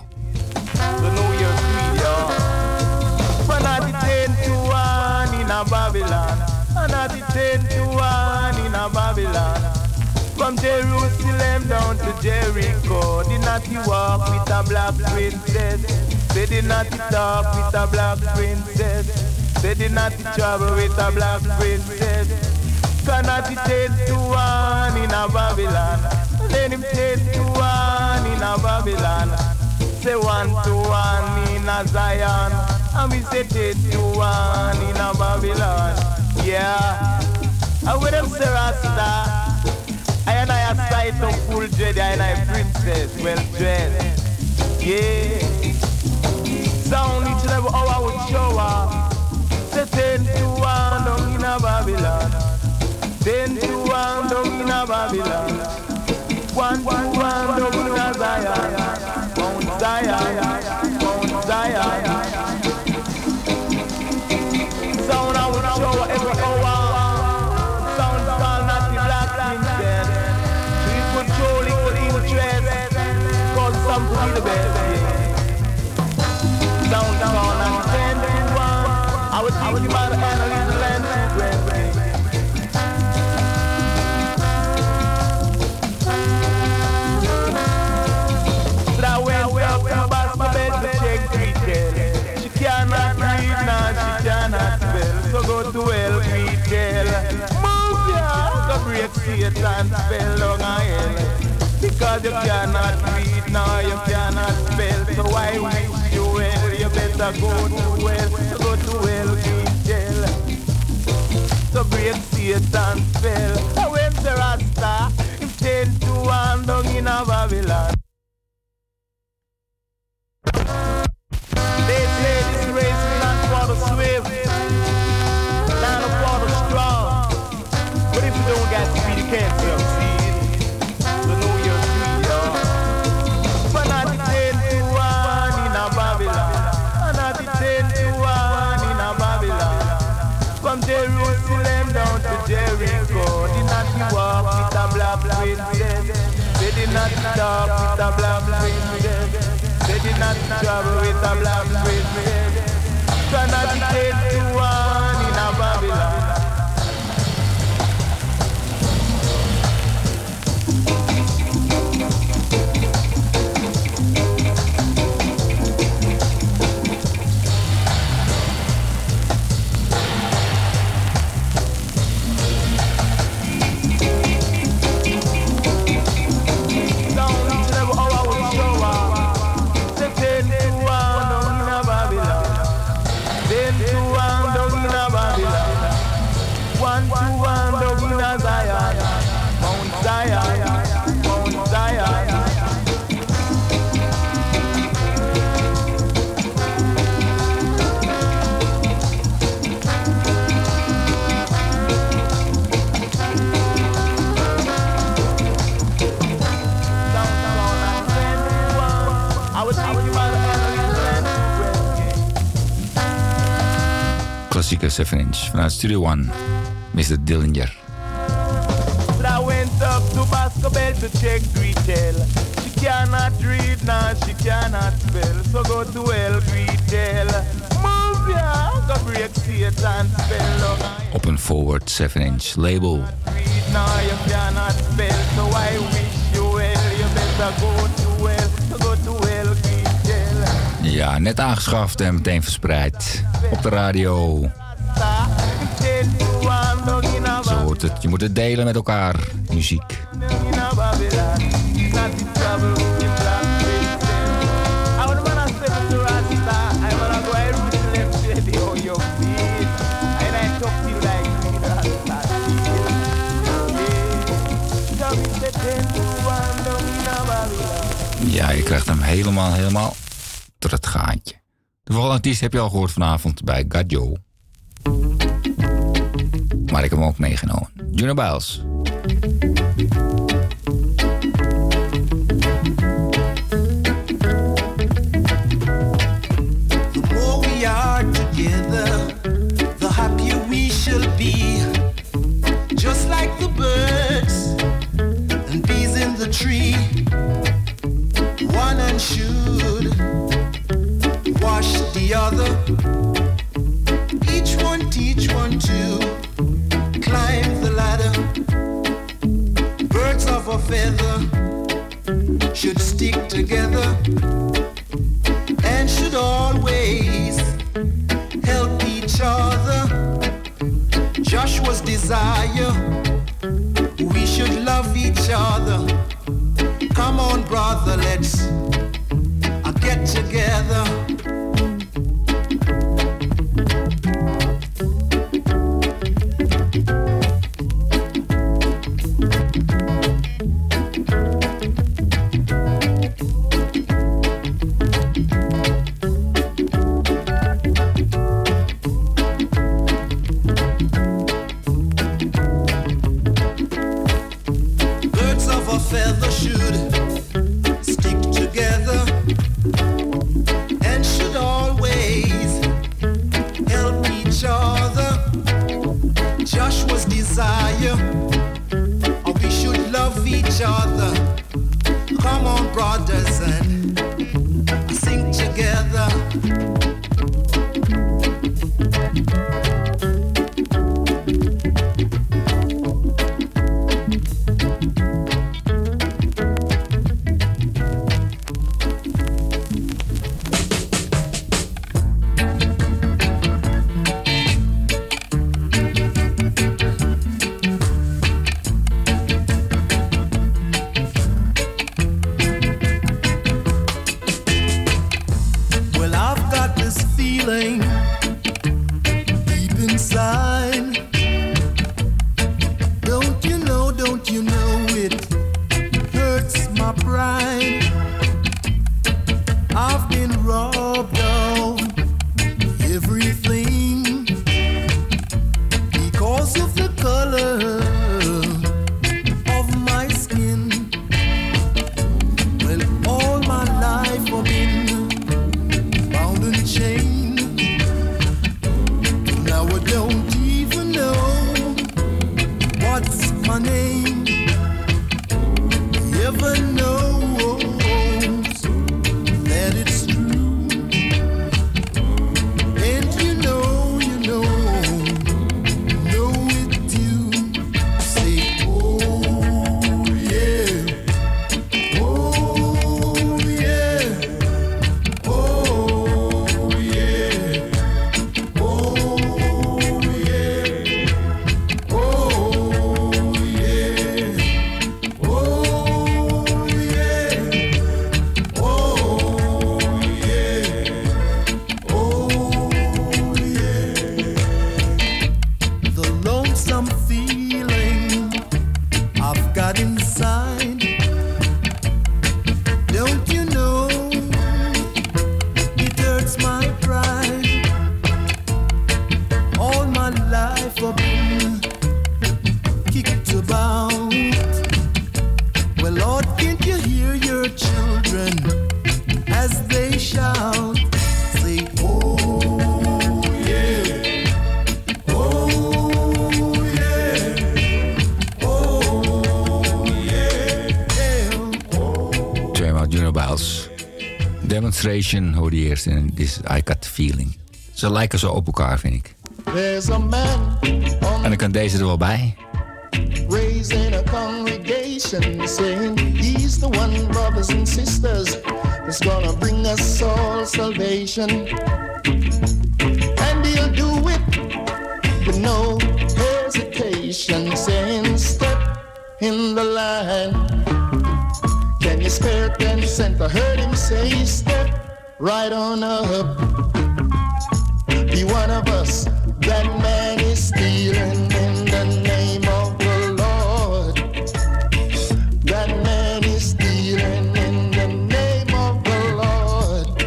S2: From Jerusalem down to Jericho, did not he walk with a black princess? They did not he talk with a black princess? They did not he travel with a black princess? Cannot he take to one in a Babylon? Then him take to one in a Babylon. Say one to one in a Zion, and we say take to one in a Babylon. Yeah, and with them say Rasta. I and I a sight of full dread, I and I princess, well dressed. Yeah. Sound each and every hour would show up. Say ten to one down in a Babylon. Ten to one down in a Babylon. One to one down in a Zion. Mount Zion, Mount Zion. Sound Satan spell down a hell. Because you cannot read now, you cannot spell. So I wish you well, you better go to well, go to well, be jail. So break Satan spell. And when the Rasta, if ten to one down in a Babylon. They play this race not for the swift, not for the strong. But if you don't got to be, you can't succeed. So know your tree, y'all. But not the ten to one in a Babylon. And not the ten to one in a Babylon. From Jerusalem down to Jericho, did not you walk with a black princess. They did not talk with a black princess. They did not travel with a black princess. So not the ten to one in a Babylon.
S23: Klassieke seven inch vanuit Studio One, mister Dillinger.
S2: I went up to Bascobel to check retail. She cannot read now, she cannot spell. So go to El Retail. Move ya, go break Satan spell.
S23: Op een forward seven inch label.
S2: Read now, you cannot spell. So I wish you well, you better go to well. So go to El Retail.
S23: Ja, net aangeschaft en meteen verspreid. Op de radio. Zo hoort het. Je moet het delen met elkaar. Muziek. Ja, je krijgt hem helemaal, helemaal tot het gaatje. De volgende artiest heb je al gehoord vanavond bij Gadjo. Maar ik heb hem ook meegenomen. Juno Biles.
S12: The more we are together, the happier we shall be. Just like the birds and bees in the tree. One and should wash the other. Each one teach one to climb the ladder. Birds of a feather should stick together and should always help each other. Joshua's desire, we should love each other. Come on, brother, let's uh, get together. Feather should stick together this feeling deep inside. Don't you know, don't you know it hurts my pride. I've been robbed of everything because of the color of my skin. Well, all my life I've been bound and chained. Now I don't even know what's my name. Ever knows that it's true. And you know, you know, know it too. Say, oh yeah, oh yeah, oh yeah, oh yeah, oh yeah, oh yeah, oh yeah, oh yeah. The lonesome feeling I've got inside. Don't you know it hurts my pride. All my life I've been kicked about. Well, Lord, can't you hear your children as they shout? Say, oh yeah, oh yeah, oh yeah.
S23: Tweemaal Juno Biles. Demonstration hoorde je eerst in This I Got The Feeling. Ze lijken zo op elkaar, vind ik.
S12: There's a man
S23: En dan kan deze er wel bij.
S12: raising a congregation, saying he's the one, brothers and sisters, that's gonna bring us all salvation. And he'll do it with no hesitation, saying step in the line. Can you spare ten cents? I heard him say step right on up. Be one of us. That man is stealing in the name of the Lord. That man is stealing in the name of the Lord.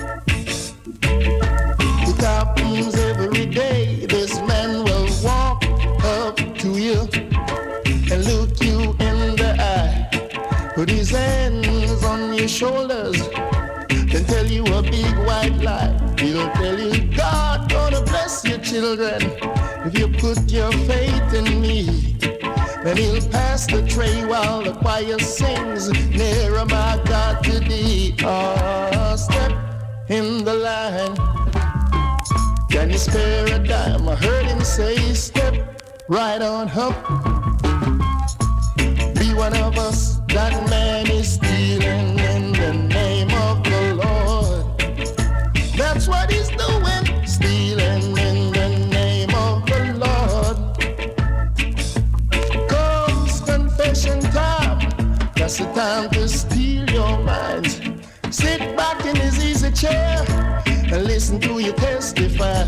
S12: It happens every day. This man will walk up to you and look you in the eye, put his hands on your shoulders, then tell you a big white lie. He'll tell you God gonna bless your children if you put your faith in me. Then he'll pass the tray while the choir sings, nearer my God to thee. Oh, step in the line. Can you spare a dime? I heard him say step right on up. Be one of us. That man is stealing in the name of the Lord. That's what he's doing, stealing in the name of the Lord. Comes confession time, that's the time to steal your mind. Sit back in his easy chair and listen to you testify.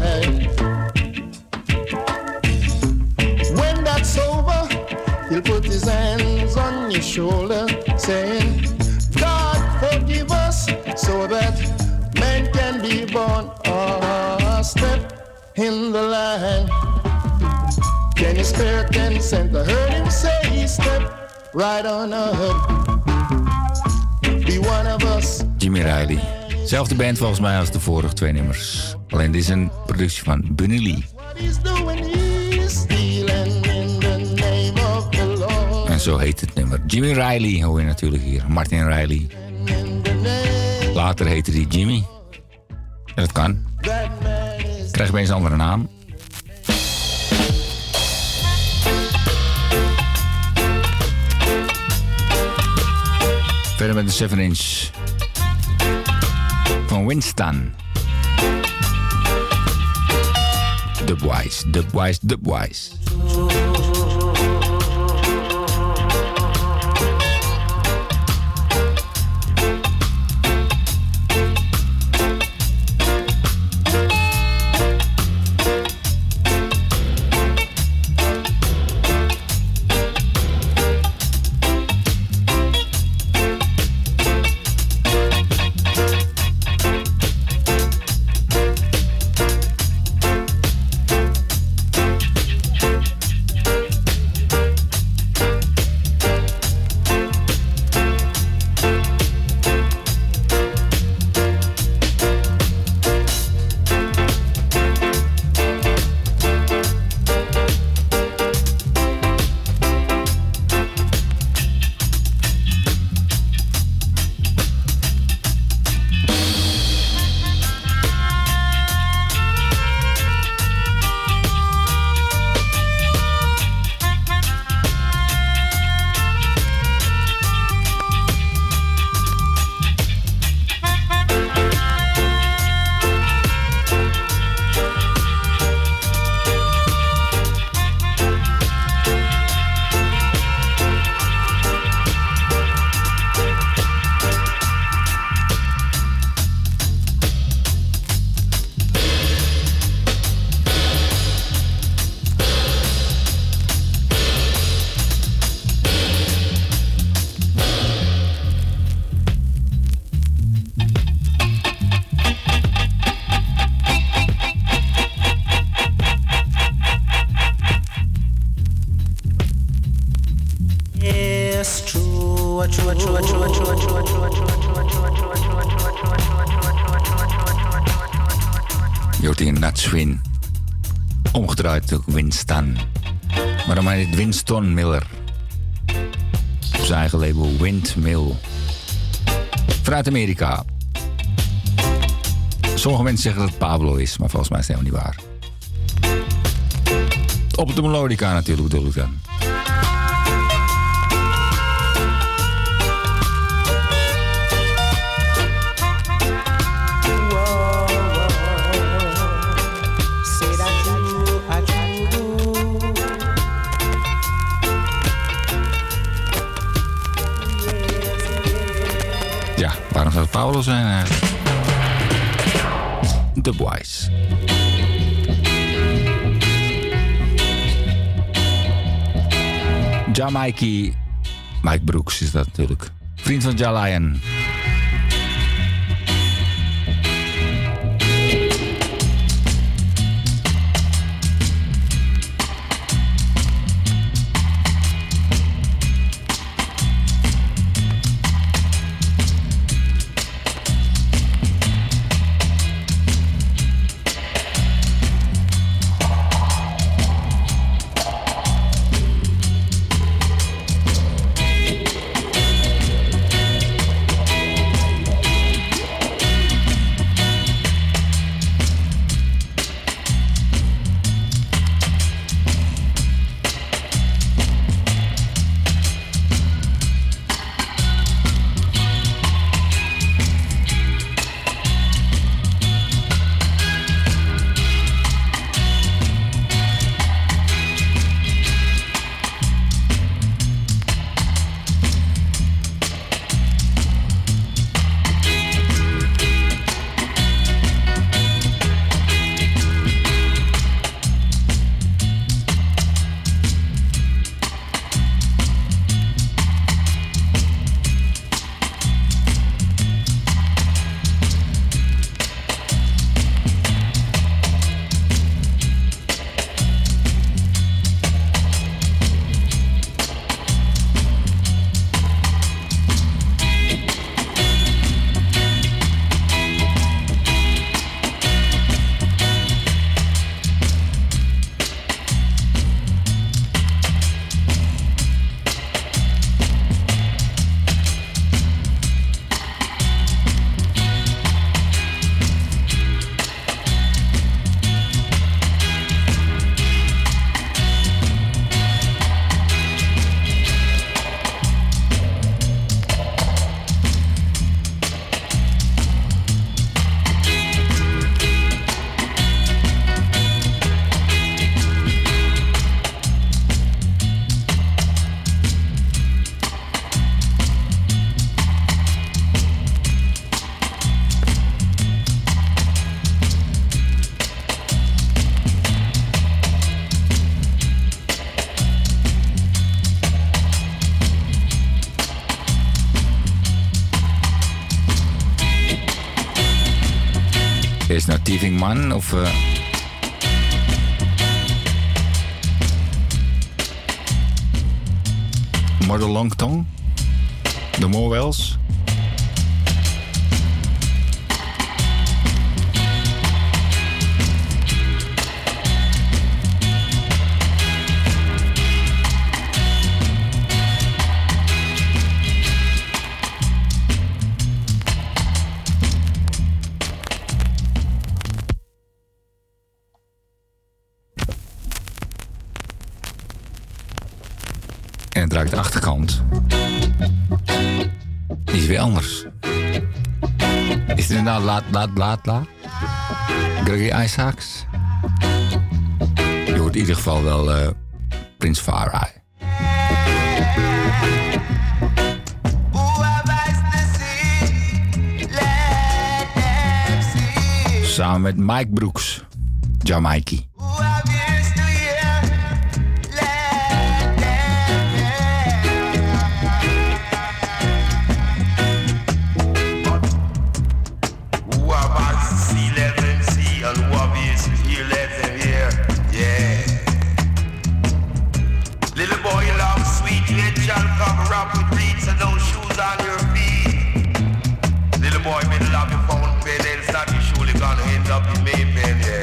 S12: When that's over, he'll put his hands on your shoulder, saying, God forgive us, so that men can be born. Oh, step in the line. Can you spare ten cents? I heard him say, step right on up. Be one of us.
S23: Jimmy Riley. Zelfde band volgens mij als de vorige twee nummers. Alleen dit is een productie van Bunny Lee.
S12: He's doing, he's stealing in the name of the Lord.
S23: En zo heet het nummer. Jimmy Riley hoor je natuurlijk hier. Martin Riley. Later heette hij Jimmy. Ja, dat kan. Krijg je opeens een andere naam. Verder met de seven inch van Winston. Dubwise, Dubwise, Dubwise. Je hoort hier Natswin. Omgedraaid ook Winston. Maar dan heet Winston Miller. Op zijn eigen label Windmill. Vanuit Amerika. Sommige mensen zeggen dat het Pablo is, maar volgens mij is het helemaal niet waar. Op de melodica natuurlijk bedoel ik dan. Ja, waarom zou het Paulo zijn eigenlijk? The Boys. Jamaica. Mike Brooks is dat natuurlijk. Vriend van Ja Lion. Is nou Thieving Man of... Uh... Mother Longtongue? The Morwells? En het ruikt de achterkant. Die is weer anders. Is het inderdaad laat, laat, laat, laat? Gregory Isaacs? Je hoort in ieder geval wel uh, Prince Far Eye. Samen met Mike Brooks, Jamaica.
S5: Boy, middle of your phone, pay, then stop, you surely gonna end up in Mayfair, yeah.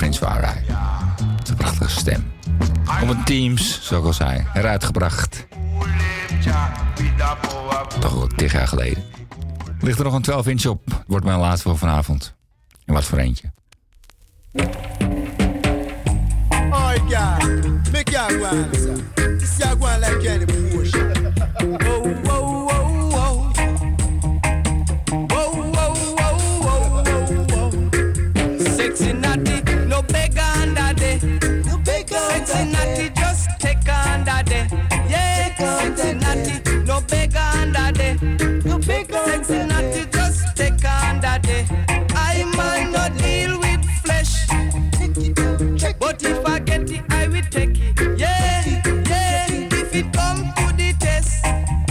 S23: Prince waren hij. Dat is een prachtige stem. Op een Teams, zoals ik al zei, eruit gebracht. Toch al tig jaar geleden. Ligt er nog een twaalf inch op. Het wordt mijn laatste voor vanavond. En wat voor eentje.
S12: Oh, yeah. Make ya go on, sir. This ya go on like any bullshit. Oh, whoa, whoa, whoa. Whoa, whoa, whoa, whoa, whoa, whoa.
S5: Sexy natty, no beggar under day.
S12: No beggar
S5: Sexy natty, just take under day. Yeah, sexy natty, no beggar under day.
S12: No beggar
S5: Sexy natty, just take under day. I might not deal with flesh, but if I get it, I will take it. Yeah, yeah. If it come to the test,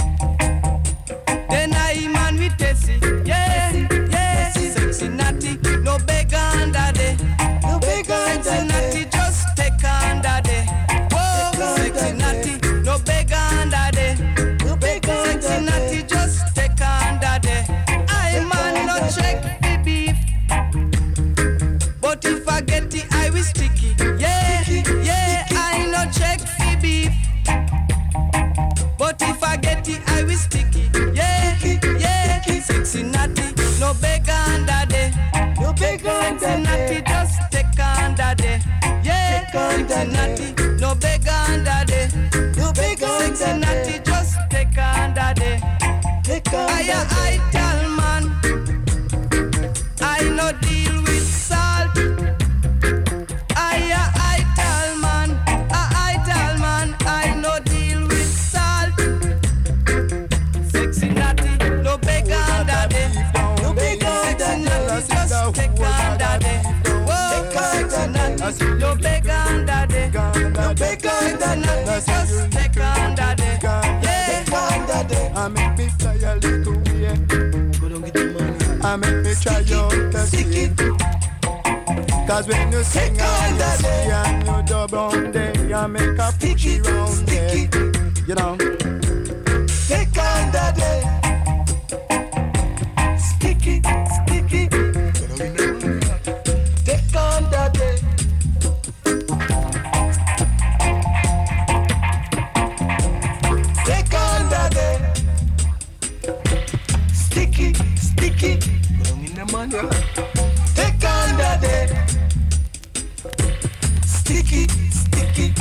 S5: then I man will test it. Yeah, yeah. Sexy natty, no beggar under day.
S12: No beggar
S5: Sexy natty, just take under day. Whoa, sexy natty, no beggar under day.
S12: No beggar
S5: Sexy natty, just take under day. I man not check the beef, but if I get it, I will stick it. Yeah, yeah. I not check the beef, but if I get it, I will stick it. Yeah, yeah. Sexy natty, no beggar under day.
S12: No beggar
S5: Sexy natty, just take under day. Yeah, sexy natty, no beggar under day.
S12: No beggar
S5: Sexy natty, just take under day.
S12: Take
S5: I I tell man, I no deal with salt. I I tell man, I I tell man, I no deal with salt. Sexy natty, no beggar under day.
S12: No beggar
S5: Sexy natty, just take under day. Whoa, sexy natty, no beggar under day.
S12: No beggar
S5: Sexy natty, just take under day. Yeah,
S12: under day. I make me fly a little way. I make me try out the sea. Cause when you sing on the sea and you dub on day, I make a pushy round day. You know, take on the day. Sticky, sticky. Take on the day. Take on the day. Sticky, sticky. Take on the day. Sticky, sticky.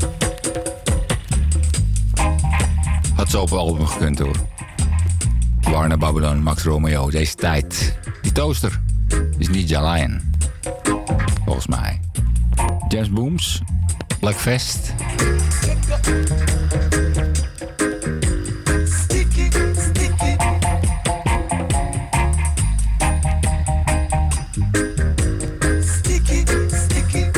S23: Had zo op een album gekund hoor. Warner Babylon, Max Romeo, deze tijd. Die toaster is niet Lion. Volgens mij. James Booms, Black Fest.
S12: Sticky, sticky. Sticky, sticky.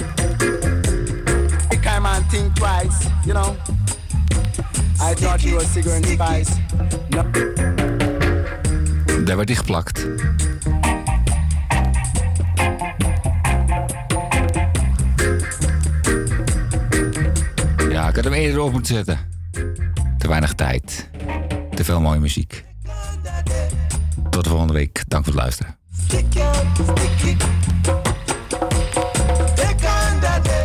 S12: Make a man think twice, you know. I thought you were cigarette spice. No.
S23: Daar werd hij geplakt. Ja, ik had hem eerder op moeten zetten. Te weinig tijd. Te veel mooie muziek. Tot de volgende week. Dank voor het luisteren.
S12: Sticky, sticky. Take on the day.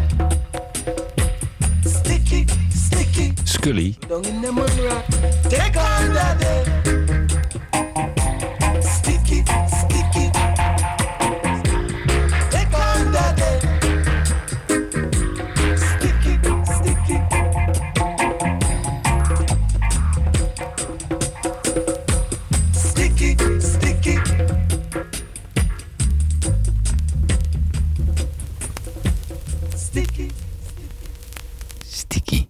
S12: Sticky, sticky.
S23: Scully.
S12: Down in the mud rock. Take on the day. Sticky, sticky. Take on the day. Sticky, sticky. Sticky, sticky.
S23: Sticky.